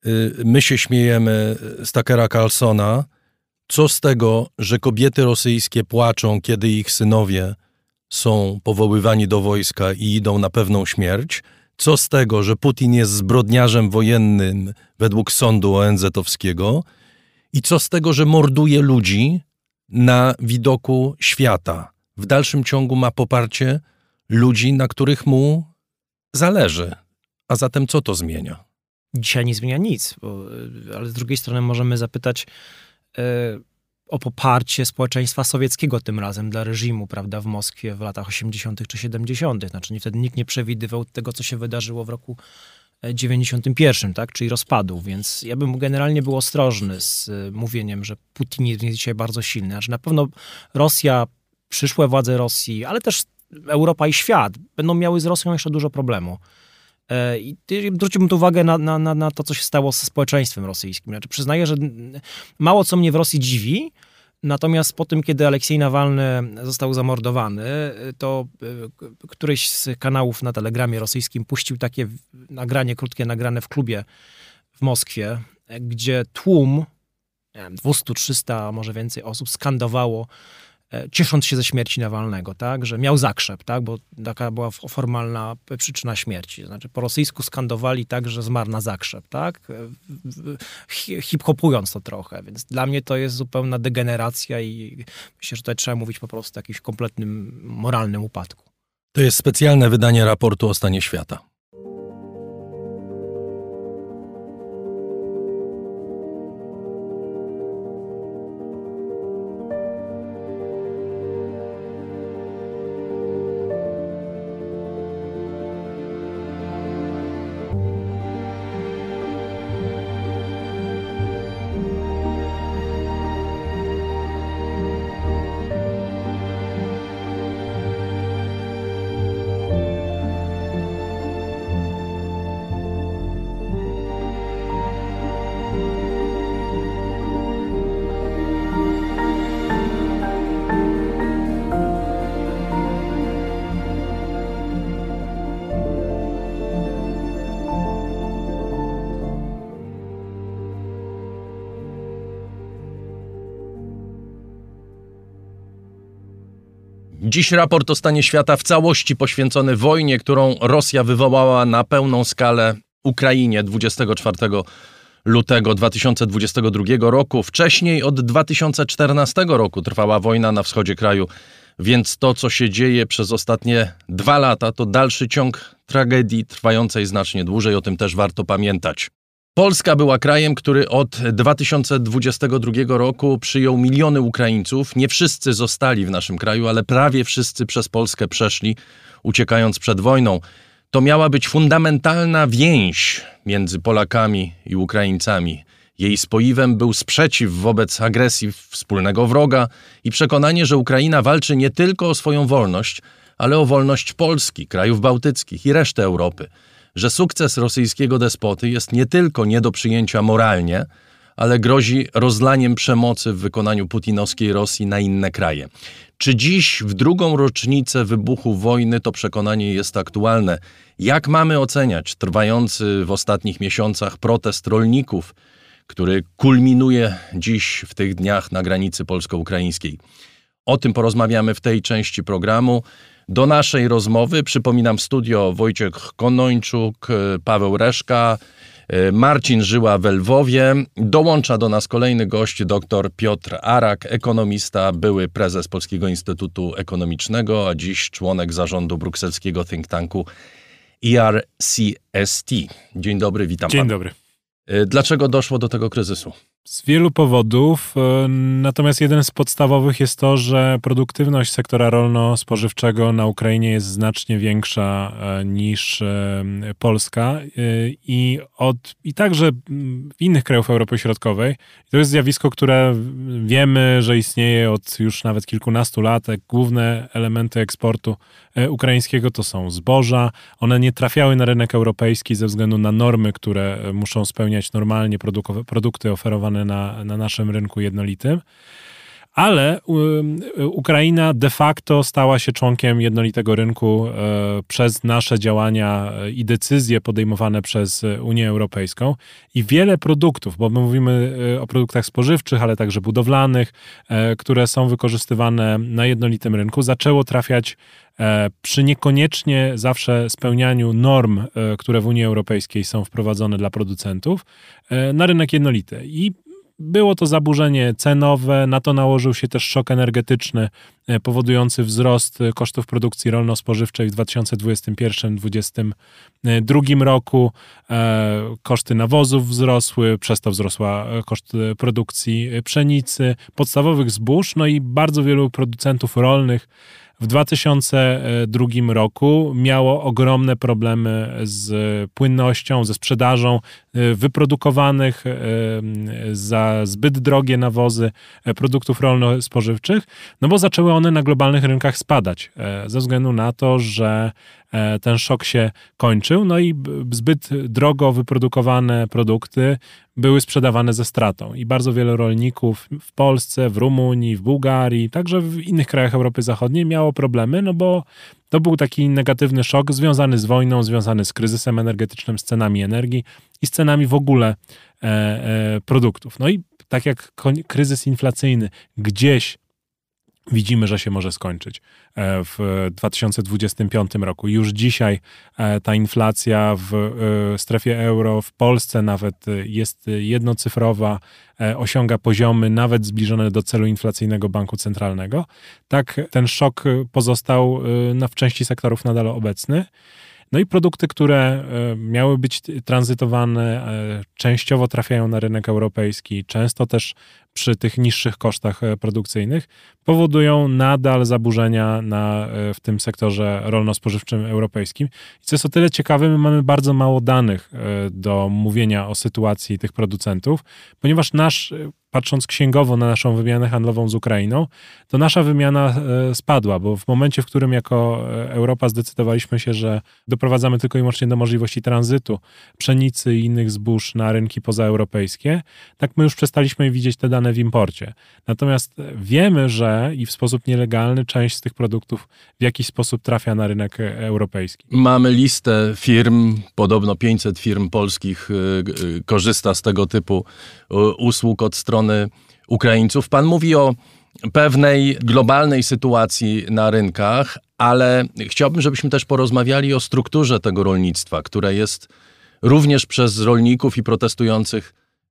my się śmiejemy z Tuckera Carlsona, co z tego, że kobiety rosyjskie płaczą, kiedy ich synowie są powoływani do wojska i idą na pewną śmierć? Co z tego, że Putin jest zbrodniarzem wojennym według sądu ONZ-owskiego? I co z tego, że morduje ludzi na widoku świata? W dalszym ciągu ma poparcie ludzi, na których mu zależy. A zatem co to zmienia? Dzisiaj nie zmienia nic, ale z drugiej strony możemy zapytać o poparcie społeczeństwa sowieckiego tym razem dla reżimu, prawda, w Moskwie w latach 80. czy 70. Znaczy wtedy nikt nie przewidywał tego, co się wydarzyło w roku 91, tak, czyli rozpadu, więc ja bym generalnie był ostrożny z mówieniem, że Putin jest dzisiaj bardzo silny. Znaczy na pewno Rosja, przyszłe władze Rosji, ale też Europa i świat będą miały z Rosją jeszcze dużo problemu. I zwróciłbym tu uwagę na to, co się stało ze społeczeństwem rosyjskim. Znaczy przyznaję, że mało co mnie w Rosji dziwi, natomiast po tym, kiedy Aleksiej Nawalny został zamordowany, to któryś z kanałów na Telegramie rosyjskim puścił takie nagranie, krótkie nagrane w klubie w Moskwie, gdzie tłum, nie wiem, 200-300, może więcej osób skandowało, ciesząc się ze śmierci Nawalnego, tak, że miał zakrzep, tak, bo taka była formalna przyczyna śmierci. Znaczy po rosyjsku skandowali tak, że zmarł na zakrzep, tak, hip-hopując to trochę, więc dla mnie to jest zupełna degeneracja i myślę, że tutaj trzeba mówić po prostu o jakimś kompletnym moralnym upadku. To jest specjalne wydanie raportu o stanie świata. Dziś raport o stanie świata w całości poświęcony wojnie, którą Rosja wywołała na pełną skalę Ukrainie 24 lutego 2022 roku. Wcześniej od 2014 roku trwała wojna na wschodzie kraju, więc to, co się dzieje przez ostatnie 2 lata, to dalszy ciąg tragedii trwającej znacznie dłużej. O tym też warto pamiętać. Polska była krajem, który od 2022 roku przyjął miliony Ukraińców. Nie wszyscy zostali w naszym kraju, ale prawie wszyscy przez Polskę przeszli, uciekając przed wojną. To miała być fundamentalna więź między Polakami i Ukraińcami. Jej spoiwem był sprzeciw wobec agresji wspólnego wroga i przekonanie, że Ukraina walczy nie tylko o swoją wolność, ale o wolność Polski, krajów bałtyckich i reszty Europy. Że sukces rosyjskiego despoty jest nie tylko nie do przyjęcia moralnie, ale grozi rozlaniem przemocy w wykonaniu putinowskiej Rosji na inne kraje. Czy dziś, w 2. rocznicę wybuchu wojny, to przekonanie jest aktualne? Jak mamy oceniać trwający w ostatnich miesiącach protest rolników, który kulminuje dziś w tych dniach na granicy polsko-ukraińskiej? O tym porozmawiamy w tej części programu. Do naszej rozmowy, przypominam, studio Wojciech Konończuk, Paweł Reszka, Marcin Żyła w Lwowie. Dołącza do nas kolejny gość, dr Piotr Arak, ekonomista, były prezes Polskiego Instytutu Ekonomicznego, a dziś członek zarządu brukselskiego think tanku ERCST. Dzień dobry, witam pana. Dzień dobry. Dlaczego doszło do tego kryzysu? Z wielu powodów, natomiast jeden z podstawowych jest to, że produktywność sektora rolno-spożywczego na Ukrainie jest znacznie większa niż Polska i także w innych krajów Europy Środkowej. To jest zjawisko, które wiemy, że istnieje od już nawet kilkunastu lat. Główne elementy eksportu ukraińskiego to są zboża. One nie trafiały na rynek europejski ze względu na normy, które muszą spełniać normalnie produkty oferowane na naszym rynku jednolitym, ale Ukraina de facto stała się członkiem jednolitego rynku przez nasze działania i decyzje podejmowane przez Unię Europejską i wiele produktów, bo my mówimy o produktach spożywczych, ale także budowlanych, które są wykorzystywane na jednolitym rynku, zaczęło trafiać przy niekoniecznie zawsze spełnianiu norm, które w Unii Europejskiej są wprowadzone dla producentów, na rynek jednolity. I było to zaburzenie cenowe, na to nałożył się też szok energetyczny powodujący wzrost kosztów produkcji rolno-spożywczej w 2021-2022 roku. Koszty nawozów wzrosły, przez to wzrosła koszt produkcji pszenicy, podstawowych zbóż, no i bardzo wielu producentów rolnych w 2002 roku miało ogromne problemy z płynnością, ze sprzedażą wyprodukowanych za zbyt drogie nawozy produktów rolno-spożywczych, no bo zaczęły one na globalnych rynkach spadać ze względu na to, że ten szok się kończył, no i zbyt drogo wyprodukowane produkty były sprzedawane ze stratą i bardzo wielu rolników w Polsce, w Rumunii, w Bułgarii, także w innych krajach Europy Zachodniej miało problemy, no bo to był taki negatywny szok związany z wojną, związany z kryzysem energetycznym, z cenami energii i z cenami w ogóle produktów. No i tak jak kryzys inflacyjny gdzieś widzimy, że się może skończyć w 2025 roku. Już dzisiaj ta inflacja w strefie euro, w Polsce nawet jest jednocyfrowa, osiąga poziomy nawet zbliżone do celu inflacyjnego Banku Centralnego. Tak ten szok pozostał w części sektorów nadal obecny. No i produkty, które miały być tranzytowane, częściowo trafiają na rynek europejski, często też przy tych niższych kosztach produkcyjnych, powodują nadal zaburzenia w tym sektorze rolno-spożywczym europejskim. I co jest o tyle ciekawe, my mamy bardzo mało danych do mówienia o sytuacji tych producentów, ponieważ patrząc księgowo na naszą wymianę handlową z Ukrainą, to nasza wymiana spadła, bo w momencie, w którym jako Europa zdecydowaliśmy się, że doprowadzamy tylko i wyłącznie do możliwości tranzytu pszenicy i innych zbóż na rynki pozaeuropejskie, tak my już przestaliśmy widzieć te dane w imporcie. Natomiast wiemy, że i w sposób nielegalny część z tych produktów w jakiś sposób trafia na rynek europejski. Mamy listę firm, podobno 500 firm polskich korzysta z tego typu usług od strony Ukraińców. Pan mówi o pewnej globalnej sytuacji na rynkach, ale chciałbym, żebyśmy też porozmawiali o strukturze tego rolnictwa, które jest również przez rolników i protestujących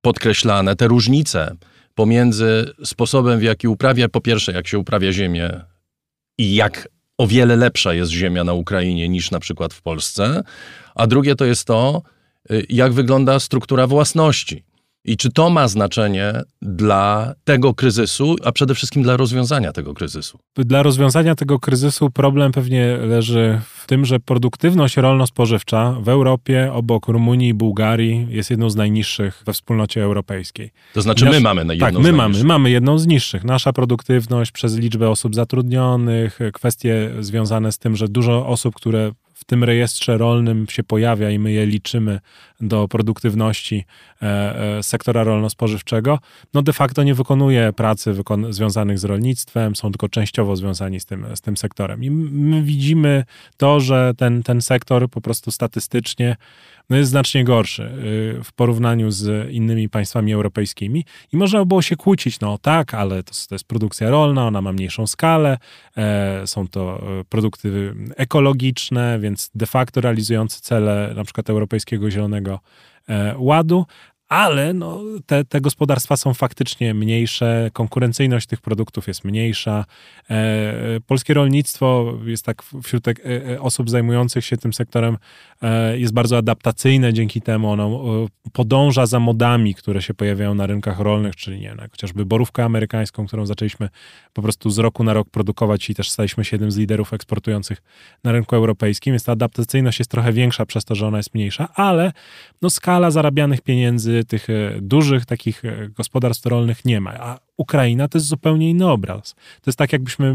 podkreślane, te różnice pomiędzy sposobem, w jaki uprawia, po pierwsze, jak się uprawia ziemię i jak o wiele lepsza jest ziemia na Ukrainie niż na przykład w Polsce, a drugie to jest to, jak wygląda struktura własności. I czy to ma znaczenie dla tego kryzysu, a przede wszystkim dla rozwiązania tego kryzysu? Dla rozwiązania tego kryzysu problem pewnie leży w tym, że produktywność rolno-spożywcza w Europie obok Rumunii i Bułgarii jest jedną z najniższych we wspólnocie europejskiej. To znaczy my mamy jedną z najniższych. Tak, my mamy jedną z niższych. Nasza produktywność przez liczbę osób zatrudnionych, kwestie związane z tym, że dużo osób, które w tym rejestrze rolnym się pojawia i my je liczymy do produktywności sektora rolno-spożywczego, no de facto nie wykonuje pracy związanych z rolnictwem, są tylko częściowo związani z tym sektorem. I my widzimy to, że ten sektor po prostu statystycznie jest znacznie gorszy w porównaniu z innymi państwami europejskimi i można by było się kłócić, no tak, ale to jest produkcja rolna, ona ma mniejszą skalę, są to produkty ekologiczne, więc de facto realizujące cele na przykład Europejskiego Zielonego Ładu, ale no, te gospodarstwa są faktycznie mniejsze, konkurencyjność tych produktów jest mniejsza. Polskie rolnictwo jest tak wśród osób zajmujących się tym sektorem jest bardzo adaptacyjne, dzięki temu ono podąża za modami, które się pojawiają na rynkach rolnych, czyli nie wiem, chociażby borówkę amerykańską, którą zaczęliśmy po prostu z roku na rok produkować i też staliśmy się jednym z liderów eksportujących na rynku europejskim, więc ta adaptacyjność jest trochę większa przez to, że ona jest mniejsza, ale no, skala zarabianych pieniędzy tych dużych takich gospodarstw rolnych nie ma. A Ukraina to jest zupełnie inny obraz. To jest tak, jakbyśmy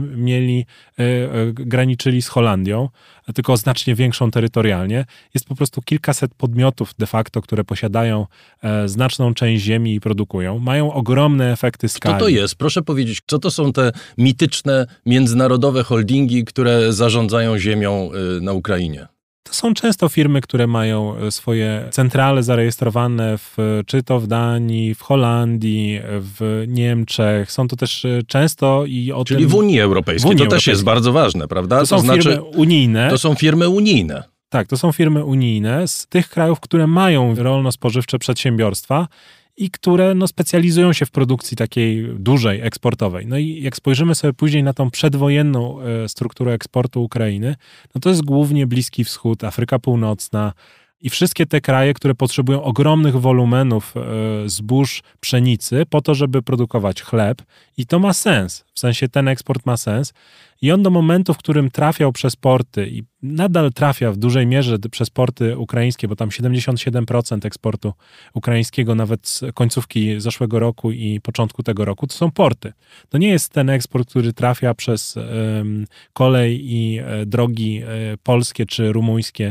graniczyli z Holandią, tylko znacznie większą terytorialnie. Jest po prostu kilkaset podmiotów de facto, które posiadają znaczną część ziemi i produkują. Mają ogromne efekty skali. Co to jest? Proszę powiedzieć, co to są te mityczne międzynarodowe holdingi, które zarządzają ziemią na Ukrainie? To są często firmy, które mają swoje centrale zarejestrowane czy to w Danii, w Holandii, w Niemczech. Są to też często Czyli w Unii Europejskiej. To też jest bardzo ważne, prawda? To są firmy unijne. To są firmy unijne. Tak, to są firmy unijne z tych krajów, które mają rolno-spożywcze przedsiębiorstwa i które specjalizują się w produkcji takiej dużej, eksportowej. No i jak spojrzymy sobie później na tą przedwojenną strukturę eksportu Ukrainy, no to jest głównie Bliski Wschód, Afryka Północna i wszystkie te kraje, które potrzebują ogromnych wolumenów zbóż, pszenicy po to, żeby produkować chleb i to ma sens. W sensie ten eksport ma sens i on do momentu, w którym trafiał przez porty i nadal trafia w dużej mierze przez porty ukraińskie, bo tam 77% eksportu ukraińskiego nawet z końcówki zeszłego roku i początku tego roku, to są porty. To nie jest ten eksport, który trafia przez kolej i drogi polskie czy rumuńskie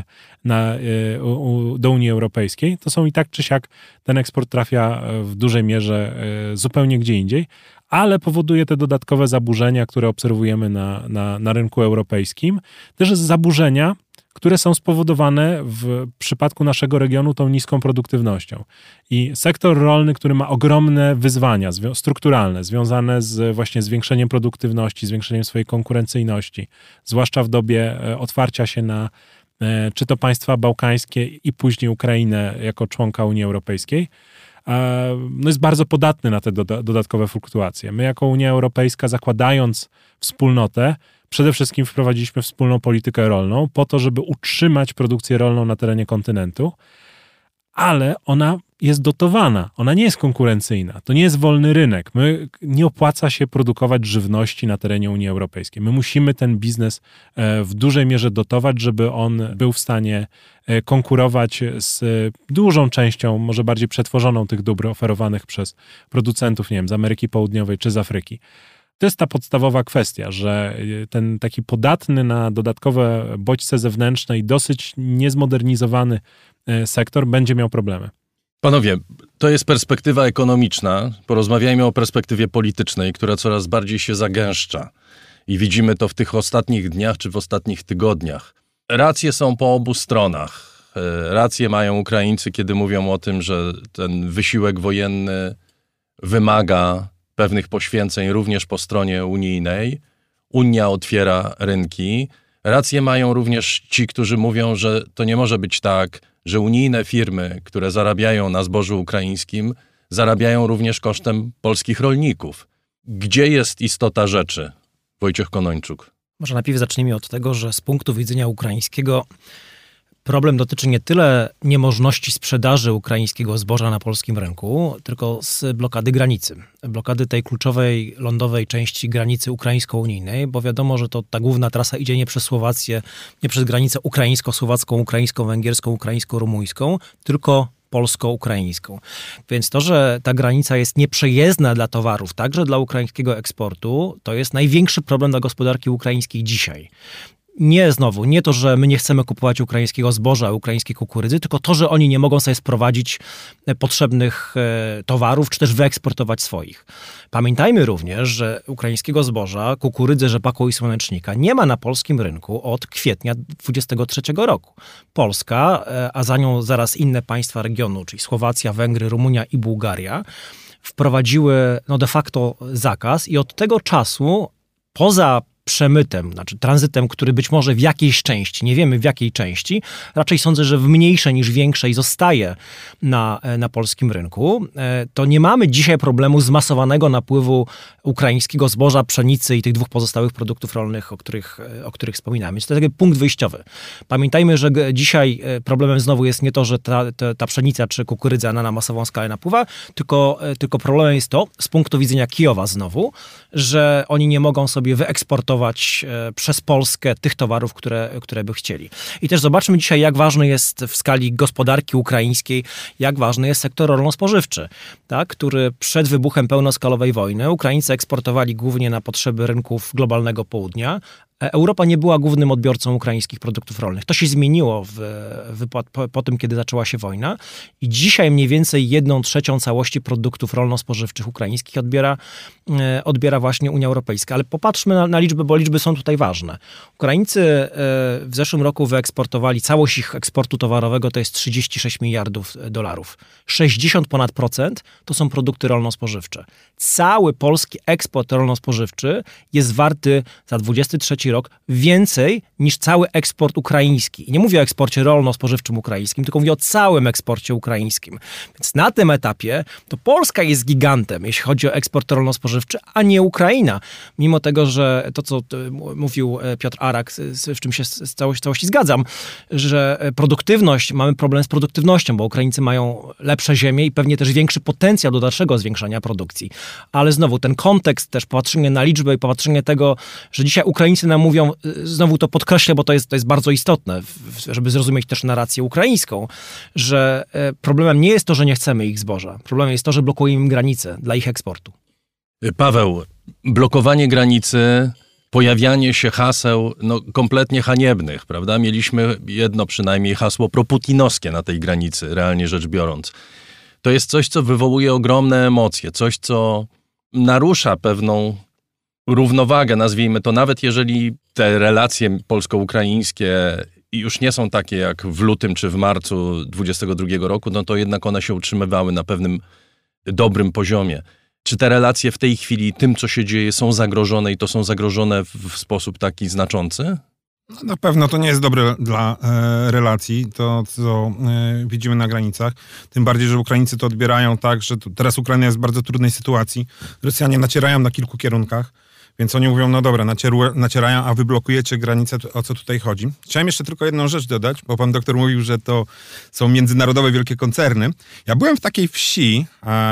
do Unii Europejskiej. To są i tak czy siak ten eksport trafia w dużej mierze zupełnie gdzie indziej, ale powoduje te dodatkowe zaburzenia, które obserwujemy na rynku europejskim. Też zaburzenia, które są spowodowane w przypadku naszego regionu tą niską produktywnością. I sektor rolny, który ma ogromne wyzwania strukturalne, związane z właśnie zwiększeniem produktywności, zwiększeniem swojej konkurencyjności, zwłaszcza w dobie otwarcia się na czy to państwa bałkańskie i później Ukrainę jako członka Unii Europejskiej, jest bardzo podatny na te dodatkowe fluktuacje. My jako Unia Europejska, zakładając wspólnotę, przede wszystkim wprowadziliśmy wspólną politykę rolną po to, żeby utrzymać produkcję rolną na terenie kontynentu, ale ona jest dotowana, ona nie jest konkurencyjna, to nie jest wolny rynek. Nie opłaca się produkować żywności na terenie Unii Europejskiej. My musimy ten biznes w dużej mierze dotować, żeby on był w stanie konkurować z dużą częścią, może bardziej przetworzoną tych dóbr oferowanych przez producentów, nie wiem, z Ameryki Południowej czy z Afryki. To jest ta podstawowa kwestia, że ten taki podatny na dodatkowe bodźce zewnętrzne i dosyć niezmodernizowany sektor będzie miał problemy. Panowie, to jest perspektywa ekonomiczna. Porozmawiajmy o perspektywie politycznej, która coraz bardziej się zagęszcza. I widzimy to w tych ostatnich dniach czy w ostatnich tygodniach. Racje są po obu stronach. Racje mają Ukraińcy, kiedy mówią o tym, że ten wysiłek wojenny wymaga pewnych poświęceń również po stronie unijnej. Unia otwiera rynki. Rację mają również ci, którzy mówią, że to nie może być tak, że unijne firmy, które zarabiają na zbożu ukraińskim, zarabiają również kosztem polskich rolników. Gdzie jest istota rzeczy, Wojciech Konończuk? Może najpierw zacznijmy od tego, że z punktu widzenia ukraińskiego problem dotyczy nie tyle niemożności sprzedaży ukraińskiego zboża na polskim rynku, tylko z blokady granicy. Blokady tej kluczowej lądowej części granicy ukraińsko-unijnej, bo wiadomo, że to ta główna trasa idzie nie przez Słowację, nie przez granicę ukraińsko-słowacką, ukraińsko-węgierską, ukraińsko-rumuńską, tylko polsko-ukraińską. Więc to, że ta granica jest nieprzejezdna dla towarów, także dla ukraińskiego eksportu, to jest największy problem dla gospodarki ukraińskiej dzisiaj. Nie to, że my nie chcemy kupować ukraińskiego zboża, ukraińskiej kukurydzy, tylko to, że oni nie mogą sobie sprowadzić potrzebnych towarów, czy też wyeksportować swoich. Pamiętajmy również, że ukraińskiego zboża, kukurydzy, rzepaku i słonecznika nie ma na polskim rynku od kwietnia 2023 roku. Polska, a za nią zaraz inne państwa regionu, czyli Słowacja, Węgry, Rumunia i Bułgaria, wprowadziły de facto zakaz i od tego czasu poza przemytem, znaczy tranzytem, który być może w jakiejś części, nie wiemy w jakiej części, raczej sądzę, że w mniejszej niż większej zostaje na polskim rynku, to nie mamy dzisiaj problemu zmasowanego napływu ukraińskiego zboża, pszenicy i tych dwóch pozostałych produktów rolnych, o których wspominamy. To jest taki punkt wyjściowy. Pamiętajmy, że dzisiaj problemem znowu jest nie to, że ta pszenica czy kukurydza na masową skalę napływa, tylko problemem jest to, z punktu widzenia Kijowa znowu, że oni nie mogą sobie wyeksportować przez Polskę tych towarów, które by chcieli. I też zobaczmy dzisiaj, jak ważny jest w skali gospodarki ukraińskiej, jak ważny jest sektor rolno-spożywczy, tak, który przed wybuchem pełnoskalowej wojny Ukraińcy eksportowali głównie na potrzeby rynków globalnego południa. Europa nie była głównym odbiorcą ukraińskich produktów rolnych. To się zmieniło po tym, kiedy zaczęła się wojna i dzisiaj mniej więcej 1/3 całości produktów rolno-spożywczych ukraińskich odbiera właśnie Unia Europejska. Ale popatrzmy na liczby, bo liczby są tutaj ważne. Ukraińcy w zeszłym roku wyeksportowali, całość ich eksportu towarowego to jest 36 miliardów dolarów. 60% to są produkty rolno-spożywcze. Cały polski eksport rolno-spożywczy jest warty za 23 rok więcej niż cały eksport ukraiński. I nie mówię o eksporcie rolno-spożywczym ukraińskim, tylko mówię o całym eksporcie ukraińskim. Więc na tym etapie to Polska jest gigantem, jeśli chodzi o eksport rolno-spożywczy, a nie Ukraina. Mimo tego, że to, co mówił Piotr Arak, w czym się z całości zgadzam, że mamy problem z produktywnością, bo Ukraińcy mają lepsze ziemie i pewnie też większy potencjał do dalszego zwiększania produkcji. Ale znowu ten kontekst, też popatrzenie na liczbę i popatrzenie tego, że dzisiaj Ukraińcy nam mówią, znowu to podkreślę, bo to jest bardzo istotne, żeby zrozumieć też narrację ukraińską, że problemem nie jest to, że nie chcemy ich zboża. Problemem jest to, że blokujemy im granice dla ich eksportu. Paweł, blokowanie granicy, pojawianie się haseł kompletnie haniebnych, prawda? Mieliśmy jedno przynajmniej hasło proputinowskie na tej granicy, realnie rzecz biorąc. To jest coś, co wywołuje ogromne emocje, coś, co narusza pewną równowagę, nazwijmy to, nawet jeżeli te relacje polsko-ukraińskie już nie są takie jak w lutym czy w marcu 2022 roku, to jednak one się utrzymywały na pewnym dobrym poziomie. Czy te relacje w tej chwili tym, co się dzieje, są zagrożone i to są zagrożone w sposób taki znaczący? No, na pewno to nie jest dobre dla relacji, to co widzimy na granicach. Tym bardziej, że Ukraińcy to odbierają tak, że teraz Ukraina jest w bardzo trudnej sytuacji. Rosjanie nacierają na kilku kierunkach, więc oni mówią, no dobra, nacierają, a wy blokujecie granicę, o co tutaj chodzi. Chciałem jeszcze tylko jedną rzecz dodać, bo pan doktor mówił, że to są międzynarodowe wielkie koncerny. Ja byłem w takiej wsi,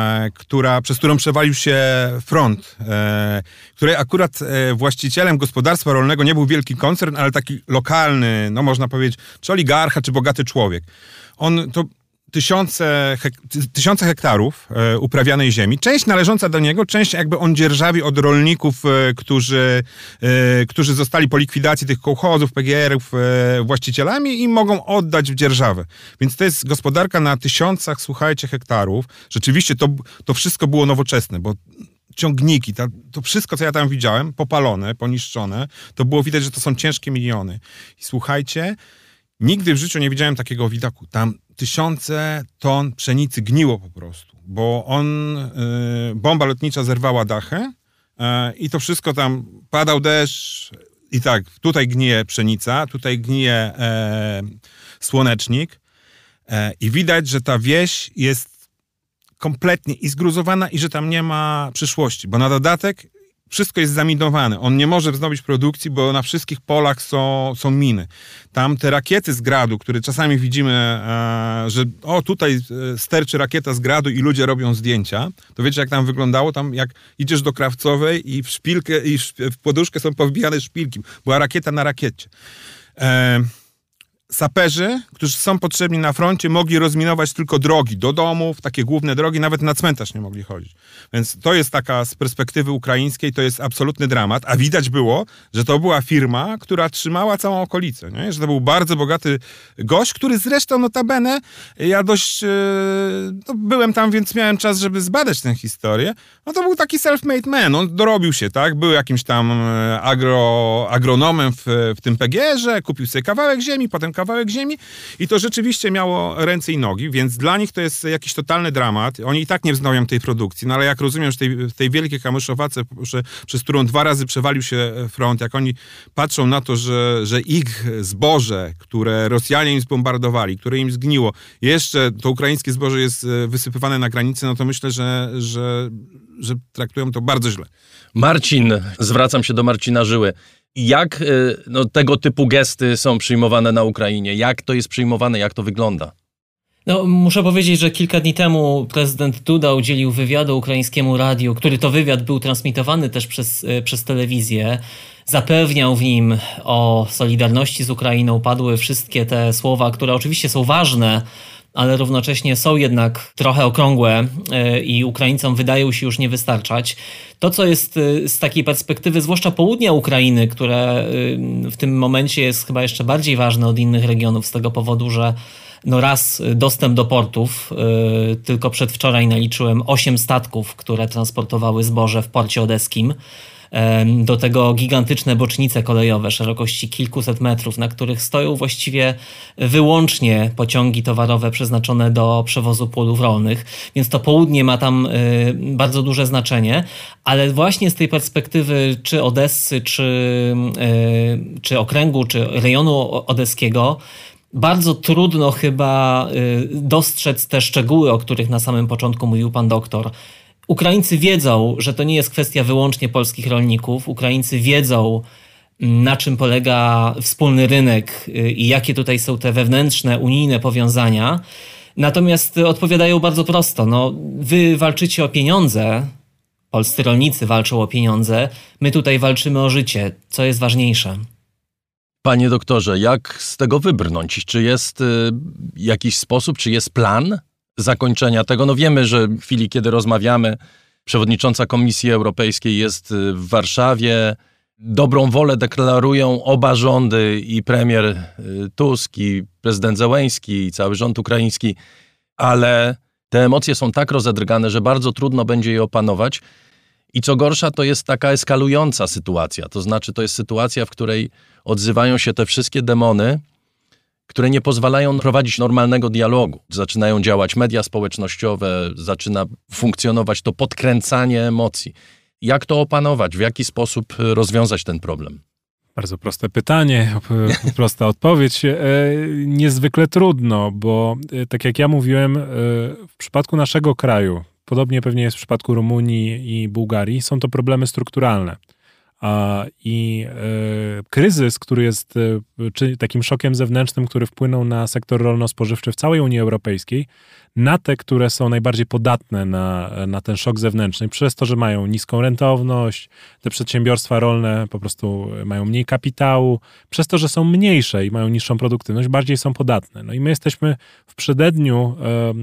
przez którą przewalił się front, której akurat właścicielem gospodarstwa rolnego nie był wielki koncern, ale taki lokalny, no można powiedzieć, czy oligarcha, czy bogaty człowiek. On to tysiące hektarów uprawianej ziemi, część należąca do niego, część jakby on dzierżawi od rolników, którzy zostali po likwidacji tych kołchozów, PGR-ów właścicielami i mogą oddać w dzierżawę. Więc to jest gospodarka na tysiącach, słuchajcie, hektarów. Rzeczywiście to wszystko było nowoczesne, bo ciągniki, to wszystko, co ja tam widziałem, popalone, poniszczone, to było widać, że to są ciężkie miliony. I słuchajcie, nigdy w życiu nie widziałem takiego widoku. Tam tysiące ton pszenicy gniło po prostu, bo bomba lotnicza zerwała dachy i to wszystko tam, padał deszcz i tak, tutaj gnije pszenica, tutaj gnije słonecznik i widać, że ta wieś jest kompletnie i zgruzowana i że tam nie ma przyszłości, bo na dodatek wszystko jest zaminowane. On nie może wznowić produkcji, bo na wszystkich polach są miny. Tam te rakiety z Gradu, które czasami widzimy, że tutaj sterczy rakieta z Gradu i ludzie robią zdjęcia, to wiecie jak tam wyglądało? Tam jak idziesz do Krawcowej i w szpilkę i w poduszkę są powbijane szpilki. Była rakieta na rakiecie. Saperzy, którzy są potrzebni na froncie, mogli rozminować tylko drogi do domów, takie główne drogi, nawet na cmentarz nie mogli chodzić. Więc to jest taka z perspektywy ukraińskiej, to jest absolutny dramat, a widać było, że to była firma, która trzymała całą okolicę, nie? Że to był bardzo bogaty gość, który zresztą notabene, ja dość byłem tam, więc miałem czas, żeby zbadać tę historię, no to był taki self-made man, on dorobił się, tak? Był jakimś tam agronomem w tym PGR-ze, kupił sobie kawałek ziemi, potem kawałek ziemi i to rzeczywiście miało ręce i nogi, więc dla nich to jest jakiś totalny dramat. Oni i tak nie wznowią tej produkcji, no ale jak rozumiem, że w tej wielkiej Kamyszowace, przez którą 2 razy przewalił się front, jak oni patrzą na to, że ich zboże, które Rosjanie im zbombardowali, które im zgniło, jeszcze to ukraińskie zboże jest wysypywane na granicy, no to myślę, że traktują to bardzo źle. Marcin, zwracam się do Marcina Żyły. Jak tego typu gesty są przyjmowane na Ukrainie? Jak to jest przyjmowane? Jak to wygląda? No, muszę powiedzieć, że kilka dni temu prezydent Duda udzielił wywiadu ukraińskiemu radiu, który to wywiad był transmitowany też przez telewizję. Zapewniał w nim o solidarności z Ukrainą. Padły wszystkie te słowa, które oczywiście są ważne, ale równocześnie są jednak trochę okrągłe i Ukraińcom wydają się już nie wystarczać. To, co jest z takiej perspektywy, zwłaszcza południa Ukrainy, które w tym momencie jest chyba jeszcze bardziej ważne od innych regionów z tego powodu, że raz dostęp do portów, tylko przedwczoraj naliczyłem 8 statków, które transportowały zboże w porcie odeskim. Do tego gigantyczne bocznice kolejowe szerokości kilkuset metrów, na których stoją właściwie wyłącznie pociągi towarowe przeznaczone do przewozu płodów rolnych, więc to południe ma tam bardzo duże znaczenie, ale właśnie z tej perspektywy czy Odessy, czy okręgu, czy rejonu odeskiego bardzo trudno chyba dostrzec te szczegóły, o których na samym początku mówił pan doktor. Ukraińcy wiedzą, że to nie jest kwestia wyłącznie polskich rolników. Ukraińcy wiedzą, na czym polega wspólny rynek i jakie tutaj są te wewnętrzne, unijne powiązania. Natomiast odpowiadają bardzo prosto. Wy walczycie o pieniądze, polscy rolnicy walczą o pieniądze, my tutaj walczymy o życie. Co jest ważniejsze? Panie doktorze, jak z tego wybrnąć? Czy jest jakiś sposób, czy jest plan zakończenia tego? Wiemy, że w chwili, kiedy rozmawiamy, przewodnicząca Komisji Europejskiej jest w Warszawie. Dobrą wolę deklarują oba rządy, i premier Tusk, i prezydent Zełenski, i cały rząd ukraiński, ale te emocje są tak rozedrgane, że bardzo trudno będzie je opanować. I co gorsza, to jest taka eskalująca sytuacja. To znaczy, to jest sytuacja, w której odzywają się te wszystkie demony, które nie pozwalają prowadzić normalnego dialogu. Zaczynają działać media społecznościowe, zaczyna funkcjonować to podkręcanie emocji. Jak to opanować? W jaki sposób rozwiązać ten problem? Bardzo proste pytanie, prosta odpowiedź. Niezwykle trudno, bo tak jak ja mówiłem, w przypadku naszego kraju, podobnie pewnie jest w przypadku Rumunii i Bułgarii, są to problemy strukturalne. I kryzys, który jest takim szokiem zewnętrznym, który wpłynął na sektor rolno-spożywczy w całej Unii Europejskiej, na te, które są najbardziej podatne na ten szok zewnętrzny, przez to, że mają niską rentowność, te przedsiębiorstwa rolne po prostu mają mniej kapitału, przez to, że są mniejsze i mają niższą produktywność, bardziej są podatne. I my jesteśmy w przededniu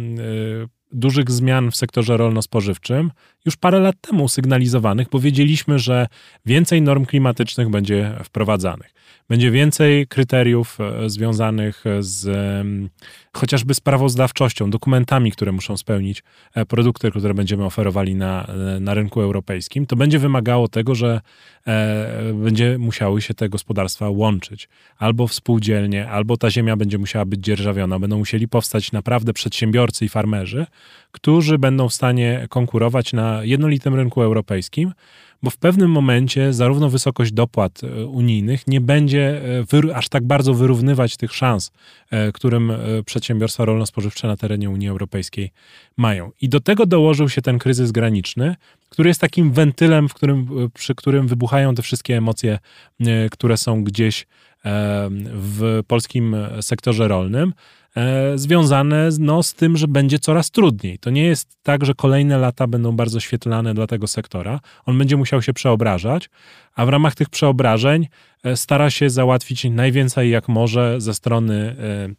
dużych zmian w sektorze rolno-spożywczym już parę lat temu sygnalizowanych, bo wiedzieliśmy, że więcej norm klimatycznych będzie wprowadzanych. Będzie więcej kryteriów związanych z chociażby sprawozdawczością, dokumentami, które muszą spełnić produkty, które będziemy oferowali na rynku europejskim. To będzie wymagało tego, że będzie musiały się te gospodarstwa łączyć. Albo współdzielnie, albo ta ziemia będzie musiała być dzierżawiona. Będą musieli powstać naprawdę przedsiębiorcy i farmerzy, którzy będą w stanie konkurować na jednolitym rynku europejskim, bo w pewnym momencie zarówno wysokość dopłat unijnych nie będzie aż tak bardzo wyrównywać tych szans, którym przedsiębiorstwa rolno-spożywcze na terenie Unii Europejskiej mają. I do tego dołożył się ten kryzys graniczny, który jest takim wentylem, przy którym wybuchają te wszystkie emocje, które są gdzieś w polskim sektorze rolnym, związane z tym, że będzie coraz trudniej. To nie jest tak, że kolejne lata będą bardzo świetlane dla tego sektora. On będzie musiał się przeobrażać, a w ramach tych przeobrażeń stara się załatwić najwięcej jak może ze strony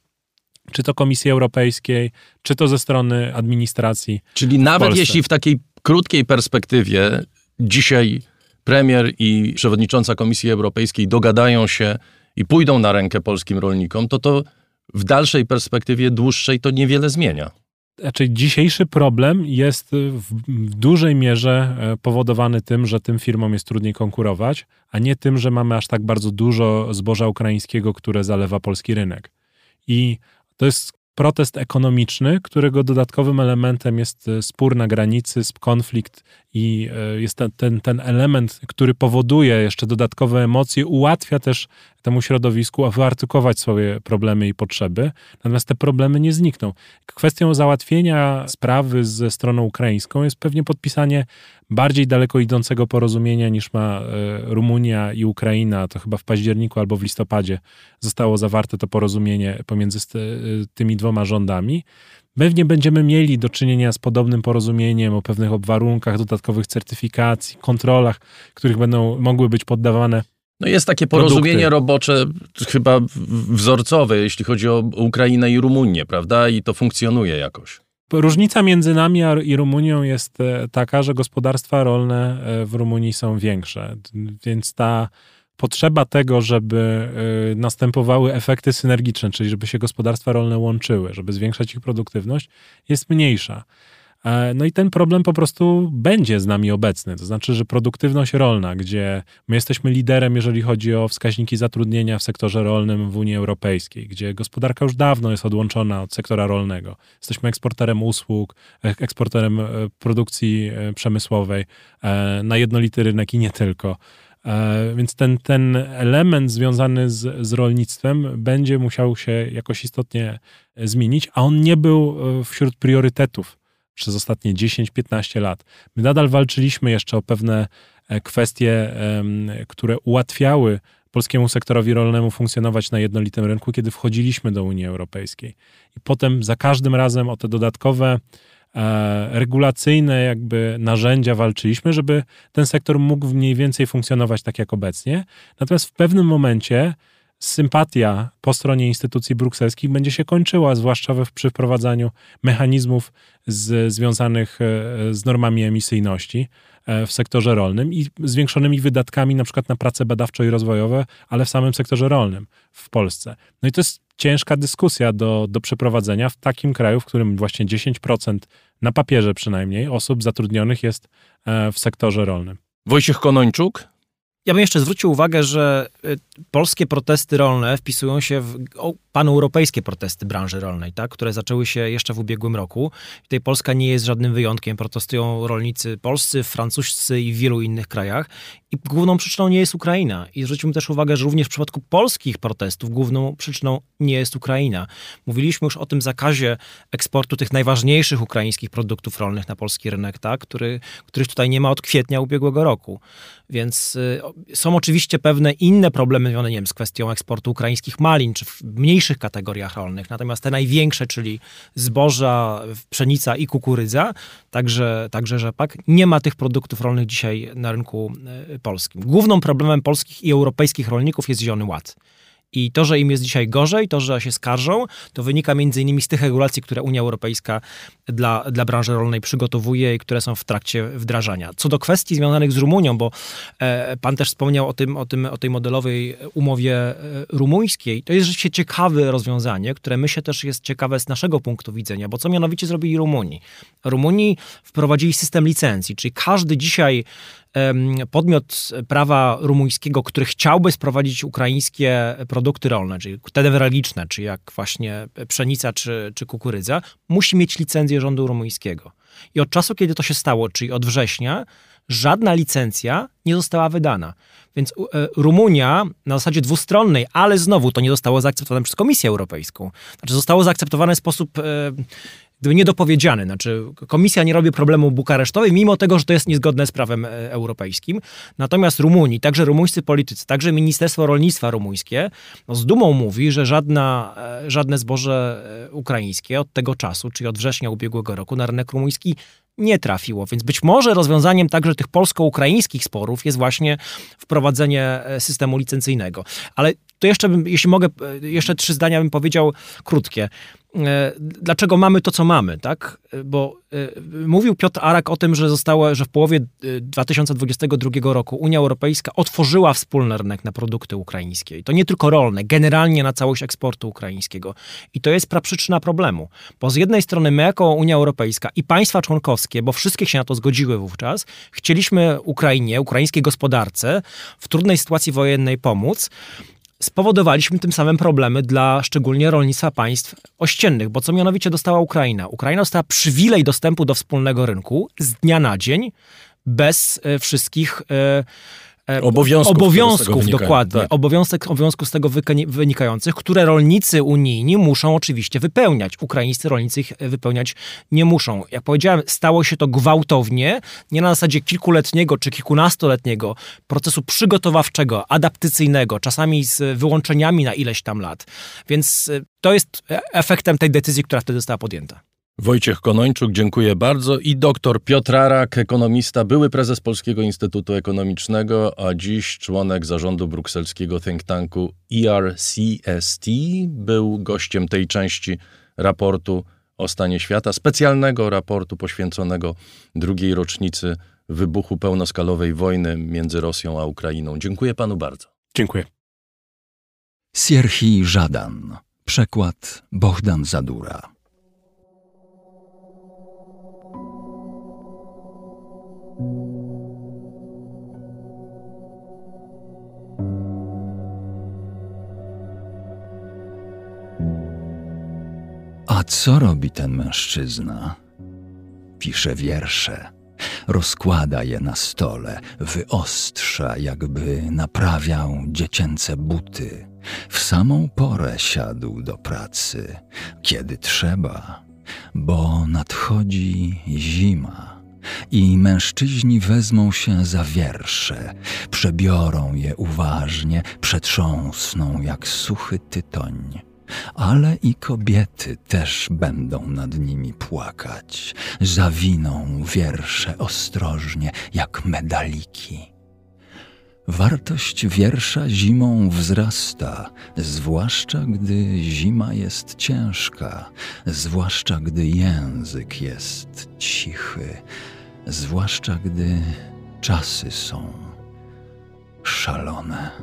czy to Komisji Europejskiej, czy to ze strony administracji. Czyli nawet jeśli w takiej krótkiej perspektywie dzisiaj premier i przewodnicząca Komisji Europejskiej dogadają się i pójdą na rękę polskim rolnikom, to w dalszej perspektywie dłuższej to niewiele zmienia. Znaczy, dzisiejszy problem jest w dużej mierze powodowany tym, że tym firmom jest trudniej konkurować, a nie tym, że mamy aż tak bardzo dużo zboża ukraińskiego, które zalewa polski rynek. I to jest protest ekonomiczny, którego dodatkowym elementem jest spór na granicy, konflikt i jest ten element, który powoduje jeszcze dodatkowe emocje, ułatwia też temu środowisku wyartykułować swoje problemy i potrzeby, natomiast te problemy nie znikną. Kwestią załatwienia sprawy ze stroną ukraińską jest pewnie podpisanie bardziej daleko idącego porozumienia niż ma Rumunia i Ukraina. To chyba w październiku albo w listopadzie zostało zawarte to porozumienie pomiędzy tymi dwoma rządami. Pewnie będziemy mieli do czynienia z podobnym porozumieniem o pewnych warunkach, dodatkowych certyfikacji, kontrolach, których będą mogły być poddawane. No jest takie porozumienie robocze, chyba wzorcowe, jeśli chodzi o Ukrainę i Rumunię, prawda? I to funkcjonuje jakoś. Różnica między nami i Rumunią jest taka, że gospodarstwa rolne w Rumunii są większe, więc ta potrzeba tego, żeby następowały efekty synergiczne, czyli żeby się gospodarstwa rolne łączyły, żeby zwiększać ich produktywność, jest mniejsza. No i ten problem po prostu będzie z nami obecny. To znaczy, że produktywność rolna, gdzie my jesteśmy liderem, jeżeli chodzi o wskaźniki zatrudnienia w sektorze rolnym w Unii Europejskiej, gdzie gospodarka już dawno jest odłączona od sektora rolnego. Jesteśmy eksporterem usług, eksporterem produkcji przemysłowej na jednolity rynek i nie tylko. Więc ten element związany z rolnictwem będzie musiał się jakoś istotnie zmienić, a on nie był wśród priorytetów przez ostatnie 10-15 lat. My nadal walczyliśmy jeszcze o pewne kwestie, które ułatwiały polskiemu sektorowi rolnemu funkcjonować na jednolitym rynku, kiedy wchodziliśmy do Unii Europejskiej. I potem za każdym razem o te dodatkowe regulacyjne jakby narzędzia walczyliśmy, żeby ten sektor mógł mniej więcej funkcjonować tak jak obecnie. Natomiast w pewnym momencie sympatia po stronie instytucji brukselskich będzie się kończyła, zwłaszcza przy wprowadzaniu mechanizmów związanych z normami emisyjności w sektorze rolnym i zwiększonymi wydatkami na przykład na prace badawczo i rozwojowe, ale w samym sektorze rolnym w Polsce. No i to jest ciężka dyskusja do przeprowadzenia w takim kraju, w którym właśnie 10% na papierze przynajmniej osób zatrudnionych jest w sektorze rolnym. Wojciech Konończuk? Ja bym jeszcze zwrócił uwagę, że polskie protesty rolne wpisują się w paneuropejskie protesty branży rolnej, tak, które zaczęły się jeszcze w ubiegłym roku. Tutaj Polska nie jest żadnym wyjątkiem. Protestują rolnicy polscy, francuscy i w wielu innych krajach. I główną przyczyną nie jest Ukraina. I zwróćmy też uwagę, że również w przypadku polskich protestów główną przyczyną nie jest Ukraina. Mówiliśmy już o tym zakazie eksportu tych najważniejszych ukraińskich produktów rolnych na polski rynek, tak, których tutaj nie ma od kwietnia ubiegłego roku. Więc są oczywiście pewne inne problemy związane, nie wiem, z kwestią eksportu ukraińskich malin, czy w mniejszych kategoriach rolnych. Natomiast te największe, czyli zboża, pszenica i kukurydza, także rzepak, nie ma tych produktów rolnych dzisiaj na rynku polskim. Głównym problemem polskich i europejskich rolników jest Zielony Ład. I to, że im jest dzisiaj gorzej, to, że się skarżą, to wynika między innymi z tych regulacji, które Unia Europejska dla branży rolnej przygotowuje i które są w trakcie wdrażania. Co do kwestii związanych z Rumunią, bo pan też wspomniał o tej modelowej umowie rumuńskiej, to jest rzeczywiście ciekawe rozwiązanie, które myślę też jest ciekawe z naszego punktu widzenia, bo co mianowicie zrobili Rumuni wprowadzili system licencji, czyli każdy dzisiaj podmiot prawa rumuńskiego, który chciałby sprowadzić ukraińskie produkty rolne, czyli te newralgiczne, czy jak właśnie pszenica czy kukurydza, musi mieć licencję rządu rumuńskiego. I od czasu, kiedy to się stało, czyli od września, żadna licencja nie została wydana. Więc Rumunia na zasadzie dwustronnej, ale znowu to nie zostało zaakceptowane przez Komisję Europejską. Znaczy zostało zaakceptowane w sposób gdyby niedopowiedziany. Znaczy Komisja nie robi problemu bukaresztowi, mimo tego, że to jest niezgodne z prawem europejskim. Natomiast Rumunii, także rumuńscy politycy, także Ministerstwo Rolnictwa rumuńskie z dumą mówi, że żadne zboże ukraińskie od tego czasu, czyli od września ubiegłego roku na rynek rumuński nie trafiło. Więc być może rozwiązaniem także tych polsko-ukraińskich sporów jest właśnie wprowadzenie systemu licencyjnego. Ale to jeszcze jeśli mogę, jeszcze 3 zdania bym powiedział krótkie. Dlaczego mamy to, co mamy, tak? Bo mówił Piotr Arak o tym, że w połowie 2022 roku Unia Europejska otworzyła wspólny rynek na produkty ukraińskie. I to nie tylko rolne, generalnie na całość eksportu ukraińskiego. I to jest praprzyczyna problemu. Bo z jednej strony my jako Unia Europejska i państwa członkowskie, bo wszystkie się na to zgodziły wówczas, chcieliśmy Ukrainie, ukraińskiej gospodarce w trudnej sytuacji wojennej pomóc. Spowodowaliśmy tym samym problemy dla szczególnie rolnictwa państw ościennych, bo co mianowicie dostała Ukraina? Ukraina dostała przywilej dostępu do wspólnego rynku z dnia na dzień, bez wszystkich obowiązków dokładnie, tak. Obowiązków z tego wynikających, które rolnicy unijni muszą oczywiście wypełniać. Ukraińscy rolnicy ich wypełniać nie muszą. Jak powiedziałem, stało się to gwałtownie, nie na zasadzie kilkuletniego czy kilkunastoletniego procesu przygotowawczego, adaptacyjnego, czasami z wyłączeniami na ileś tam lat. Więc to jest efektem tej decyzji, która wtedy została podjęta. Wojciech Konończuk, dziękuję bardzo. I doktor Piotr Arak, ekonomista, były prezes Polskiego Instytutu Ekonomicznego, a dziś członek zarządu brukselskiego think tanku ERCST. Był gościem tej części raportu o stanie świata, specjalnego raportu poświęconego drugiej rocznicy wybuchu pełnoskalowej wojny między Rosją a Ukrainą. Dziękuję panu bardzo. Dziękuję. Sierhij Żadan. Przekład Bohdan Zadura. A co robi ten mężczyzna? Pisze wiersze, rozkłada je na stole, wyostrza, jakby naprawiał dziecięce buty. W samą porę siadł do pracy, kiedy trzeba, bo nadchodzi zima. I mężczyźni wezmą się za wiersze, przebiorą je uważnie, przetrząsną jak suchy tytoń. Ale i kobiety też będą nad nimi płakać, zawiną wiersze ostrożnie jak medaliki. Wartość wiersza zimą wzrasta, zwłaszcza gdy zima jest ciężka, zwłaszcza gdy język jest cichy, zwłaszcza gdy czasy są szalone.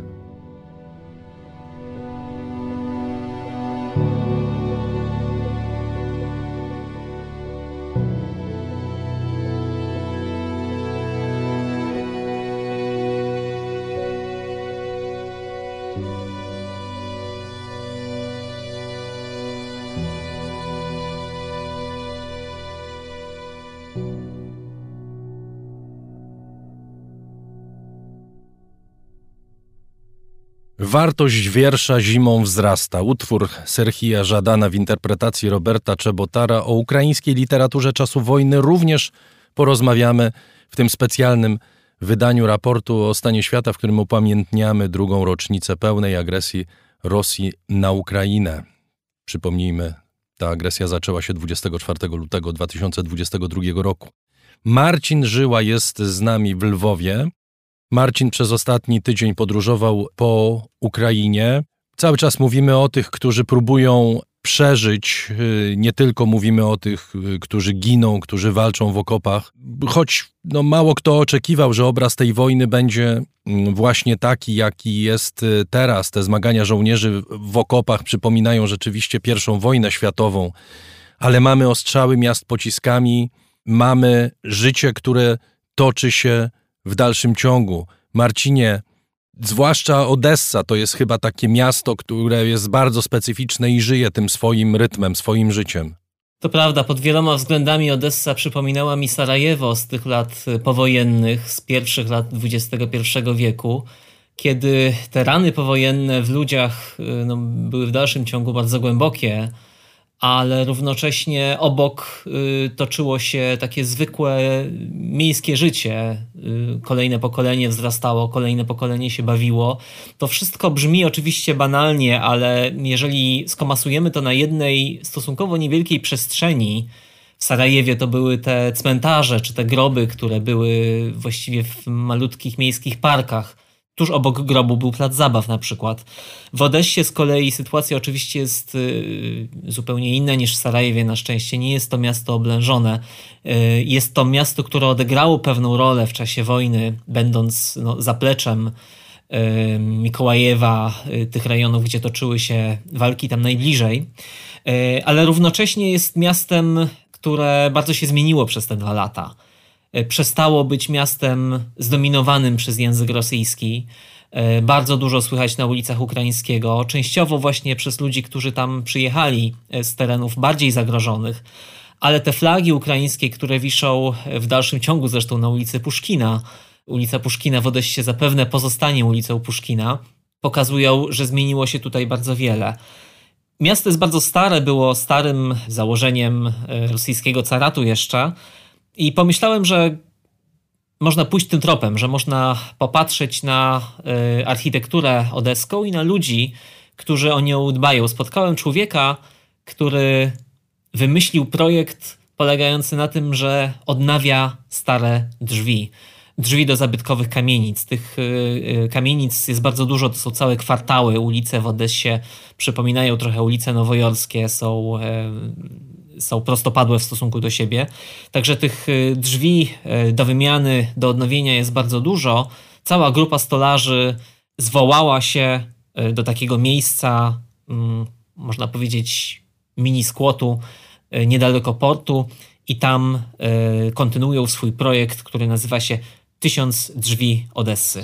Wartość wiersza zimą wzrasta. Utwór Sierhija Żadana w interpretacji Roberta Czebotara. O ukraińskiej literaturze czasu wojny również porozmawiamy w tym specjalnym wydaniu raportu o stanie świata, w którym upamiętniamy drugą rocznicę pełnej agresji Rosji na Ukrainę. Przypomnijmy, ta agresja zaczęła się 24 lutego 2022 roku. Marcin Żyła jest z nami w Lwowie. Marcin przez ostatni tydzień podróżował po Ukrainie. Cały czas mówimy o tych, którzy próbują przeżyć. Nie tylko mówimy o tych, którzy giną, którzy walczą w okopach. Choć mało kto oczekiwał, że obraz tej wojny będzie właśnie taki, jaki jest teraz. Te zmagania żołnierzy w okopach przypominają rzeczywiście I wojnę światową. Ale mamy ostrzały miast pociskami, mamy życie, które toczy się w dalszym ciągu. Marcinie, zwłaszcza Odessa to jest chyba takie miasto, które jest bardzo specyficzne i żyje tym swoim rytmem, swoim życiem. To prawda, pod wieloma względami Odessa przypominała mi Sarajewo z tych lat powojennych, z pierwszych lat XXI wieku, kiedy te rany powojenne w ludziach były w dalszym ciągu bardzo głębokie, ale równocześnie obok toczyło się takie zwykłe miejskie życie. Kolejne pokolenie wzrastało, kolejne pokolenie się bawiło. To wszystko brzmi oczywiście banalnie, ale jeżeli skomasujemy to na jednej stosunkowo niewielkiej przestrzeni, w Sarajewie to były te cmentarze czy te groby, które były właściwie w malutkich miejskich parkach. Tuż obok grobu był plac zabaw na przykład. W Odessie z kolei sytuacja oczywiście jest zupełnie inna niż w Sarajewie. Na szczęście nie jest to miasto oblężone. Jest to miasto, które odegrało pewną rolę w czasie wojny, będąc zapleczem Mikołajewa, tych rejonów, gdzie toczyły się walki tam najbliżej. Ale równocześnie jest miastem, które bardzo się zmieniło przez te 2 lata. Przestało być miastem zdominowanym przez język rosyjski. Bardzo dużo słychać na ulicach ukraińskiego, częściowo właśnie przez ludzi, którzy tam przyjechali z terenów bardziej zagrożonych, ale te flagi ukraińskie, które wiszą w dalszym ciągu zresztą na ulicy Puszkina, ulica Puszkina w Odessie zapewne pozostanie ulicą Puszkina, pokazują, że zmieniło się tutaj bardzo wiele. Miasto jest bardzo stare, było starym założeniem rosyjskiego caratu jeszcze, i pomyślałem, że można pójść tym tropem, że można popatrzeć na architekturę odeską i na ludzi, którzy o nią dbają. Spotkałem człowieka, który wymyślił projekt polegający na tym, że odnawia stare drzwi. Drzwi do zabytkowych kamienic. Tych kamienic jest bardzo dużo, to są całe kwartały. Ulice w Odessie przypominają trochę ulice nowojorskie, są prostopadłe w stosunku do siebie. Także tych drzwi do wymiany, do odnowienia jest bardzo dużo. Cała grupa stolarzy zwołała się do takiego miejsca, można powiedzieć mini skłotu, niedaleko portu i tam kontynuują swój projekt, który nazywa się 1000 drzwi Odessy.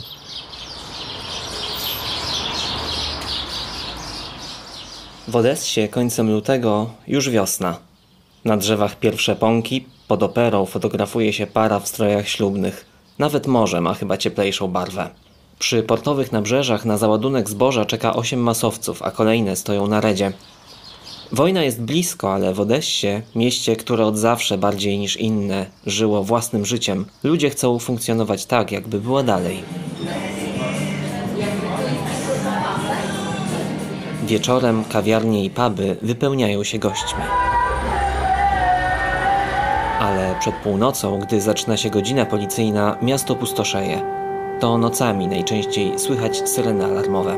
W Odessie końcem lutego już wiosna. Na drzewach pierwsze pąki, pod operą fotografuje się para w strojach ślubnych. Nawet morze ma chyba cieplejszą barwę. Przy portowych nabrzeżach na załadunek zboża czeka 8 masowców, a kolejne stoją na redzie. Wojna jest blisko, ale w Odessie, mieście, które od zawsze bardziej niż inne żyło własnym życiem, ludzie chcą funkcjonować tak, jakby było dalej. Wieczorem kawiarnie i puby wypełniają się gośćmi. Ale przed północą, gdy zaczyna się godzina policyjna, miasto pustoszeje. To nocami najczęściej słychać syreny alarmowe.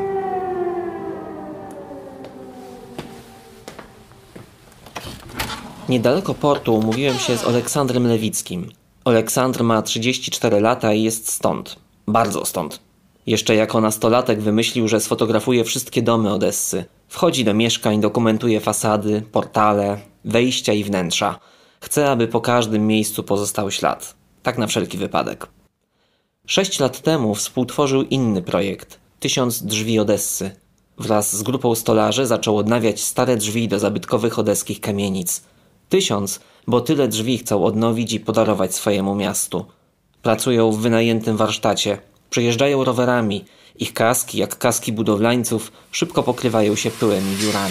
Niedaleko portu umówiłem się z Oleksandrem Lewickim. Oleksandr ma 34 lata i jest stąd. Bardzo stąd. Jeszcze jako nastolatek wymyślił, że sfotografuje wszystkie domy Odessy. Wchodzi do mieszkań, dokumentuje fasady, portale, wejścia i wnętrza. Chce, aby po każdym miejscu pozostał ślad. Tak na wszelki wypadek. 6 lat temu współtworzył inny projekt – 1000 drzwi Odessy. Wraz z grupą stolarzy zaczął odnawiać stare drzwi do zabytkowych odeskich kamienic. 1000, bo tyle drzwi chcą odnowić i podarować swojemu miastu. Pracują w wynajętym warsztacie. Przyjeżdżają rowerami. Ich kaski, jak kaski budowlańców, szybko pokrywają się pyłem i dziurami.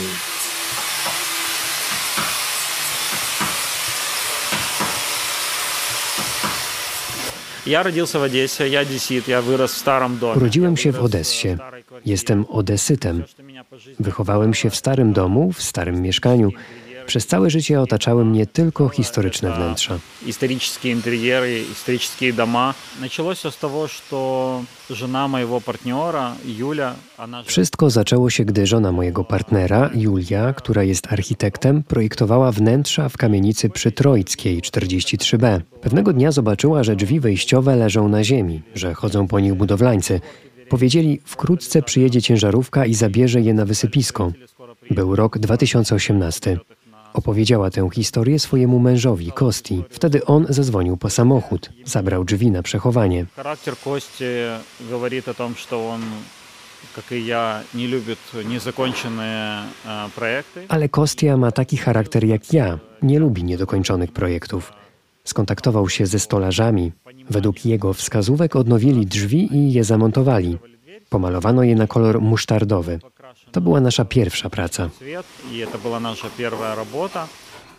Urodziłem się w Odessie. Jestem odesytem. Wychowałem się w starym domu, w starym mieszkaniu. Przez całe życie otaczały mnie tylko historyczne wnętrza. Historyczne interiery, historyczne domy. Zaczęło się z tego, że żona mojego partnera, Julia... Wszystko zaczęło się, gdy żona mojego partnera, Julia, która jest architektem, projektowała wnętrza w kamienicy przy Troickiej 43B. Pewnego dnia zobaczyła, że drzwi wejściowe leżą na ziemi, że chodzą po nich budowlańcy. Powiedzieli, wkrótce przyjedzie ciężarówka i zabierze je na wysypisko. Był rok 2018. Opowiedziała tę historię swojemu mężowi, Kosti. Wtedy on zadzwonił po samochód. Zabrał drzwi na przechowanie. Charakter Kosti mówi o tym, że on как и я, не любят незаконченные проекты. Ale Kostia ma taki charakter jak ja. Nie lubi niedokończonych projektów. Skontaktował się ze stolarzami. Według jego wskazówek odnowili drzwi i je zamontowali. Pomalowano je na kolor musztardowy. To była nasza pierwsza praca. I to była nasza pierwsza robota.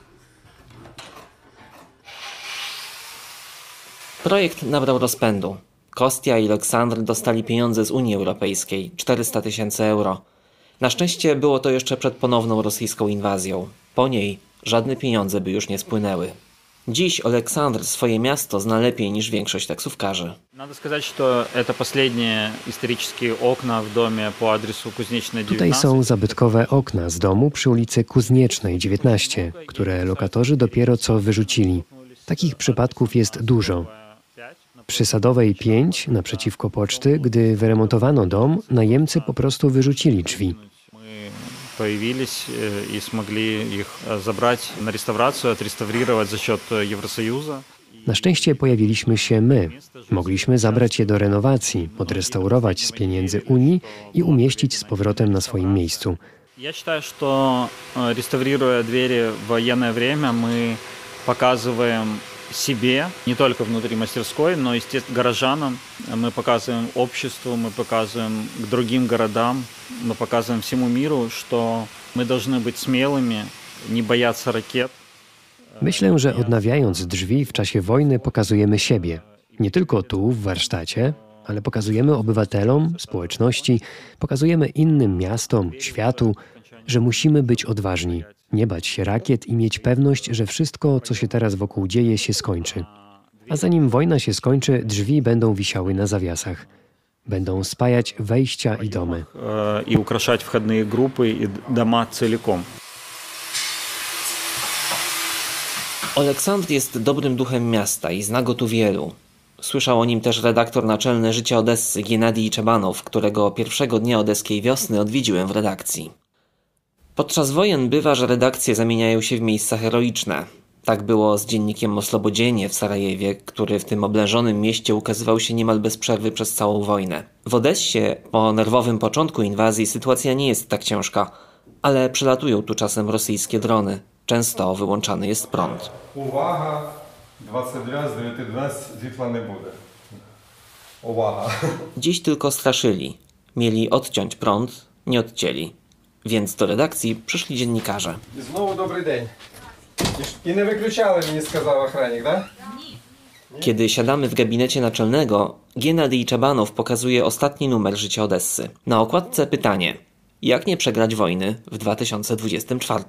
Projekt nabrał rozpędu. Kostia i Aleksandr dostali pieniądze z Unii Europejskiej, 400 000 euro. Na szczęście było to jeszcze przed ponowną rosyjską inwazją. Po niej żadne pieniądze by już nie spłynęły. Dziś Aleksandr swoje miasto zna lepiej niż większość taksówkarzy. Надо сказать, что это последние исторические окна в доме по адресу Кузнечная 19. Tutaj są zabytkowe okna z domu przy ulicy Kuzniecznej 19, które lokatorzy dopiero co wyrzucili. Takich przypadków jest dużo. Przy Sadowej 5, naprzeciwko poczty, gdy wyremontowano dom, najemcy po prostu wyrzucili drzwi. Появились и смогли их забрать на реставрацию, отреставрировать за счет Евросоюза. Na szczęście pojawiliśmy się my. Mogliśmy zabrać je do renowacji, odrestaurować z pieniędzy Unii i umieścić z powrotem na swoim miejscu. Я считаю, что реставрируя двери в военное время, мы показываем себе, не только внутри мастерской, но и горожанам. Мы показываем обществу, мы показываем к другим городам, мы показываем всему миру, что мы должны быть смелыми, не бояться ракет. Myślę, że odnawiając drzwi w czasie wojny pokazujemy siebie. Nie tylko tu, w warsztacie, ale pokazujemy obywatelom, społeczności, pokazujemy innym miastom, światu, że musimy być odważni, nie bać się rakiet i mieć pewność, że wszystko, co się teraz wokół dzieje, się skończy. A zanim wojna się skończy, drzwi będą wisiały na zawiasach. Będą spajać wejścia i domy. I украшать входные группы и дома целиком. Aleksandr jest dobrym duchem miasta i zna go tu wielu. Słyszał o nim też redaktor naczelny Życia Odessy Giennadij Czebanow, którego pierwszego dnia odeskiej wiosny odwiedziłem w redakcji. Podczas wojen bywa, że redakcje zamieniają się w miejsca heroiczne. Tak było z dziennikiem o Slobodzienie w Sarajewie, który w tym oblężonym mieście ukazywał się niemal bez przerwy przez całą wojnę. W Odessie po nerwowym początku inwazji sytuacja nie jest tak ciężka, ale przelatują tu czasem rosyjskie drony. Często wyłączany jest prąd. Uwaga, 22 z 19 światła nie będzie. Uwaga. Dziś tylko straszyli. Mieli odciąć prąd, nie odcięli. Więc do redakcji przyszli dziennikarze. I znowu dobry dzień. I nie wykluczali mnie, сказал охранник, tak? Kiedy siadamy w gabinecie naczelnego, Giennadij Czebanow pokazuje ostatni numer Życia Odessy. Na okładce pytanie: jak nie przegrać wojny w 2024?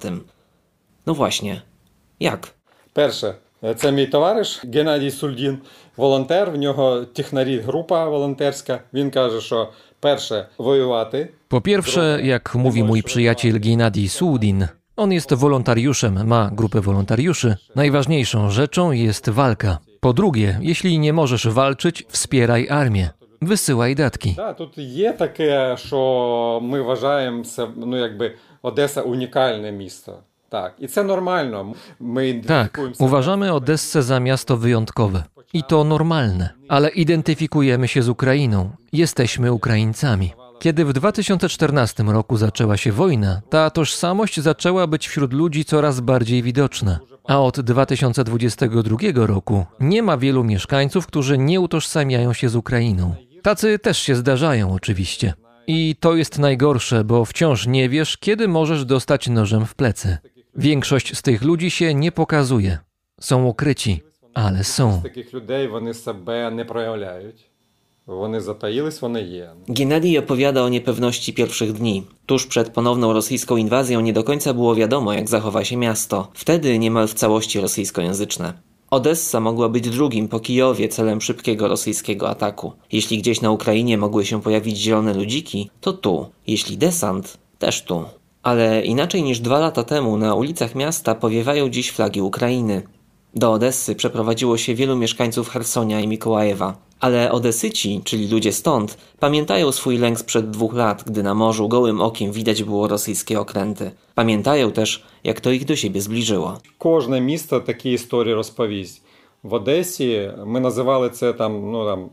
No właśnie, jak? Перше, це мій товариш Геннадій Сульдін, волонтер, в нього технарі група волонтерська. Він каже, що перше воювати. Po pierwsze, jak mówi mój przyjaciel Giennadij Suldin, on jest wolontariuszem, ma grupę wolontariuszy. Najważniejszą rzeczą jest walka. Po drugie, jeśli nie możesz walczyć, wspieraj armię. Wysyłaj datki. Да, тут є таке, що ми вважаємо це, Одеса унікальне місто. Tak, i to normalne. Tak, uważamy Odessę za miasto wyjątkowe. I to normalne. Ale identyfikujemy się z Ukrainą. Jesteśmy Ukraińcami. Kiedy w 2014 roku zaczęła się wojna, ta tożsamość zaczęła być wśród ludzi coraz bardziej widoczna. A od 2022 roku nie ma wielu mieszkańców, którzy nie utożsamiają się z Ukrainą. Tacy też się zdarzają oczywiście. I to jest najgorsze, bo wciąż nie wiesz, kiedy możesz dostać nożem w plecy. Większość z tych ludzi się nie pokazuje. Są ukryci, ale są. Takich ludzi oni sobie nie проявляють. Вони затаїлись, вони є. Giennadij opowiada o niepewności pierwszych dni. Tuż przed ponowną rosyjską inwazją nie do końca było wiadomo, jak zachowa się miasto. Wtedy niemal w całości rosyjskojęzyczne. Odessa mogła być drugim po Kijowie celem szybkiego rosyjskiego ataku. Jeśli gdzieś na Ukrainie mogły się pojawić zielone ludziki, to tu. Jeśli desant, też tu. Ale inaczej niż 2 lata temu na ulicach miasta powiewają dziś flagi Ukrainy. Do Odessy przeprowadziło się wielu mieszkańców Chersonia i Mikołajewa. Ale Odesyci, czyli ludzie stąd, pamiętają swój lęk sprzed 2 lat, gdy na morzu gołym okiem widać było rosyjskie okręty. Pamiętają też, jak to ich do siebie zbliżyło. Każde miasto takie historie rozpowiedź. W Odessie my nazywali to tam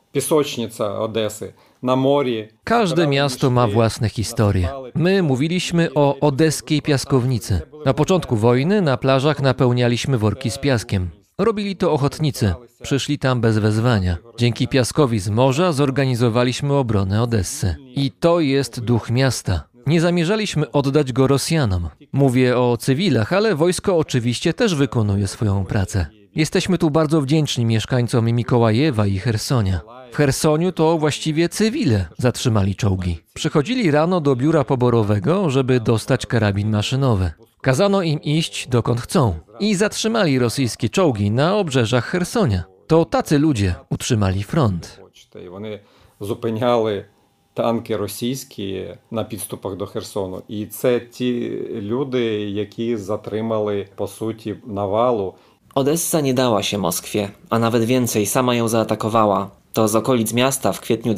Пісочниця Одеси na morzu. Każde miasto ma własne historie. My mówiliśmy o odeskiej piaskownicy. Na początku wojny na plażach napełnialiśmy worki z piaskiem. Robili to ochotnicy. Przyszli tam bez wezwania. Dzięki piaskowi z morza zorganizowaliśmy obronę Odessy. I to jest duch miasta. Nie zamierzaliśmy oddać go Rosjanom. Mówię o cywilach, ale wojsko oczywiście też wykonuje swoją pracę. Jesteśmy tu bardzo wdzięczni mieszkańcom Mikołajewa i Chersonia. W Chersoniu to właściwie cywile zatrzymali czołgi. Przychodzili rano do biura poborowego, żeby dostać karabin maszynowy. Kazano im iść dokąd chcą i zatrzymali rosyjskie czołgi na obrzeżach Chersonia. To tacy ludzie utrzymali front. Вони зупиняли танки російські на підступах до Херсону. І це ті люди, які затримали, по суті, навалу. Odessa nie dała się Moskwie, a nawet więcej, sama ją zaatakowała. To z okolic miasta w kwietniu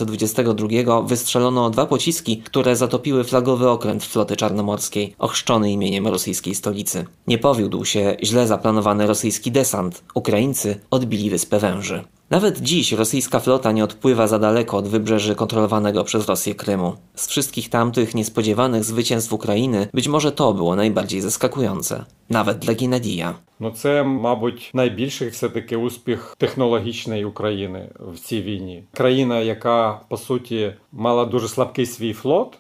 2022 wystrzelono 2 pociski, które zatopiły flagowy okręt floty czarnomorskiej, ochrzczony imieniem rosyjskiej stolicy. Nie powiódł się źle zaplanowany rosyjski desant. Ukraińcy odbili Wyspę Węży. Nawet dziś rosyjska flota nie odpływa za daleko od wybrzeży kontrolowanego przez Rosję Krymu. Z wszystkich tamtych niespodziewanych zwycięstw Ukrainy być może to było najbardziej zaskakujące. Nawet dla Геннадія. Це, мабуть, найбільший все-таки успіх технологічної України в цій війні. Країна, яка, по суті, мала дуже слабкий свій флот,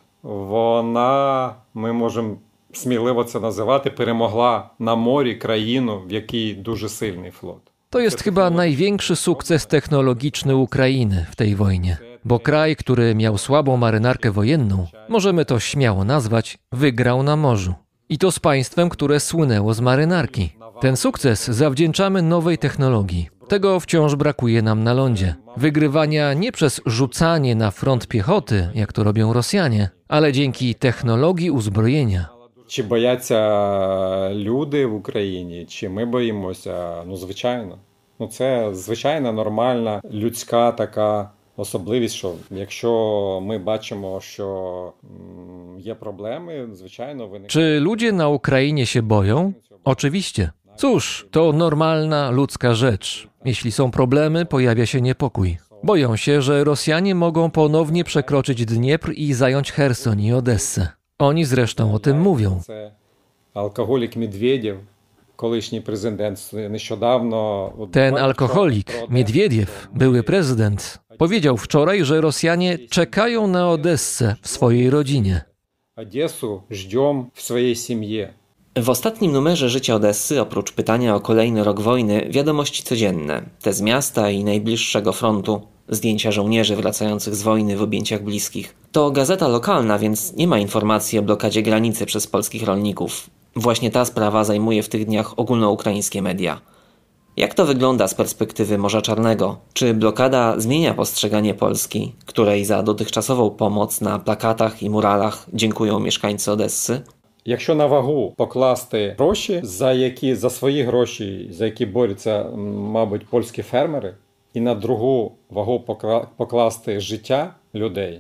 вона, ми можемо сміливо це називати, перемогла на морі країну, в якій дуже сильний флот. To jest chyba największy sukces technologiczny Ukrainy w tej wojnie, bo kraj, który miał słabą marynarkę wojenną, możemy to śmiało nazwać, wygrał na morzu. I to z państwem, które słynęło z marynarki. Ten sukces zawdzięczamy nowej technologii. Tego wciąż brakuje nam na lądzie. Wygrywania nie przez rzucanie na front piechoty, jak to robią Rosjanie, ale dzięki technologii uzbrojenia. Чи бояться люди в Україні, чи ми боїмося? Ну, звичайно. Ну, це звичайна, нормальна, людська така особливість, що якщо ми бачимо, що є problemy, звичайно, виникають. Czy ludzie na Ukrainie się boją? Oczywiście. Cóż, to normalna ludzka rzecz. Jeśli są problemy, pojawia się niepokój. Boją się, że Rosjanie mogą ponownie przekroczyć Dniepr i zająć Cherson i Odessę. Oni zresztą o tym mówią. Alkoholik Miedwiediew, колишній президент, niedawno... Ten alkoholik, Miedwiediew, były prezydent, powiedział wczoraj, że Rosjanie czekają na Odessę w swojej rodzinie. Odessę żdżą w swojej семье. W ostatnim numerze Życia Odessy, oprócz pytania o kolejny rok wojny, wiadomości codzienne. Te z miasta i najbliższego frontu. Zdjęcia żołnierzy wracających z wojny w objęciach bliskich. To gazeta lokalna, więc nie ma informacji o blokadzie granicy przez polskich rolników. Właśnie ta sprawa zajmuje w tych dniach ogólnoukraińskie media. Jak to wygląda z perspektywy Morza Czarnego? Czy blokada zmienia postrzeganie Polski, której za dotychczasową pomoc na plakatach i muralach dziękują mieszkańcy Odessy? Якщо на вагу покласти гроші, за свої гроші, за які борються, мабуть, польські фермери, і на другу вагу покласти життя людей,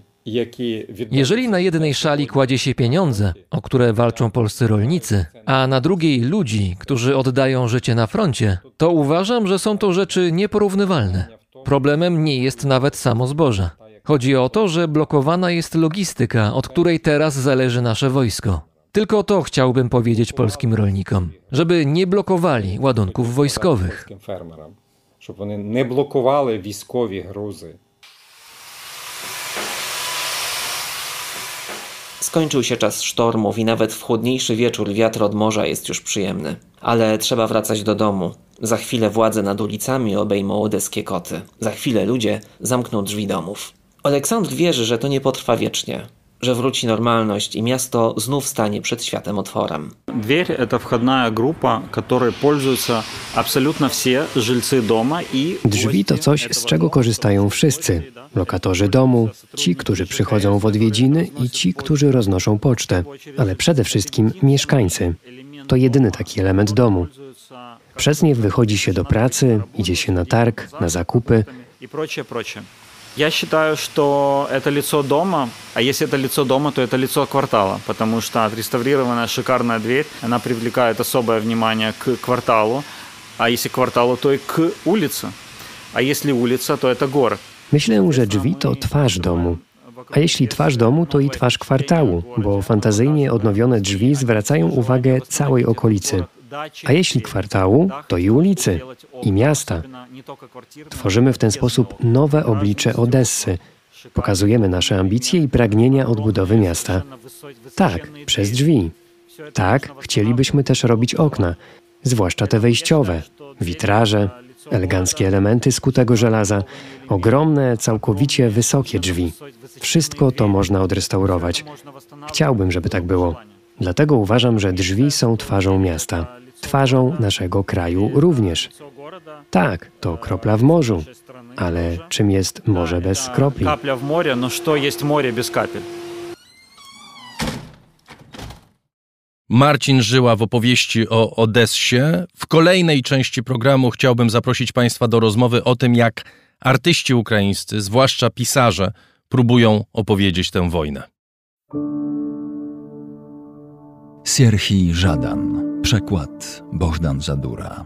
Jeżeli na jednej szali kładzie się pieniądze, o które walczą polscy rolnicy, a na drugiej ludzi, którzy oddają życie na froncie, to uważam, że są to rzeczy nieporównywalne. Problemem nie jest nawet samo zboże. Chodzi o to, że blokowana jest logistyka, od której teraz zależy nasze wojsko. Tylko to chciałbym powiedzieć polskim rolnikom, żeby nie blokowali ładunków wojskowych. Żeby oni nie blokowali wojskowe gruzy. Skończył się czas sztormów i nawet w chłodniejszy wieczór wiatr od morza jest już przyjemny. Ale trzeba wracać do domu. Za chwilę władze nad ulicami obejmą odeskie koty. Za chwilę ludzie zamkną drzwi domów. Aleksandr wierzy, że to nie potrwa wiecznie. Że wróci normalność i miasto znów stanie przed światem otworem. Дверь – это входная группа, которой пользуются абсолютно все жильцы дома и... Drzwi to coś, z czego korzystają wszyscy. Lokatorzy domu, ci, którzy przychodzą w odwiedziny i ci, którzy roznoszą pocztę. Ale przede wszystkim mieszkańcy. To jedyny taki element domu. Przez nie wychodzi się do pracy, idzie się na targ, na zakupy. И прочее. Я считаю, что это лицо дома, а если это лицо дома, то это лицо квартала, потому что отреставрированная шикарная дверь, она привлекает особое внимание к кварталу, а если к кварталу, то и к улице, а если улица, то это город. Myślę, że drzwi to twarz domu. A jeśli twarz domu, to i twarz kwartału, bo fantazyjnie odnowione drzwi zwracają uwagę całej okolicy. A jeśli kwartału, to i ulicy, i miasta. Tworzymy w ten sposób nowe oblicze Odessy. Pokazujemy nasze ambicje i pragnienia odbudowy miasta. Tak, przez drzwi. Tak, chcielibyśmy też robić okna, zwłaszcza te wejściowe, witraże, eleganckie elementy z kutego żelaza, ogromne, całkowicie wysokie drzwi. Wszystko to można odrestaurować. Chciałbym, żeby tak było. Dlatego uważam, że drzwi są twarzą miasta. Twarzą naszego kraju również. Tak, to kropla w morzu. Ale czym jest morze bez kropli? Kapla w morzu, no co jest morze bez kapel? Marcin Żyła w opowieści o Odessie. W kolejnej części programu chciałbym zaprosić Państwa do rozmowy o tym, jak artyści ukraińscy, zwłaszcza pisarze, próbują opowiedzieć tę wojnę. Serhij Żadan. Przekład Bohdan Zadura.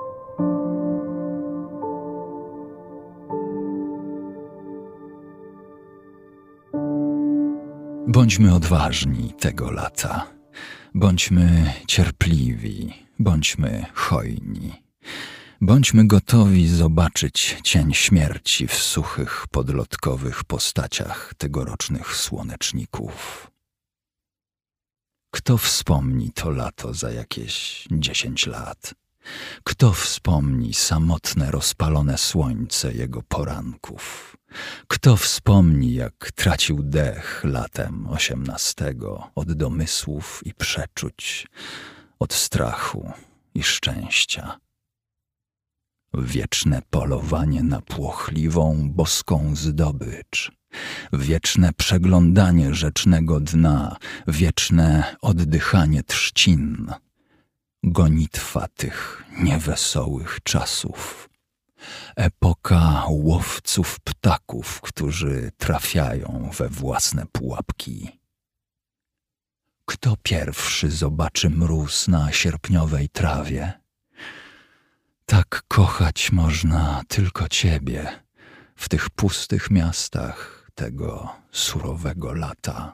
Bądźmy odważni tego lata. Bądźmy cierpliwi, bądźmy hojni. Bądźmy gotowi zobaczyć cień śmierci w suchych, podlotkowych postaciach tegorocznych słoneczników. Kto wspomni to lato za jakieś 10 lat? Kto wspomni samotne, rozpalone słońce jego poranków? Kto wspomni, jak tracił dech latem 18 od domysłów i przeczuć, od strachu i szczęścia? Wieczne polowanie na płochliwą, boską zdobycz, wieczne przeglądanie rzecznego dna, wieczne oddychanie trzcin, gonitwa tych niewesołych czasów. Epoka łowców ptaków, którzy trafiają we własne pułapki. Kto pierwszy zobaczy mróz na sierpniowej trawie? Tak kochać można tylko Ciebie w tych pustych miastach tego surowego lata.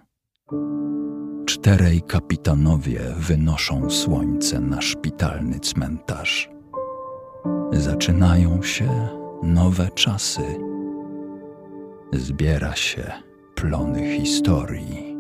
4 kapitanowie wynoszą słońce na szpitalny cmentarz. Zaczynają się nowe czasy. Zbiera się plony historii.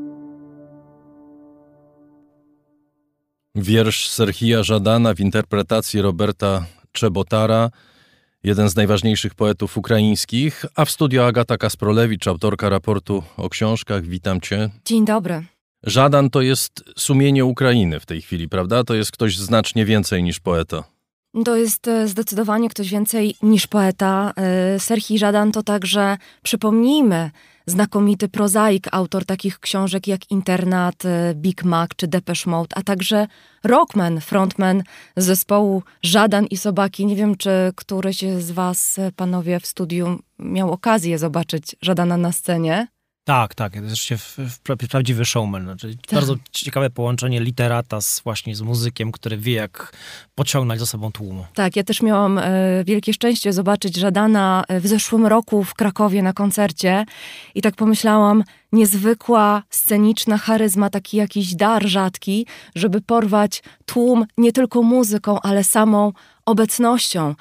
Wiersz Serhija Żadana w interpretacji Roberta Czebotara, jeden z najważniejszych poetów ukraińskich, a w studio Agata Kasprolewicz, autorka raportu o książkach. Witam Cię. Dzień dobry. Żadan to jest sumienie Ukrainy w tej chwili, prawda? To jest ktoś znacznie więcej niż poeta. To jest zdecydowanie ktoś więcej niż poeta. Serhij Żadan to także, przypomnijmy, znakomity prozaik, autor takich książek jak Internat, Big Mac czy Depeche Mode, a także rockman, frontman zespołu Żadan i Sobaki. Nie wiem, czy któryś z was, panowie w studiu, miał okazję zobaczyć Żadana na scenie. Tak, zresztą prawdziwy showman. Znaczy, bardzo ciekawe połączenie literata z muzykiem, który wie, jak pociągnąć za sobą tłumu. Tak, ja też miałam wielkie szczęście zobaczyć Żadana w zeszłym roku w Krakowie na koncercie i tak pomyślałam, niezwykła, sceniczna charyzma, taki jakiś dar rzadki, żeby porwać tłum nie tylko muzyką, ale samą obecnością.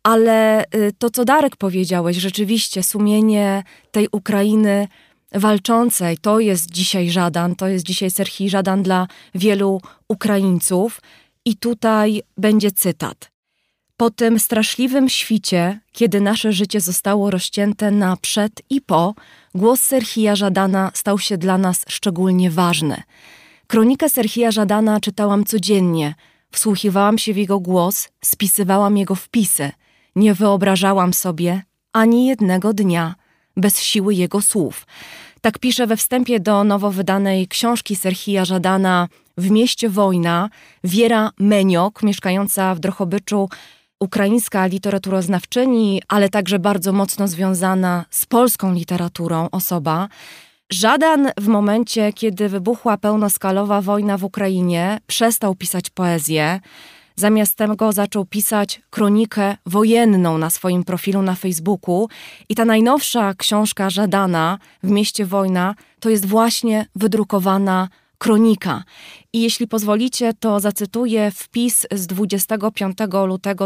Ale to, co Darek powiedziałeś, rzeczywiście sumienie tej Ukrainy walczącej, to jest dzisiaj Żadan, to jest dzisiaj Serhij Żadan dla wielu Ukraińców. I tutaj będzie cytat. Po tym straszliwym świcie, kiedy nasze życie zostało rozcięte na przed i po, głos Serhija Żadana stał się dla nas szczególnie ważny. Kronikę Serhija Żadana czytałam codziennie, wsłuchiwałam się w jego głos, spisywałam jego wpisy. Nie wyobrażałam sobie ani jednego dnia bez siły jego słów. Tak pisze we wstępie do nowo wydanej książki Serhija Żadana W mieście wojna Wiera Meniok, mieszkająca w Drohobyczu, ukraińska literaturoznawczyni, ale także bardzo mocno związana z polską literaturą osoba. Żadan w momencie, kiedy wybuchła pełnoskalowa wojna w Ukrainie, przestał pisać poezję. Zamiast tego zaczął pisać kronikę wojenną na swoim profilu na Facebooku i ta najnowsza książka Żadana, W mieście wojna, to jest właśnie wydrukowana kronika. I jeśli pozwolicie, to zacytuję wpis z 25 lutego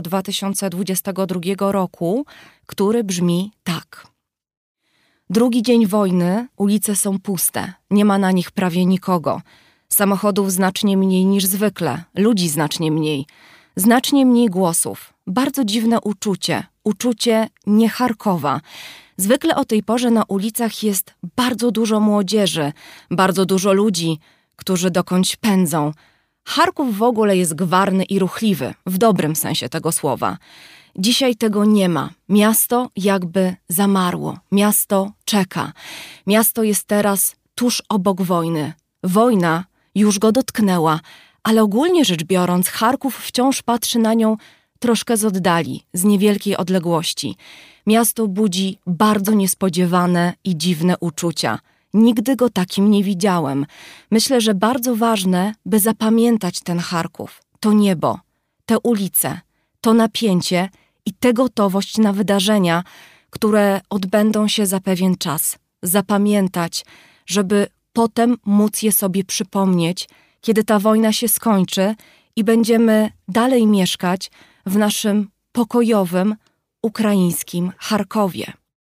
2022 roku, który brzmi tak. Drugi dzień wojny, ulice są puste, nie ma na nich prawie nikogo. Samochodów znacznie mniej niż zwykle, ludzi znacznie mniej głosów. Bardzo dziwne uczucie nie Charkowa. Zwykle o tej porze na ulicach jest bardzo dużo młodzieży, bardzo dużo ludzi, którzy dokądś pędzą. Charków w ogóle jest gwarny i ruchliwy, w dobrym sensie tego słowa. Dzisiaj tego nie ma. Miasto jakby zamarło. Miasto czeka. Miasto jest teraz tuż obok wojny. Wojna już go dotknęła, ale ogólnie rzecz biorąc, Charków wciąż patrzy na nią troszkę z oddali, z niewielkiej odległości. Miasto budzi bardzo niespodziewane i dziwne uczucia. Nigdy go takim nie widziałem. Myślę, że bardzo ważne, by zapamiętać ten Charków, to niebo, te ulice, to napięcie i tę gotowość na wydarzenia, które odbędą się za pewien czas. Zapamiętać, żeby potem móc je sobie przypomnieć, kiedy ta wojna się skończy i będziemy dalej mieszkać w naszym pokojowym, ukraińskim Charkowie.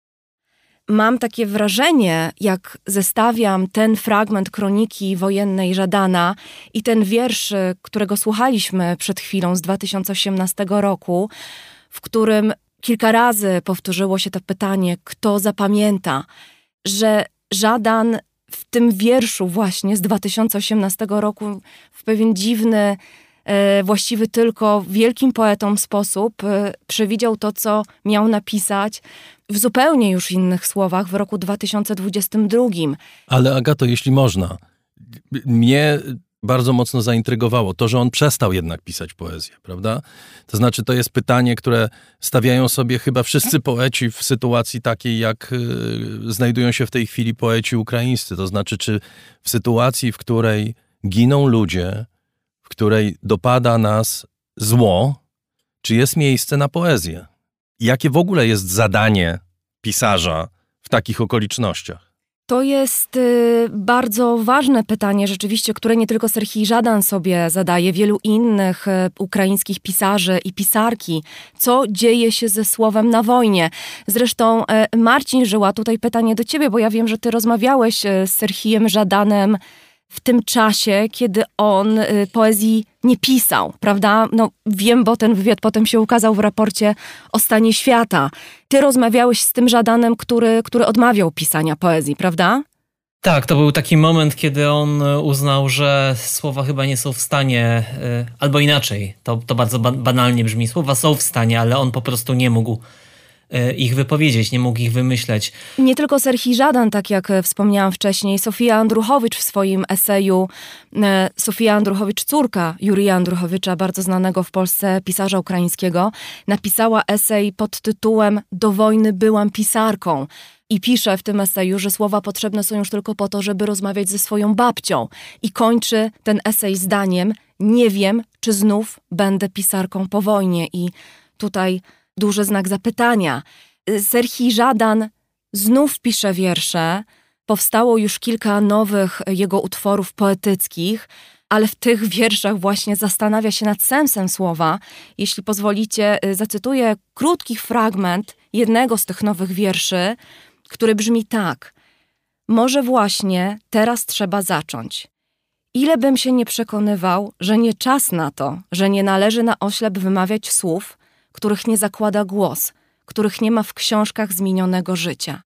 Mam takie wrażenie, jak zestawiam ten fragment kroniki wojennej Żadana i ten wiersz, którego słuchaliśmy przed chwilą z 2018 roku, w którym kilka razy powtórzyło się to pytanie, kto zapamięta, że Żadan w tym wierszu właśnie z 2018 roku w pewien dziwny, właściwy tylko wielkim poetom sposób przewidział to, co miał napisać w zupełnie już innych słowach w roku 2022. Ale Agato, jeśli można, mnie bardzo mocno zaintrygowało to, że on przestał jednak pisać poezję, prawda? To znaczy, to jest pytanie, które stawiają sobie chyba wszyscy poeci w sytuacji takiej, jak znajdują się w tej chwili poeci ukraińscy. To znaczy, czy w sytuacji, w której giną ludzie, w której dopada nas zło, czy jest miejsce na poezję? Jakie w ogóle jest zadanie pisarza w takich okolicznościach? To jest bardzo ważne pytanie rzeczywiście, które nie tylko Serhij Żadan sobie zadaje, wielu innych ukraińskich pisarzy i pisarki. Co dzieje się ze słowem na wojnie? Zresztą Marcin Żyła, tutaj pytanie do ciebie, bo ja wiem, że ty rozmawiałeś z Serhijem Żadanem w tym czasie, kiedy on poezji nie pisał, prawda? No wiem, bo ten wywiad potem się ukazał w raporcie o stanie świata. Ty rozmawiałeś z tym Żadanem, który odmawiał pisania poezji, prawda? Tak, to był taki moment, kiedy on uznał, że słowa chyba nie są w stanie, albo inaczej, to bardzo banalnie brzmi, słowa są w stanie, ale on po prostu nie mógł ich wypowiedzieć, nie mógł ich wymyśleć. Nie tylko Serhij Żadan, tak jak wspomniałam wcześniej, Sofia Andruchowicz w swoim eseju, Sofia Andruchowicz, córka Jurija Andruchowicza, bardzo znanego w Polsce pisarza ukraińskiego, napisała esej pod tytułem Do wojny byłam pisarką. I pisze w tym eseju, że słowa potrzebne są już tylko po to, żeby rozmawiać ze swoją babcią. I kończy ten esej zdaniem: nie wiem, czy znów będę pisarką po wojnie. I tutaj duży znak zapytania. Serhij Żadan znów pisze wiersze. Powstało już kilka nowych jego utworów poetyckich, ale w tych wierszach właśnie zastanawia się nad sensem słowa. Jeśli pozwolicie, zacytuję krótki fragment jednego z tych nowych wierszy, który brzmi tak. Może właśnie teraz trzeba zacząć. Ile bym się nie przekonywał, że nie czas na to, że nie należy na oślep wymawiać słów, których nie zakłada głos, których nie ma w książkach z minionego życia.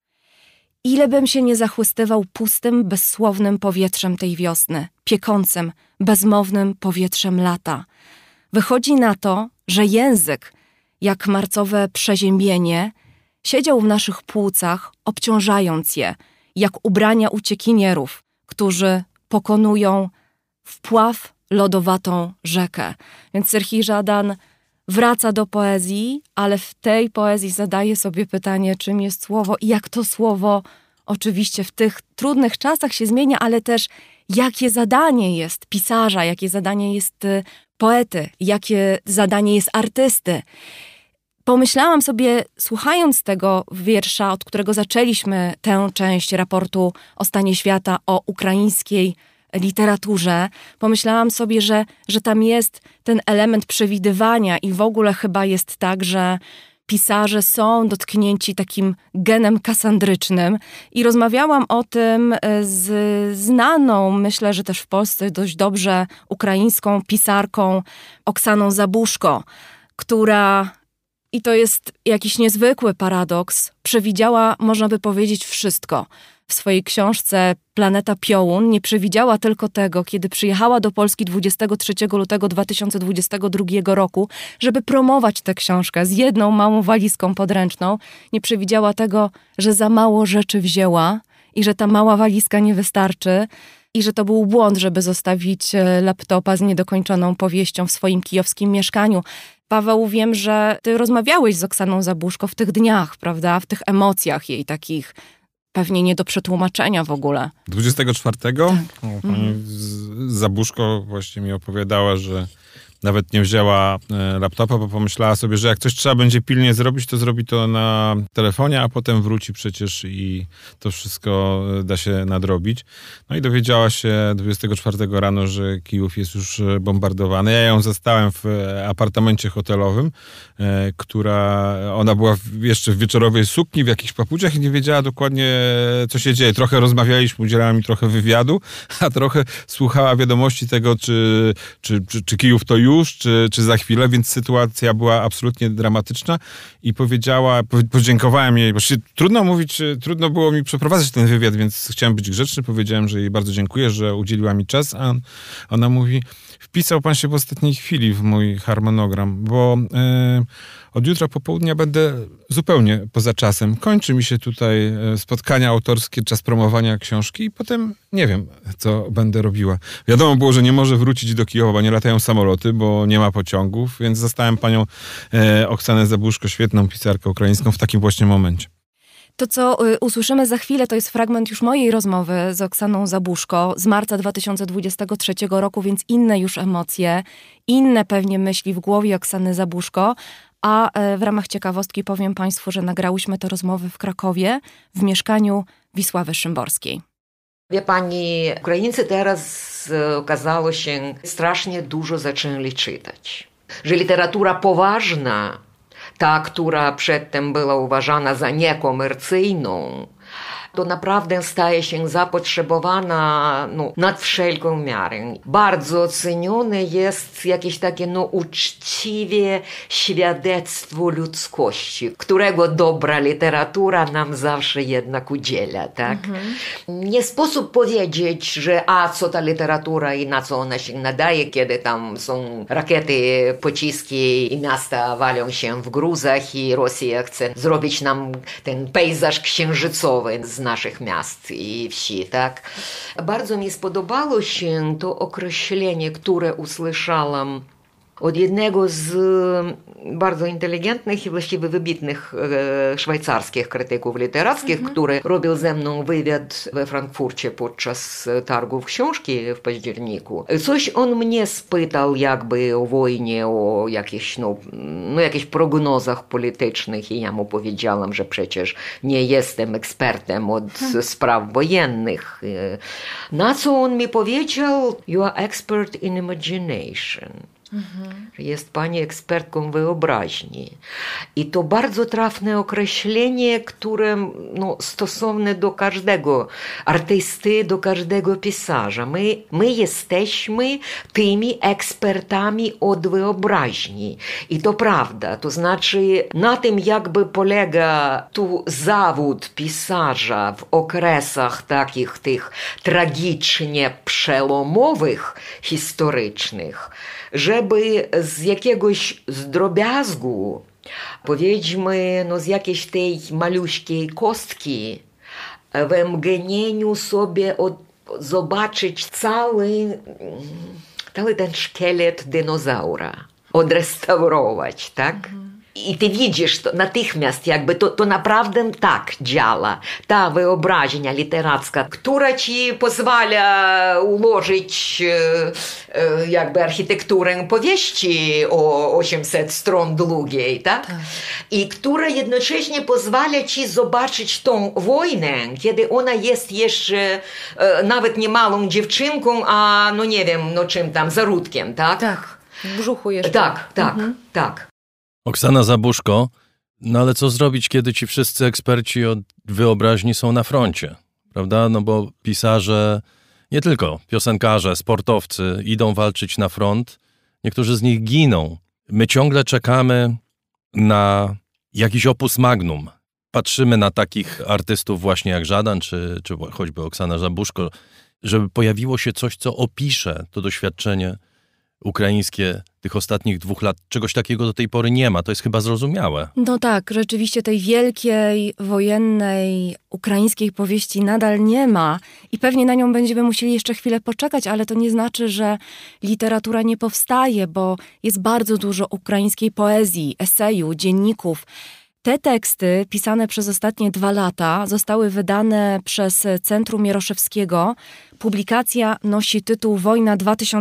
Ile bym się nie zachłystywał pustym, bezsłownym powietrzem tej wiosny, piekącym, bezmownym powietrzem lata. Wychodzi na to, że język, jak marcowe przeziębienie, siedział w naszych płucach, obciążając je, jak ubrania uciekinierów, którzy pokonują wpław lodowatą rzekę. Więc Serhij Żadan wraca do poezji, ale w tej poezji zadaje sobie pytanie, czym jest słowo i jak to słowo oczywiście w tych trudnych czasach się zmienia, ale też jakie zadanie jest pisarza, jakie zadanie jest poety, jakie zadanie jest artysty. Pomyślałam sobie, słuchając tego wiersza, od którego zaczęliśmy tę część raportu o stanie świata, o ukraińskiej literaturze, pomyślałam sobie, że tam jest ten element przewidywania i w ogóle chyba jest tak, że pisarze są dotknięci takim genem kasandrycznym i rozmawiałam o tym z znaną, myślę, że też w Polsce dość dobrze ukraińską pisarką Oksaną Zabuszko, która, i to jest jakiś niezwykły paradoks, przewidziała, można by powiedzieć, wszystko. W swojej książce Planeta Piołun nie przewidziała tylko tego, kiedy przyjechała do Polski 23 lutego 2022 roku, żeby promować tę książkę z jedną małą walizką podręczną. Nie przewidziała tego, że za mało rzeczy wzięła i że ta mała walizka nie wystarczy i że to był błąd, żeby zostawić laptopa z niedokończoną powieścią w swoim kijowskim mieszkaniu. Paweł, wiem, że ty rozmawiałeś z Oksaną Zabuszko w tych dniach, prawda? W tych emocjach jej takich pewnie nie do przetłumaczenia w ogóle. 24? Tak. Pani Zabuszko właśnie mi opowiadała, że nawet nie wzięła laptopa, bo pomyślała sobie, że jak coś trzeba będzie pilnie zrobić, to zrobi to na telefonie, a potem wróci przecież i to wszystko da się nadrobić. No i dowiedziała się 24 rano, że Kijów jest już bombardowany. Ja ją zastałem w apartamencie hotelowym, ona była jeszcze w wieczorowej sukni, w jakichś papuciach i nie wiedziała dokładnie, co się dzieje. Trochę rozmawialiśmy, udzielała mi trochę wywiadu, a trochę słuchała wiadomości tego, czy Kijów to już, czy za chwilę, więc sytuacja była absolutnie dramatyczna i podziękowałem jej, bo trudno było mi przeprowadzać ten wywiad, więc chciałem być grzeczny, powiedziałem, że jej bardzo dziękuję, że udzieliła mi czas, a ona mówi, wpisał pan się w ostatniej chwili w mój harmonogram, bo od jutra po południu będę zupełnie poza czasem. Kończy mi się tutaj spotkania autorskie, czas promowania książki i potem nie wiem, co będę robiła. Wiadomo było, że nie może wrócić do Kijowa, bo nie latają samoloty, bo nie ma pociągów, więc zastałem panią Oksanę Zabuszko, świetną pisarkę ukraińską w takim właśnie momencie. To, co usłyszymy za chwilę, to jest fragment już mojej rozmowy z Oksaną Zabuszko z marca 2023 roku, więc inne już emocje, inne pewnie myśli w głowie Oksany Zabuszko, a w ramach ciekawostki powiem Państwu, że nagrałyśmy te rozmowy w Krakowie w mieszkaniu Wisławy Szymborskiej. Wie pani, Ukraińcy teraz okazało się strasznie dużo zaczęli czytać. Że literatura poważna, ta, która przedtem była uważana za niekomercyjną, to naprawdę staje się zapotrzebowana nad wszelką miarę. Bardzo cenione jest jakieś takie uczciwe świadectwo ludzkości, którego dobra literatura nam zawsze jednak udziela, tak? Nie sposób powiedzieć, że co ta literatura i na co ona się nadaje, kiedy tam są rakiety, pociski i miasta walą się w gruzach i Rosja chce zrobić nam ten pejzaż księżycowy z naszych miast i wsi, tak? Bardzo mi spodobało się to określenie, które usłyszałam od jednego z bardzo inteligentnych i właściwie wybitnych szwajcarskich krytyków literackich, który robił ze mną wywiad we Frankfurcie podczas targów książki w październiku. Coś on mnie spytał jakby o wojnie, o jakichś, jakichś prognozach politycznych i ja mu powiedziałam, że przecież nie jestem ekspertem od spraw wojennych. Na co on mi powiedział, you are expert in imagination. Jest pani ekspertką wyobraźni. I to bardzo trafne określenie, które stosowne do każdego artysty, do każdego pisarza. My jesteśmy tymi ekspertami od wyobraźni. I to prawda. To znaczy na tym jakby polega tu zawód pisarza w okresach takich tych tragicznie przełomowych, historycznych, żeby z jakiegoś drobiazgu, powiedzmy, z jakiejś tej maluśkiej kostki w mgnieniu sobie zobaczyć cały ten szkielet dinozaura, odrestaurować, tak? I ty widzisz to natychmiast, jakby to naprawdę tak działa. Ta wyobraźnia literacka, która ci pozwala ułożyć jakby architekturę powieści o 800 stron długiej, tak? I która jednocześnie pozwala ci zobaczyć tą wojnę, kiedy ona jest jeszcze nawet nie małą dziewczynką, a no nie wiem, no czym tam, zarodkiem, tak? Tak, w brzuchu jeszcze. Tak. Oksana Zabuszko, no ale co zrobić, kiedy ci wszyscy eksperci od wyobraźni są na froncie, prawda? No bo pisarze, nie tylko piosenkarze, sportowcy idą walczyć na front, niektórzy z nich giną. My ciągle czekamy na jakiś opus magnum. Patrzymy na takich artystów właśnie jak Żadan, czy choćby Oksana Zabuszko, żeby pojawiło się coś, co opisze to doświadczenie ukraińskie tych ostatnich 2 lat. Czegoś takiego do tej pory nie ma. To jest chyba zrozumiałe. No tak, rzeczywiście tej wielkiej, wojennej, ukraińskiej powieści nadal nie ma i pewnie na nią będziemy musieli jeszcze chwilę poczekać, ale to nie znaczy, że literatura nie powstaje, bo jest bardzo dużo ukraińskiej poezji, eseju, dzienników. Te teksty, pisane przez ostatnie 2 lata, zostały wydane przez Centrum Mieroszewskiego. Publikacja nosi tytuł Wojna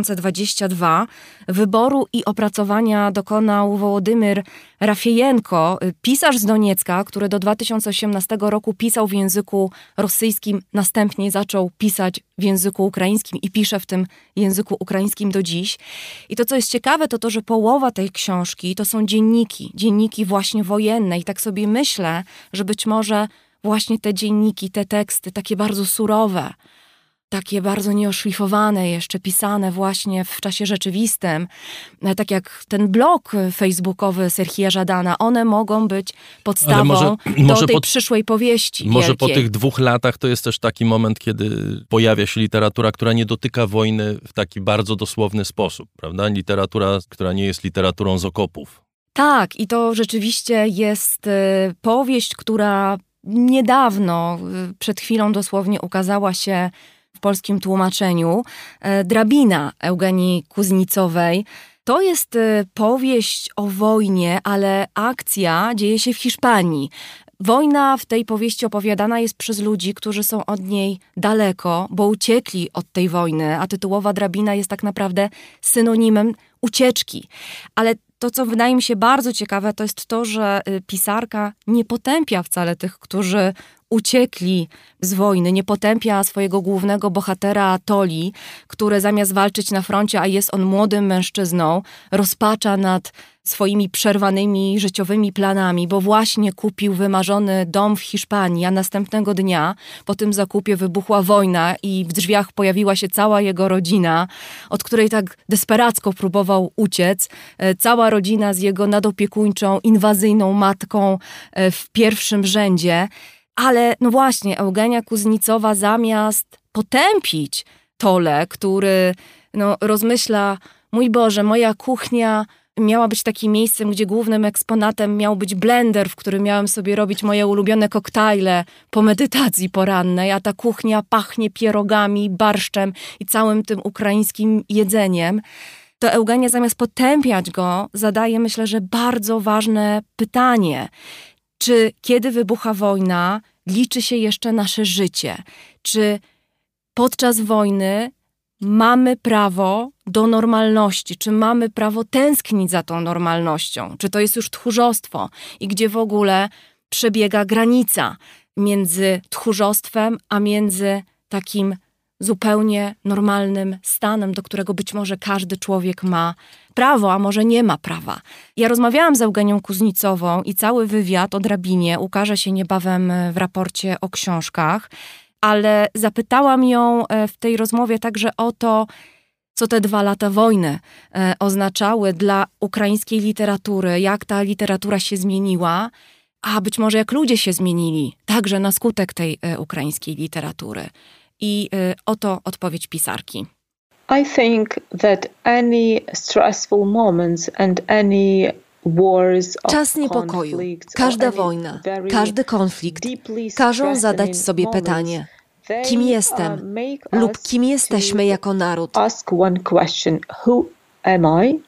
2022. Wyboru i opracowania dokonał Wołodymyr Rafiejenko, pisarz z Doniecka, który do 2018 roku pisał w języku rosyjskim, następnie zaczął pisać w języku ukraińskim i pisze w tym języku ukraińskim do dziś. I to, co jest ciekawe, to to, że połowa tej książki to są dzienniki właśnie wojenne. I tak sobie myślę, że być może właśnie te dzienniki, te teksty, takie bardzo surowe, takie bardzo nieoszlifowane jeszcze, pisane właśnie w czasie rzeczywistym, tak jak ten blog facebookowy Serhija Żadana, one mogą być podstawą do tej przyszłej powieści Może wielkiej. po tych 2 latach to jest też taki moment, kiedy pojawia się literatura, która nie dotyka wojny w taki bardzo dosłowny sposób, prawda? Literatura, która nie jest literaturą z okopów. Tak, i to rzeczywiście jest powieść, która niedawno, przed chwilą dosłownie ukazała się w polskim tłumaczeniu. Drabina Eugenii Kuznicowej. To jest powieść o wojnie, ale akcja dzieje się w Hiszpanii. Wojna w tej powieści opowiadana jest przez ludzi, którzy są od niej daleko, bo uciekli od tej wojny, a tytułowa drabina jest tak naprawdę synonimem ucieczki. Ale to, co wydaje mi się bardzo ciekawe, to jest to, że pisarka nie potępia wcale tych, którzy uciekli z wojny, nie potępia swojego głównego bohatera Toli, który zamiast walczyć na froncie, a jest on młodym mężczyzną, rozpacza nad swoimi przerwanymi życiowymi planami, bo właśnie kupił wymarzony dom w Hiszpanii, a następnego dnia po tym zakupie wybuchła wojna i w drzwiach pojawiła się cała jego rodzina, od której tak desperacko próbował uciec. Cała rodzina z jego nadopiekuńczą, inwazyjną matką w pierwszym rzędzie. Ale no właśnie, Eugenia Kuznicowa zamiast potępić Tolę, który rozmyśla, mój Boże, moja kuchnia miała być takim miejscem, gdzie głównym eksponatem miał być blender, w którym miałem sobie robić moje ulubione koktajle po medytacji porannej, a ta kuchnia pachnie pierogami, barszczem i całym tym ukraińskim jedzeniem. To Eugenia zamiast potępiać go, zadaje, myślę, że bardzo ważne pytanie. Czy kiedy wybucha wojna, liczy się jeszcze nasze życie? Czy podczas wojny mamy prawo do normalności? Czy mamy prawo tęsknić za tą normalnością? Czy to jest już tchórzostwo? I gdzie w ogóle przebiega granica między tchórzostwem, a między takim zupełnie normalnym stanem, do którego być może każdy człowiek ma prawo, a może nie ma prawa. Ja rozmawiałam z Eugenią Kuznicową i cały wywiad o drabinie ukaże się niebawem w raporcie o książkach, ale zapytałam ją w tej rozmowie także o to, co te 2 lata wojny oznaczały dla ukraińskiej literatury, jak ta literatura się zmieniła, a być może jak ludzie się zmienili, także na skutek tej ukraińskiej literatury. I oto odpowiedź pisarki. I think that any stressful moments and any wars of Czas niepokoju, każda wojna, każdy konflikt każą zadać sobie pytanie, kim jestem lub kim jesteśmy jako naród. Ask one question, who am I?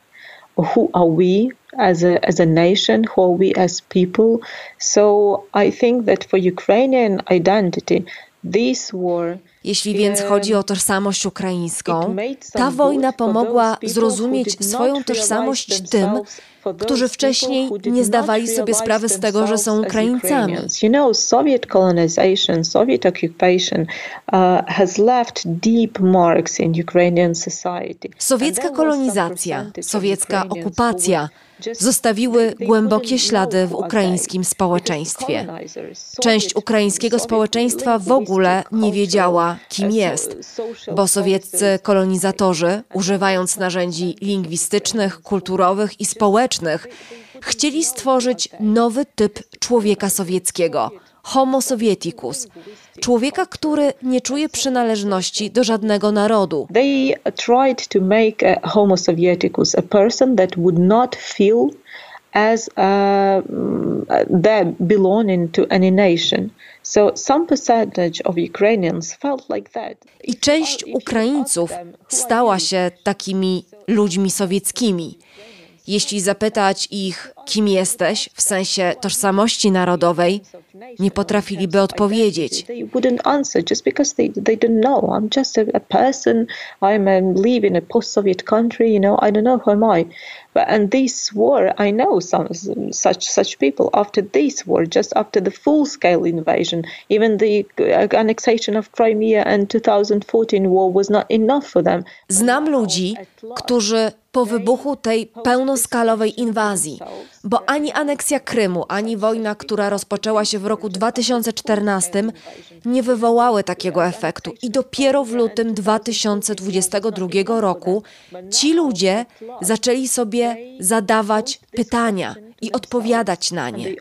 who are we as a nation, who are we as people. So I think that for Ukrainian identity, these were Jeśli więc chodzi o tożsamość ukraińską, ta wojna pomogła zrozumieć swoją tożsamość tym, którzy wcześniej nie zdawali sobie sprawy z tego, że są Ukraińcami. Soviet colonization, Soviet occupation has left deep marks in Ukrainian society. Sowiecka kolonizacja, sowiecka okupacja zostawiły głębokie ślady w ukraińskim społeczeństwie. Część ukraińskiego społeczeństwa w ogóle nie wiedziała, kim jest, bo sowieccy kolonizatorzy, używając narzędzi lingwistycznych, kulturowych i społecznych, chcieli stworzyć nowy typ człowieka sowieckiego, homo sovieticus, człowieka, który nie czuje przynależności do żadnego narodu. They tried to make a homo sovieticus a person that would not feel as them belonging to any nation. So some percentage of Ukrainians felt like that. I część Ukraińców stała się takimi ludźmi sowieckimi. Jeśli zapytać ich, kim jesteś, w sensie tożsamości narodowej, nie potrafiliby odpowiedzieć. They wouldn't answer just because they don't know. I'm just a person. Live in a post-Soviet country. I don't know who am I. And this war, I know some such people. After this war, just after the full-scale invasion, even the annexation of Crimea and 2014 war was not enough for them. Znam ludzi, którzy po wybuchu tej pełnoskalowej inwazji, bo ani aneksja Krymu, ani wojna, która rozpoczęła się w roku 2014, nie wywołały takiego efektu. I dopiero w lutym 2022 roku ci ludzie zaczęli sobie zadawać pytania i odpowiadać na nie.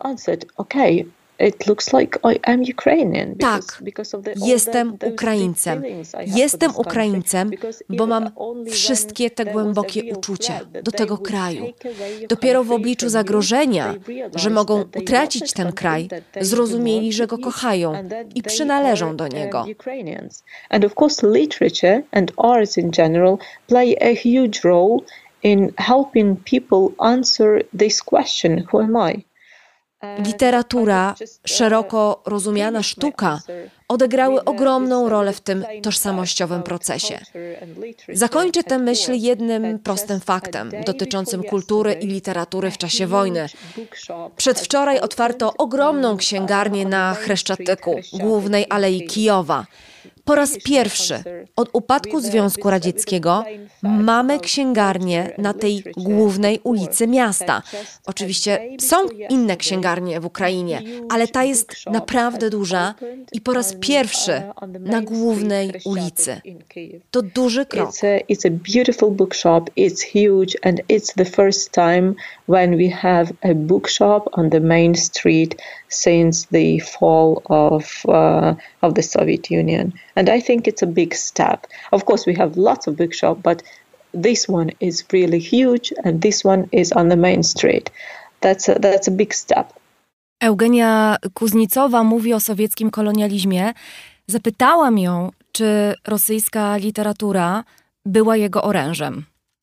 It looks like I am Ukrainian. Tak, jestem Ukraińcem. Jestem Ukraińcem, bo mam wszystkie te głębokie uczucia do tego kraju. Dopiero w obliczu zagrożenia, że mogą utracić ten kraj, zrozumieli, że go kochają i przynależą do niego. And of course literature and arts in general play a huge role in helping people answer this question, who am I? Literatura, szeroko rozumiana sztuka, odegrały ogromną rolę w tym tożsamościowym procesie. Zakończę tę myśl jednym prostym faktem dotyczącym kultury i literatury w czasie wojny. Przedwczoraj otwarto ogromną księgarnię na Chreszczatyku, głównej alei Kijowa. Po raz pierwszy od upadku Związku Radzieckiego mamy księgarnię na tej głównej ulicy miasta. Oczywiście są inne księgarnie w Ukrainie, ale ta jest naprawdę duża i po raz pierwszy na głównej ulicy. To duży krok. It's a beautiful bookshop, it's huge and it's the first time when we have a bookshop on the main street since the fall of the Soviet Union. And I think it's a big step. Of course, we have lots of bookshops, but this one is really huge and this one is on the main street. That's a big step. Eugenia Kuznicowa mówi o sowieckim kolonializmie. Zapytałam ją, czy rosyjska literatura była jego orężem.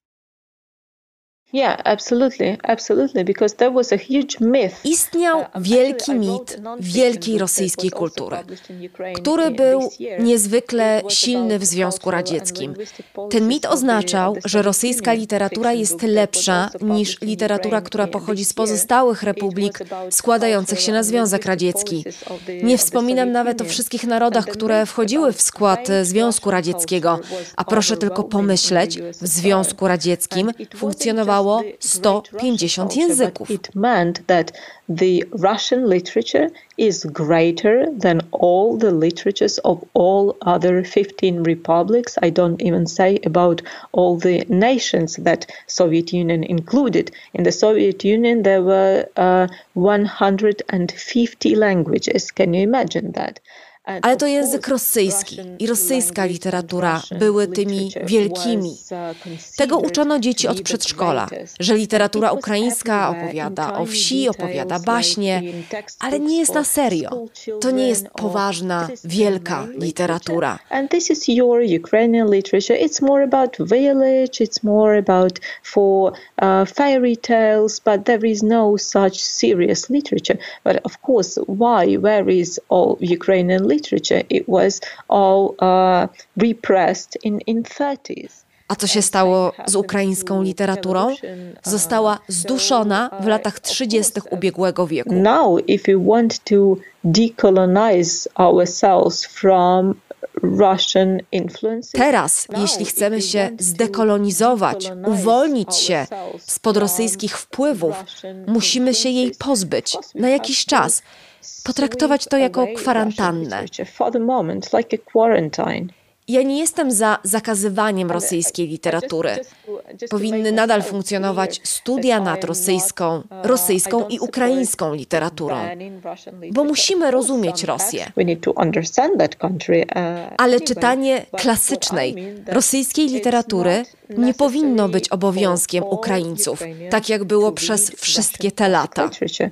Yeah, absolutely, because there was a huge myth. Istniał wielki mit wielkiej rosyjskiej kultury, który był niezwykle silny w Związku Radzieckim. Ten mit oznaczał, że rosyjska literatura jest lepsza niż literatura, która pochodzi z pozostałych republik składających się na Związek Radziecki. Nie wspominam nawet o wszystkich narodach, które wchodziły w skład Związku Radzieckiego, a proszę tylko pomyśleć, w Związku Radzieckim funkcjonowało 150 języków. It meant that the Russian literature is greater than all the literatures of all other 15 republics. I don't even say about all the nations that Soviet Union included. In the Soviet Union there were 150 languages. Can you imagine that? Ale to język rosyjski i rosyjska literatura były tymi wielkimi. Tego uczono dzieci od przedszkola, że literatura ukraińska opowiada o wsi, opowiada baśnie, ale nie jest na serio. To nie jest poważna, wielka literatura. And this is your Ukrainian literature. It's more about village, it's more about fairy tales, but there is no such serious literature. But of course, where is all Ukrainian literature? It was all repressed in 30s. A co się stało z ukraińską literaturą? Została zduszona w latach 30. ubiegłego wieku. Now, if we want to decolonize ourselves from Russian influence. Teraz, jeśli chcemy się zdekolonizować, uwolnić się spod rosyjskich wpływów, musimy się jej pozbyć na jakiś czas, potraktować to jako kwarantannę. Ja nie jestem za zakazywaniem rosyjskiej literatury. Powinny nadal funkcjonować studia nad rosyjską i ukraińską literaturą, bo musimy rozumieć Rosję. Ale czytanie klasycznej rosyjskiej literatury nie powinno być obowiązkiem Ukraińców, tak jak było przez wszystkie te lata.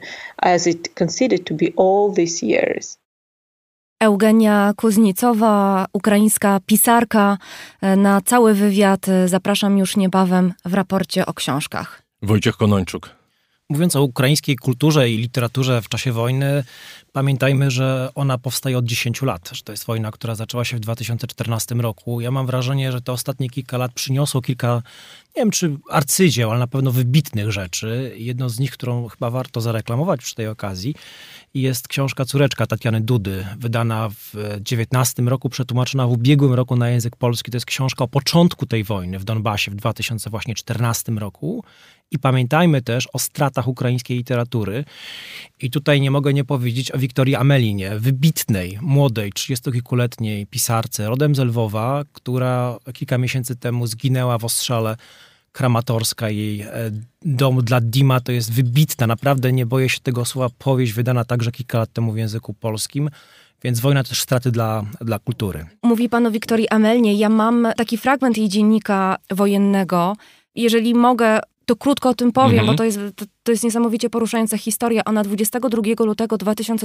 Eugenia Kuznicowa, ukraińska pisarka. Na cały wywiad zapraszam już niebawem w raporcie o książkach. Wojciech Konończuk. Mówiąc o ukraińskiej kulturze i literaturze w czasie wojny, pamiętajmy, że ona powstaje od 10 lat, że to jest wojna, która zaczęła się w 2014 roku. Ja mam wrażenie, że te ostatnie kilka lat przyniosło kilka, nie wiem czy arcydzieł, ale na pewno wybitnych rzeczy. Jedną z nich, którą chyba warto zareklamować przy tej okazji, jest książka Córeczka Tatiany Dudy, wydana w 19 roku, przetłumaczona w ubiegłym roku na język polski. To jest książka o początku tej wojny w Donbasie w 2014 roku. I pamiętajmy też o stratach ukraińskiej literatury. I tutaj nie mogę nie powiedzieć o Wiktorii Amelinie, wybitnej, młodej, 30-kilkuletniej pisarce, rodem z Lwowa, która kilka miesięcy temu zginęła w ostrzale Kramatorska. Jej Dom dla Dima to jest wybitna, naprawdę nie boję się tego słowa, powieść wydana także kilka lat temu w języku polskim. Więc wojna to też straty dla kultury. Mówi pan o Wiktorii Amelinie. Ja mam taki fragment jej dziennika wojennego. Jeżeli mogę, to krótko o tym powiem, bo to jest niesamowicie poruszająca historia. Ona 22 lutego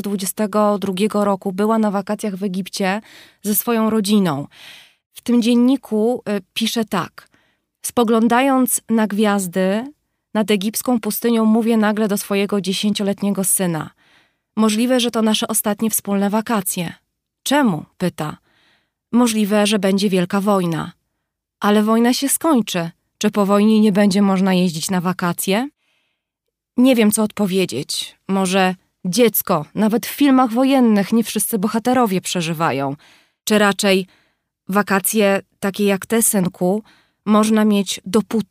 2022 roku była na wakacjach w Egipcie ze swoją rodziną. W tym dzienniku pisze tak. Spoglądając na gwiazdy nad egipską pustynią, mówię nagle do swojego 10-letniego syna. Możliwe, że to nasze ostatnie wspólne wakacje. Czemu? Pyta. Możliwe, że będzie wielka wojna. Ale wojna się skończy. Czy po wojnie nie będzie można jeździć na wakacje? Nie wiem, co odpowiedzieć. Może dziecko, nawet w filmach wojennych nie wszyscy bohaterowie przeżywają. Czy raczej wakacje takie jak te, synku, można mieć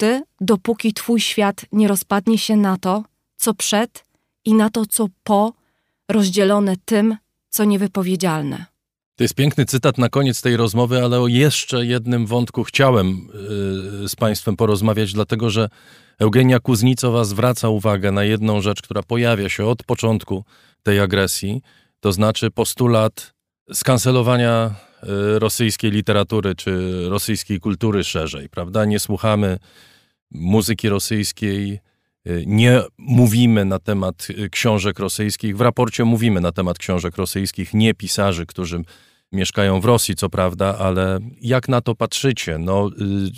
dopóki twój świat nie rozpadnie się na to, co przed i na to, co po, rozdzielone tym, co niewypowiedzialne. To jest piękny cytat na koniec tej rozmowy, ale o jeszcze jednym wątku chciałem z państwem porozmawiać, dlatego że Eugenia Kuznicowa zwraca uwagę na jedną rzecz, która pojawia się od początku tej agresji, to znaczy postulat skancelowania rosyjskiej literatury czy rosyjskiej kultury szerzej, prawda? Nie słuchamy muzyki rosyjskiej, nie mówimy na temat książek rosyjskich. W raporcie mówimy na temat książek rosyjskich, nie pisarzy, którzy mieszkają w Rosji, co prawda, ale jak na to patrzycie? No,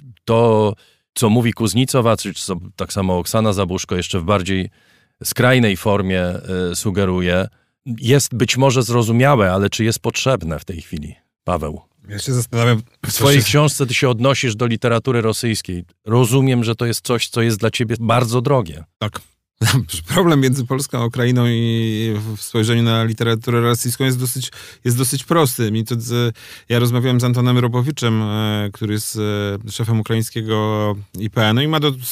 to, co mówi Kuznicowa, czy co tak samo Oksana Zabuszko jeszcze w bardziej skrajnej formie sugeruje, jest być może zrozumiałe, ale czy jest potrzebne w tej chwili? Paweł. Ja się zastanawiam... W swojej książce ty się odnosisz do literatury rosyjskiej. Rozumiem, że to jest coś, co jest dla ciebie bardzo drogie. Tak. Problem między Polską a Ukrainą i w spojrzeniu na literaturę rosyjską jest dosyć prosty. Ja rozmawiałem z Antonem Robowiczem, który jest szefem ukraińskiego IPN-u i ma do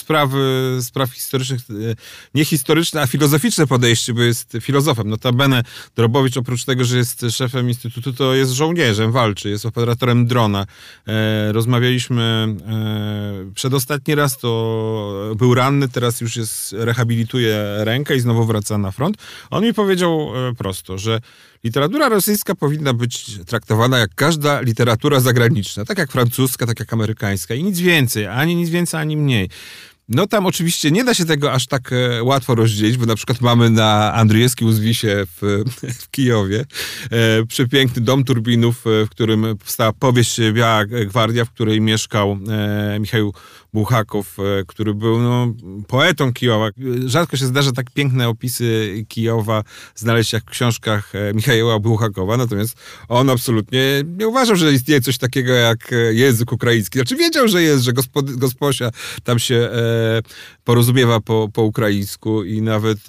spraw historycznych, nie historyczne, a filozoficzne podejście, bo jest filozofem. Notabene Robowicz oprócz tego, że jest szefem instytutu, to jest żołnierzem, walczy, jest operatorem drona. Rozmawialiśmy przedostatni raz, to był ranny, teraz już rehabilituje gotuje rękę i znowu wraca na front. On mi powiedział prosto, że literatura rosyjska powinna być traktowana jak każda literatura zagraniczna, tak jak francuska, tak jak amerykańska i nic więcej, ani mniej. No tam oczywiście nie da się tego aż tak łatwo rozdzielić, bo na przykład mamy na Andrzejewskim Uzwisie w Kijowie przepiękny dom turbinów, w którym powstała powieść Biała Gwardia, w której mieszkał Michał Bułhakow, który był poetą Kijowa. Rzadko się zdarza tak piękne opisy Kijowa znaleźć jak w książkach Michała Bułhakowa, natomiast on absolutnie nie uważał, że istnieje coś takiego jak język ukraiński. Znaczy wiedział, że jest, że gosposia tam się porozumiewa po ukraińsku i nawet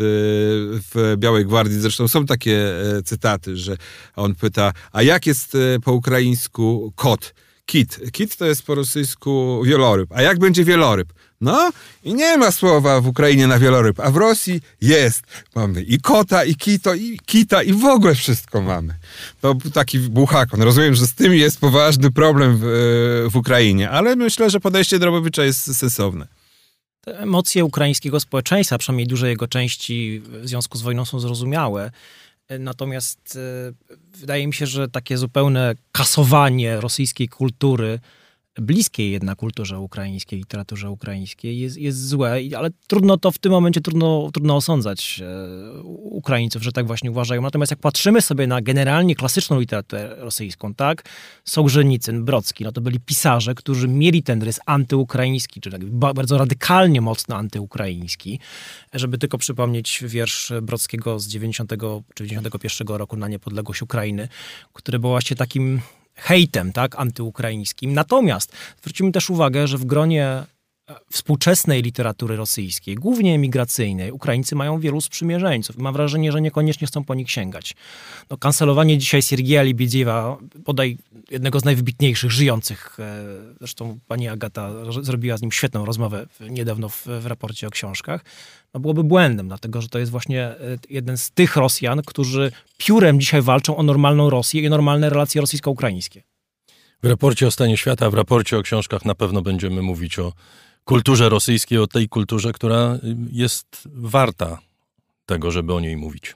w Białej Gwardii zresztą są takie cytaty, że on pyta, a jak jest po ukraińsku kot? Kit. Kit to jest po rosyjsku wieloryb. A jak będzie wieloryb? No i nie ma słowa w Ukrainie na wieloryb, a w Rosji jest. Mamy i kota, i kita, i w ogóle wszystko mamy. To taki Bułhakon. Rozumiem, że z tym jest poważny problem w Ukrainie, ale myślę, że podejście Drobowicza jest sensowne. Te emocje ukraińskiego społeczeństwa, przynajmniej dużej jego części w związku z wojną są zrozumiałe. Natomiast wydaje mi się, że takie zupełne kasowanie rosyjskiej kultury, bliskiej jednak kulturze ukraińskiej, literaturze ukraińskiej, jest złe, ale trudno to w tym momencie, trudno osądzać Ukraińców, że tak właśnie uważają. Natomiast jak patrzymy sobie na generalnie klasyczną literaturę rosyjską, tak, Sołżenicyn, Brocki, no to byli pisarze, którzy mieli ten rys antyukraiński, czy tak bardzo radykalnie mocno antyukraiński. Żeby tylko przypomnieć wiersz Brockiego z 90 czy 91 roku na niepodległość Ukrainy, który był właśnie takim hejtem, tak, antyukraińskim. Natomiast zwrócimy też uwagę, że w gronie współczesnej literatury rosyjskiej, głównie emigracyjnej, Ukraińcy mają wielu sprzymierzeńców. Mam wrażenie, że niekoniecznie chcą po nich sięgać. No, kancelowanie dzisiaj Siergieja Libiedziewa, bodaj jednego z najwybitniejszych żyjących, zresztą pani Agata zrobiła z nim świetną rozmowę niedawno w raporcie o książkach, no byłoby błędem, dlatego że to jest właśnie jeden z tych Rosjan, którzy piórem dzisiaj walczą o normalną Rosję i normalne relacje rosyjsko-ukraińskie. W raporcie o stanie świata, w raporcie o książkach na pewno będziemy mówić o kulturze rosyjskiej, o tej kulturze, która jest warta tego, żeby o niej mówić.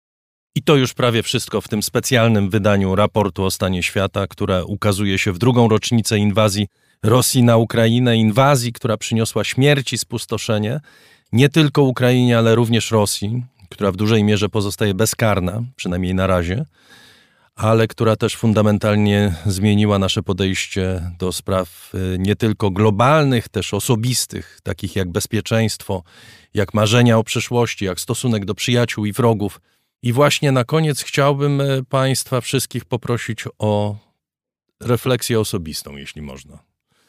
I to już prawie wszystko w tym specjalnym wydaniu raportu o stanie świata, które ukazuje się w drugą rocznicę inwazji Rosji na Ukrainę. Inwazji, która przyniosła śmierć i spustoszenie nie tylko Ukrainie, ale również Rosji, która w dużej mierze pozostaje bezkarna, przynajmniej na razie, ale która też fundamentalnie zmieniła nasze podejście do spraw nie tylko globalnych, też osobistych, takich jak bezpieczeństwo, jak marzenia o przyszłości, jak stosunek do przyjaciół i wrogów. I właśnie na koniec chciałbym Państwa wszystkich poprosić o refleksję osobistą, jeśli można.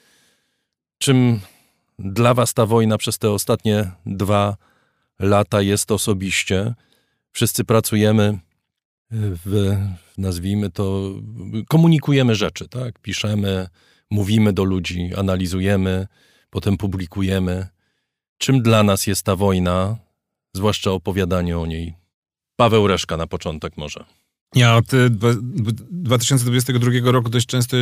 Czym dla Was ta wojna przez te ostatnie 2 lata jest osobiście? Wszyscy pracujemy nazwijmy to, komunikujemy rzeczy, tak? Piszemy, mówimy do ludzi, analizujemy, potem publikujemy. Czym dla nas jest ta wojna, zwłaszcza opowiadanie o niej? Paweł Reszka na początek może. Ja od 2022 roku dość często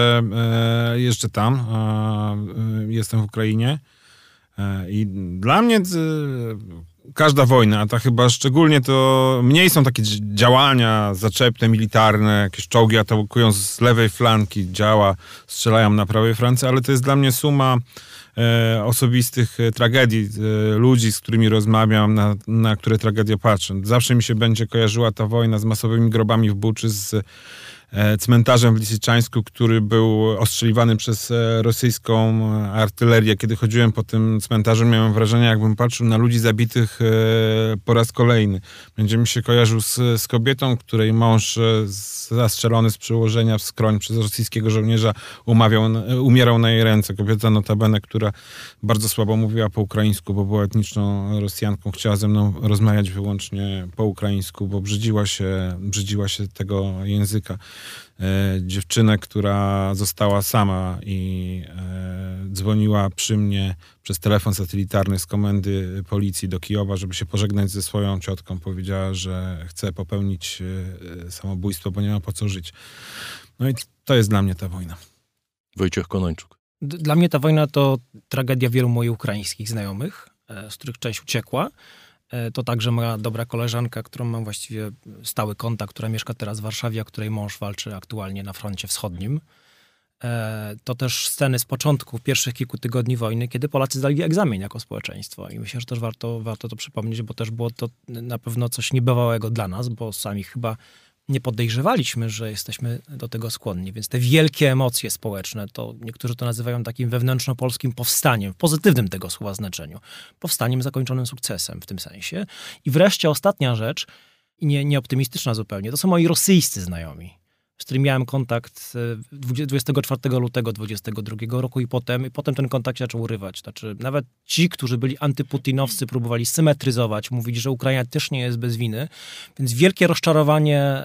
jeżdżę tam. Jestem w Ukrainie. I dla mnie każda wojna, a ta chyba szczególnie to mniej są takie działania zaczepne, militarne, jakieś czołgi atakują z lewej flanki, strzelają na prawej flance, ale to jest dla mnie suma osobistych tragedii, ludzi, z którymi rozmawiam, na które tragedię patrzę. Zawsze mi się będzie kojarzyła ta wojna z masowymi grobami w Buczy, z cmentarzem w Lisiczańsku, który był ostrzeliwany przez rosyjską artylerię. Kiedy chodziłem po tym cmentarzu, miałem wrażenie, jakbym patrzył na ludzi zabitych po raz kolejny. Będzie mi się kojarzył z kobietą, której mąż zastrzelony z przyłożenia w skroń przez rosyjskiego żołnierza umierał na jej ręce. Kobieta notabene, która bardzo słabo mówiła po ukraińsku, bo była etniczną Rosjanką. Chciała ze mną rozmawiać wyłącznie po ukraińsku, bo brzydziła się tego języka. Dziewczynę, która została sama i dzwoniła przy mnie przez telefon satelitarny z komendy policji do Kijowa, żeby się pożegnać ze swoją ciotką. Powiedziała, że chce popełnić samobójstwo, bo nie ma po co żyć. No i to jest dla mnie ta wojna. Wojciech Konończuk. Dla mnie ta wojna to tragedia wielu moich ukraińskich znajomych, z których część uciekła. To także moja dobra koleżanka, którą mam właściwie stały kontakt, która mieszka teraz w Warszawie, a której mąż walczy aktualnie na froncie wschodnim. To też sceny z początku, pierwszych kilku tygodni wojny, kiedy Polacy zdali egzamin jako społeczeństwo. I myślę, że też warto to przypomnieć, bo też było to na pewno coś niebywałego dla nas, bo sami chyba nie podejrzewaliśmy, że jesteśmy do tego skłonni. Więc te wielkie emocje społeczne, to niektórzy to nazywają takim wewnętrzno-polskim powstaniem, w pozytywnym tego słowa znaczeniu. Powstaniem zakończonym sukcesem w tym sensie. I wreszcie ostatnia rzecz, nie optymistyczna zupełnie, to są moi rosyjscy znajomi, z którymi miałem kontakt 24 lutego 2022 roku i potem ten kontakt się zaczął urywać. Znaczy, nawet ci, którzy byli antyputinowscy, próbowali symetryzować, mówić, że Ukraina też nie jest bez winy. Więc wielkie rozczarowanie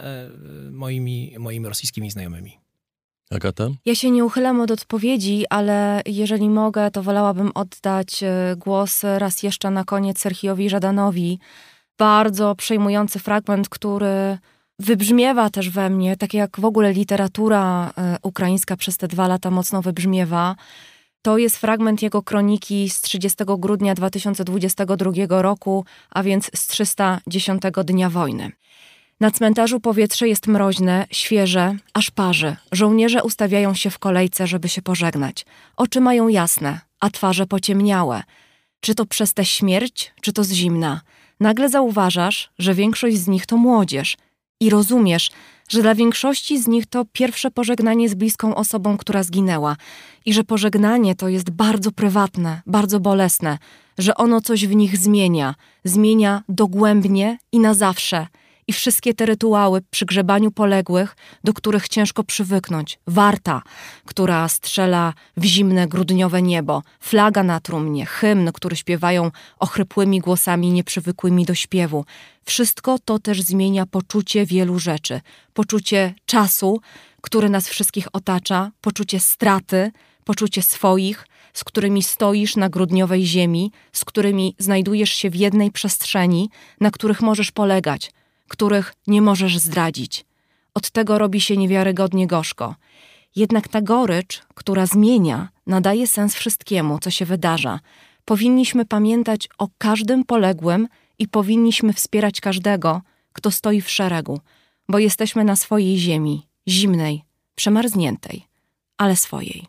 moimi rosyjskimi znajomymi. Agata? Ja się nie uchylam od odpowiedzi, ale jeżeli mogę, to wolałabym oddać głos raz jeszcze na koniec Serhijowi Żadanowi. Bardzo przejmujący fragment, który wybrzmiewa też we mnie, tak jak w ogóle literatura ukraińska przez te 2 lata mocno wybrzmiewa. To jest fragment jego kroniki z 30 grudnia 2022 roku, a więc z 310 dnia wojny. Na cmentarzu powietrze jest mroźne, świeże, aż parzy. Żołnierze ustawiają się w kolejce, żeby się pożegnać. Oczy mają jasne, a twarze pociemniałe. Czy to przez tę śmierć, czy to z zimna. Nagle zauważasz, że większość z nich to młodzież. I rozumiesz, że dla większości z nich to pierwsze pożegnanie z bliską osobą, która zginęła. I że pożegnanie to jest bardzo prywatne, bardzo bolesne. Że ono coś w nich zmienia dogłębnie i na zawsze. I wszystkie te rytuały przy grzebaniu poległych, do których ciężko przywyknąć. Warta, która strzela w zimne, grudniowe niebo. Flaga na trumnie, hymn, który śpiewają ochrypłymi głosami nieprzywykłymi do śpiewu. Wszystko to też zmienia poczucie wielu rzeczy. Poczucie czasu, który nas wszystkich otacza, poczucie straty, poczucie swoich, z którymi stoisz na grudniowej ziemi, z którymi znajdujesz się w jednej przestrzeni, na których możesz polegać, których nie możesz zdradzić. Od tego robi się niewiarygodnie gorzko. Jednak ta gorycz, która zmienia, nadaje sens wszystkiemu, co się wydarza. Powinniśmy pamiętać o każdym poległym i powinniśmy wspierać każdego, kto stoi w szeregu, bo jesteśmy na swojej ziemi, zimnej, przemarzniętej, ale swojej.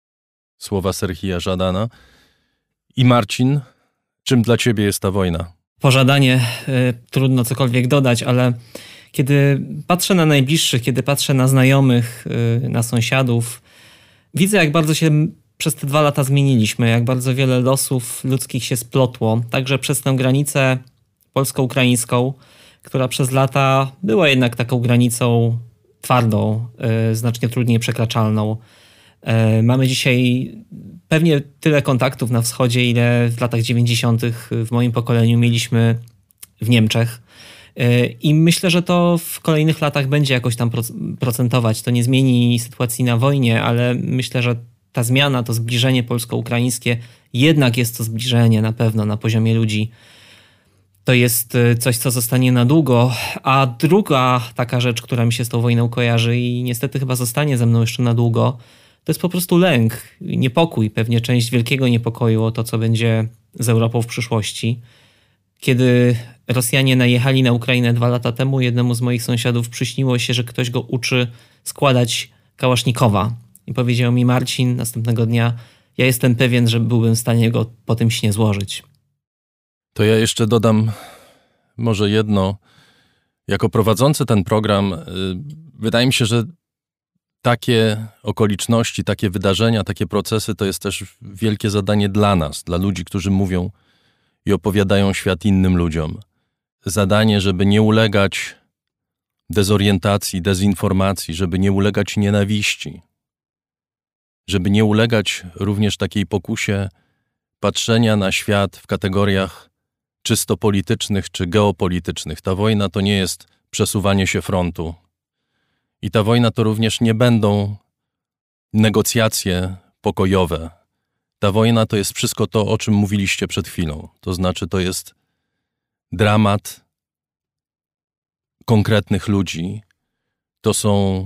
Słowa Serhija Żadana. I Marcin, czym dla ciebie jest ta wojna? Pożadanie, trudno cokolwiek dodać, ale kiedy patrzę na najbliższych, kiedy patrzę na znajomych, na sąsiadów, widzę, jak bardzo się przez te 2 lata zmieniliśmy, jak bardzo wiele losów ludzkich się splotło, także przez tę granicę polsko-ukraińską, która przez lata była jednak taką granicą twardą, znacznie trudniej przekraczalną. Mamy dzisiaj pewnie tyle kontaktów na wschodzie, ile w latach 90. w moim pokoleniu mieliśmy w Niemczech. I myślę, że to w kolejnych latach będzie jakoś tam procentować. To nie zmieni sytuacji na wojnie, ale myślę, że ta zmiana, to zbliżenie polsko-ukraińskie, jednak jest to zbliżenie na pewno na poziomie ludzi. To jest coś, co zostanie na długo. A druga taka rzecz, która mi się z tą wojną kojarzy i niestety chyba zostanie ze mną jeszcze na długo, to jest po prostu lęk, niepokój, pewnie część wielkiego niepokoju o to, co będzie z Europą w przyszłości. Kiedy Rosjanie najechali na Ukrainę 2 lata temu, jednemu z moich sąsiadów przyśniło się, że ktoś go uczy składać kałasznikowa. I powiedział mi: Marcin, następnego dnia, ja jestem pewien, że byłbym w stanie go po tym śnie złożyć. To ja jeszcze dodam może jedno. Jako prowadzący ten program, wydaje mi się, że takie okoliczności, takie wydarzenia, takie procesy to jest też wielkie zadanie dla nas, dla ludzi, którzy mówią i opowiadają świat innym ludziom. Zadanie, żeby nie ulegać dezorientacji, dezinformacji, żeby nie ulegać nienawiści, żeby nie ulegać również takiej pokusie patrzenia na świat w kategoriach czysto politycznych czy geopolitycznych. Ta wojna to nie jest przesuwanie się frontu. I ta wojna to również nie będą negocjacje pokojowe. Ta wojna to jest wszystko to, o czym mówiliście przed chwilą. To znaczy, to jest dramat konkretnych ludzi. To są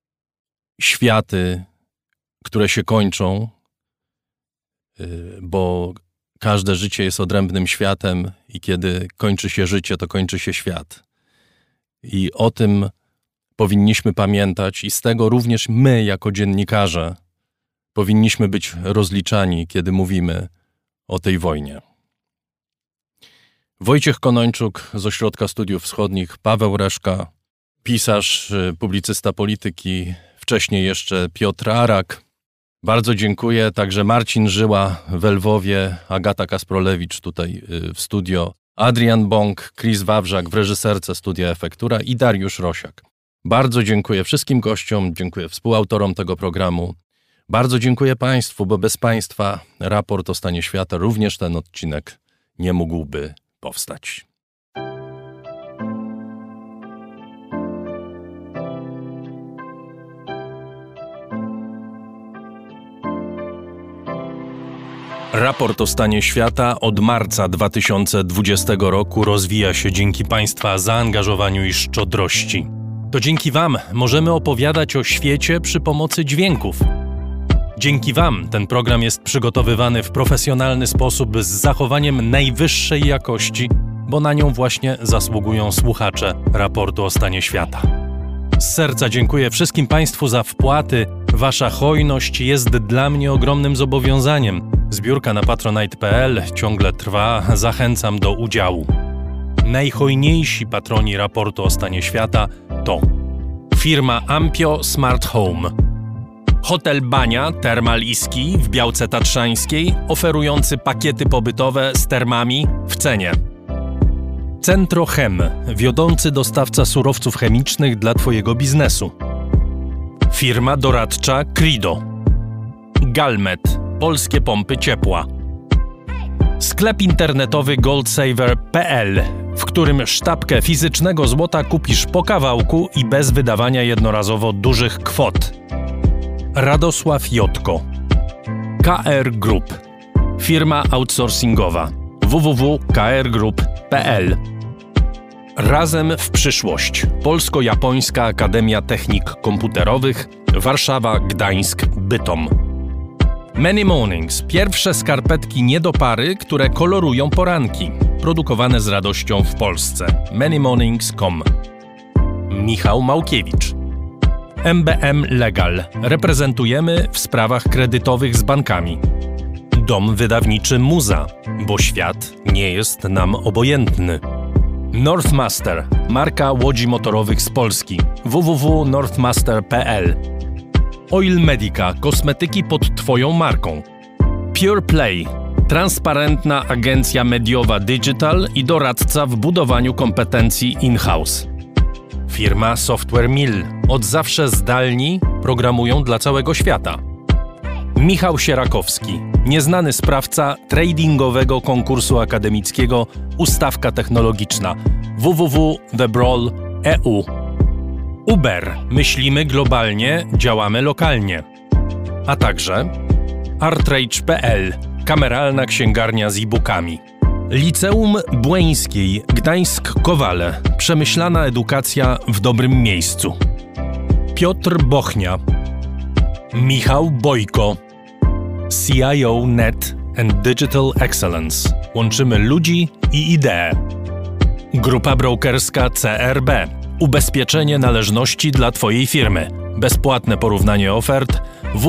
światy, które się kończą, bo każde życie jest odrębnym światem i kiedy kończy się życie, to kończy się świat. I o tym powinniśmy pamiętać i z tego również my, jako dziennikarze, powinniśmy być rozliczani, kiedy mówimy o tej wojnie. Wojciech Konończuk z Ośrodka Studiów Wschodnich, Paweł Reszka, pisarz, publicysta polityki, wcześniej jeszcze Piotr Arak. Bardzo dziękuję. Także Marcin Żyła w Lwowie, Agata Kasprolewicz tutaj w studio, Adrian Bąk, Chris Wawrzak w reżyserce Studia Efektura i Dariusz Rosiak. Bardzo dziękuję wszystkim gościom, dziękuję współautorom tego programu. Bardzo dziękuję Państwu, bo bez Państwa raport o stanie świata, również ten odcinek nie mógłby powstać. Raport o stanie świata od marca 2020 roku rozwija się dzięki Państwa zaangażowaniu i szczodrości. To dzięki Wam możemy opowiadać o świecie przy pomocy dźwięków. Dzięki Wam ten program jest przygotowywany w profesjonalny sposób z zachowaniem najwyższej jakości, bo na nią właśnie zasługują słuchacze raportu o stanie świata. Z serca dziękuję wszystkim Państwu za wpłaty. Wasza hojność jest dla mnie ogromnym zobowiązaniem. Zbiórka na patronite.pl ciągle trwa, zachęcam do udziału. Najhojniejsi patroni raportu o stanie świata to firma Ampio Smart Home, Hotel Bania Termal i Ski w Białce Tatrzańskiej, oferujący pakiety pobytowe z termami w cenie. Centrochem, wiodący dostawca surowców chemicznych dla Twojego biznesu. Firma doradcza Crido. Galmet, polskie pompy ciepła. Sklep internetowy goldsaver.pl, w którym sztabkę fizycznego złota kupisz po kawałku i bez wydawania jednorazowo dużych kwot. Radosław Jotko. KR Group, firma outsourcingowa. www.krgroup.pl. Razem w przyszłość. Polsko-Japońska Akademia Technik Komputerowych, Warszawa, Gdańsk, Bytom. Many Mornings. Pierwsze skarpetki nie do pary, które kolorują poranki. Produkowane z radością w Polsce. manymornings.com. Michał Małkiewicz. MBM Legal. Reprezentujemy w sprawach kredytowych z bankami. Dom wydawniczy Muza, bo świat nie jest nam obojętny. Northmaster, marka łodzi motorowych z Polski. www.northmaster.pl. Oil Medica, kosmetyki pod Twoją marką. Pure Play, transparentna agencja mediowa digital i doradca w budowaniu kompetencji in-house. Firma Software Mill, od zawsze zdalni programują dla całego świata. Michał Sierakowski, nieznany sprawca tradingowego konkursu akademickiego Ustawka Technologiczna. www.thebrawl.eu. Uber, myślimy globalnie, działamy lokalnie. A także artrage.pl, kameralna księgarnia z e-bookami. Liceum Błeńskiej, Gdańsk-Kowale, przemyślana edukacja w dobrym miejscu. Piotr Bochnia. Michał Bojko. CIO Net and Digital Excellence. Łączymy ludzi i idee. Grupa brokerska CRB. Ubezpieczenie należności dla Twojej firmy. Bezpłatne porównanie ofert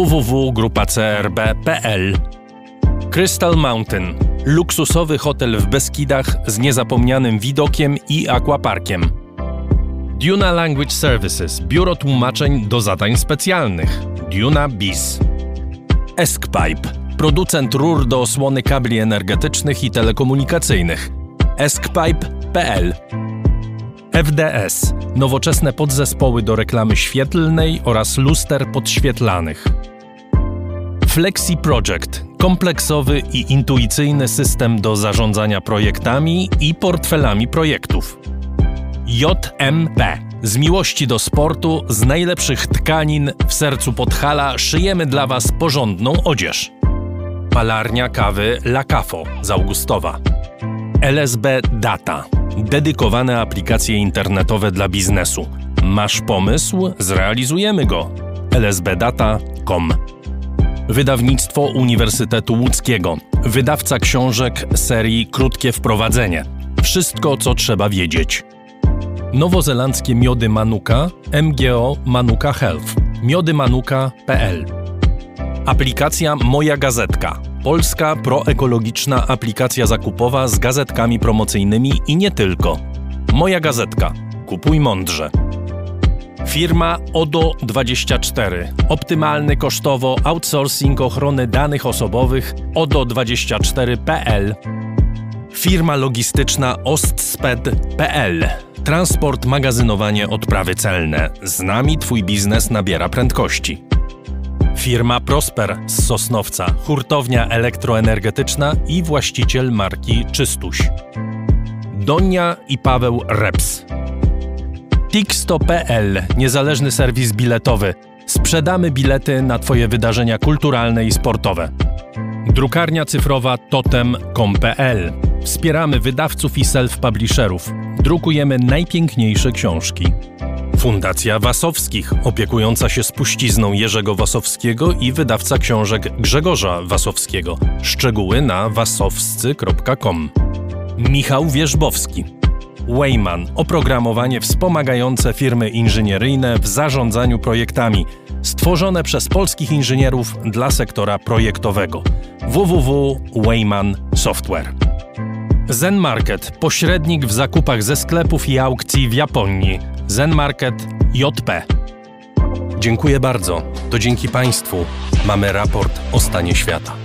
www.grupacrb.pl. Crystal Mountain. Luksusowy hotel w Beskidach z niezapomnianym widokiem i aquaparkiem. Duna Language Services. Biuro tłumaczeń do zadań specjalnych. Duna Biz. EskPipe. Producent rur do osłony kabli energetycznych i telekomunikacyjnych. eskpipe.pl. FDS. Nowoczesne podzespoły do reklamy świetlnej oraz luster podświetlanych. Flexi Project. Kompleksowy i intuicyjny system do zarządzania projektami i portfelami projektów. JMP. Z miłości do sportu, z najlepszych tkanin w sercu Podhala szyjemy dla Was porządną odzież. Palarnia kawy La Cafo z Augustowa. LSB Data. Dedykowane aplikacje internetowe dla biznesu. Masz pomysł? Zrealizujemy go. lsbdata.com. Wydawnictwo Uniwersytetu Łódzkiego. Wydawca książek serii Krótkie Wprowadzenie. Wszystko, co trzeba wiedzieć. Nowozelandzkie miody Manuka, MGO Manuka Health. miodymanuka.pl. Aplikacja Moja Gazetka. Polska proekologiczna aplikacja zakupowa z gazetkami promocyjnymi i nie tylko. Moja Gazetka. Kupuj mądrze. Firma ODO24. Optymalny kosztowo outsourcing ochrony danych osobowych ODO24.pl. Firma logistyczna ostsped.pl. Transport, magazynowanie, odprawy celne. Z nami Twój biznes nabiera prędkości. Firma Prosper z Sosnowca. Hurtownia elektroenergetyczna i właściciel marki Czystuś. Donia i Paweł Reps. Tixto.pl. Niezależny serwis biletowy. Sprzedamy bilety na Twoje wydarzenia kulturalne i sportowe. Drukarnia cyfrowa totem.com.pl. Wspieramy wydawców i self-publisherów. Drukujemy najpiękniejsze książki. Fundacja Wasowskich, opiekująca się spuścizną Jerzego Wasowskiego i wydawca książek Grzegorza Wasowskiego. Szczegóły na wasowscy.com. Michał Wierzbowski. Wayman. Oprogramowanie wspomagające firmy inżynieryjne w zarządzaniu projektami. Stworzone przez polskich inżynierów dla sektora projektowego. www.wayman Software. Zen Market. Pośrednik w zakupach ze sklepów i aukcji w Japonii. Zen Market JP. Dziękuję bardzo. To dzięki Państwu mamy raport o stanie świata.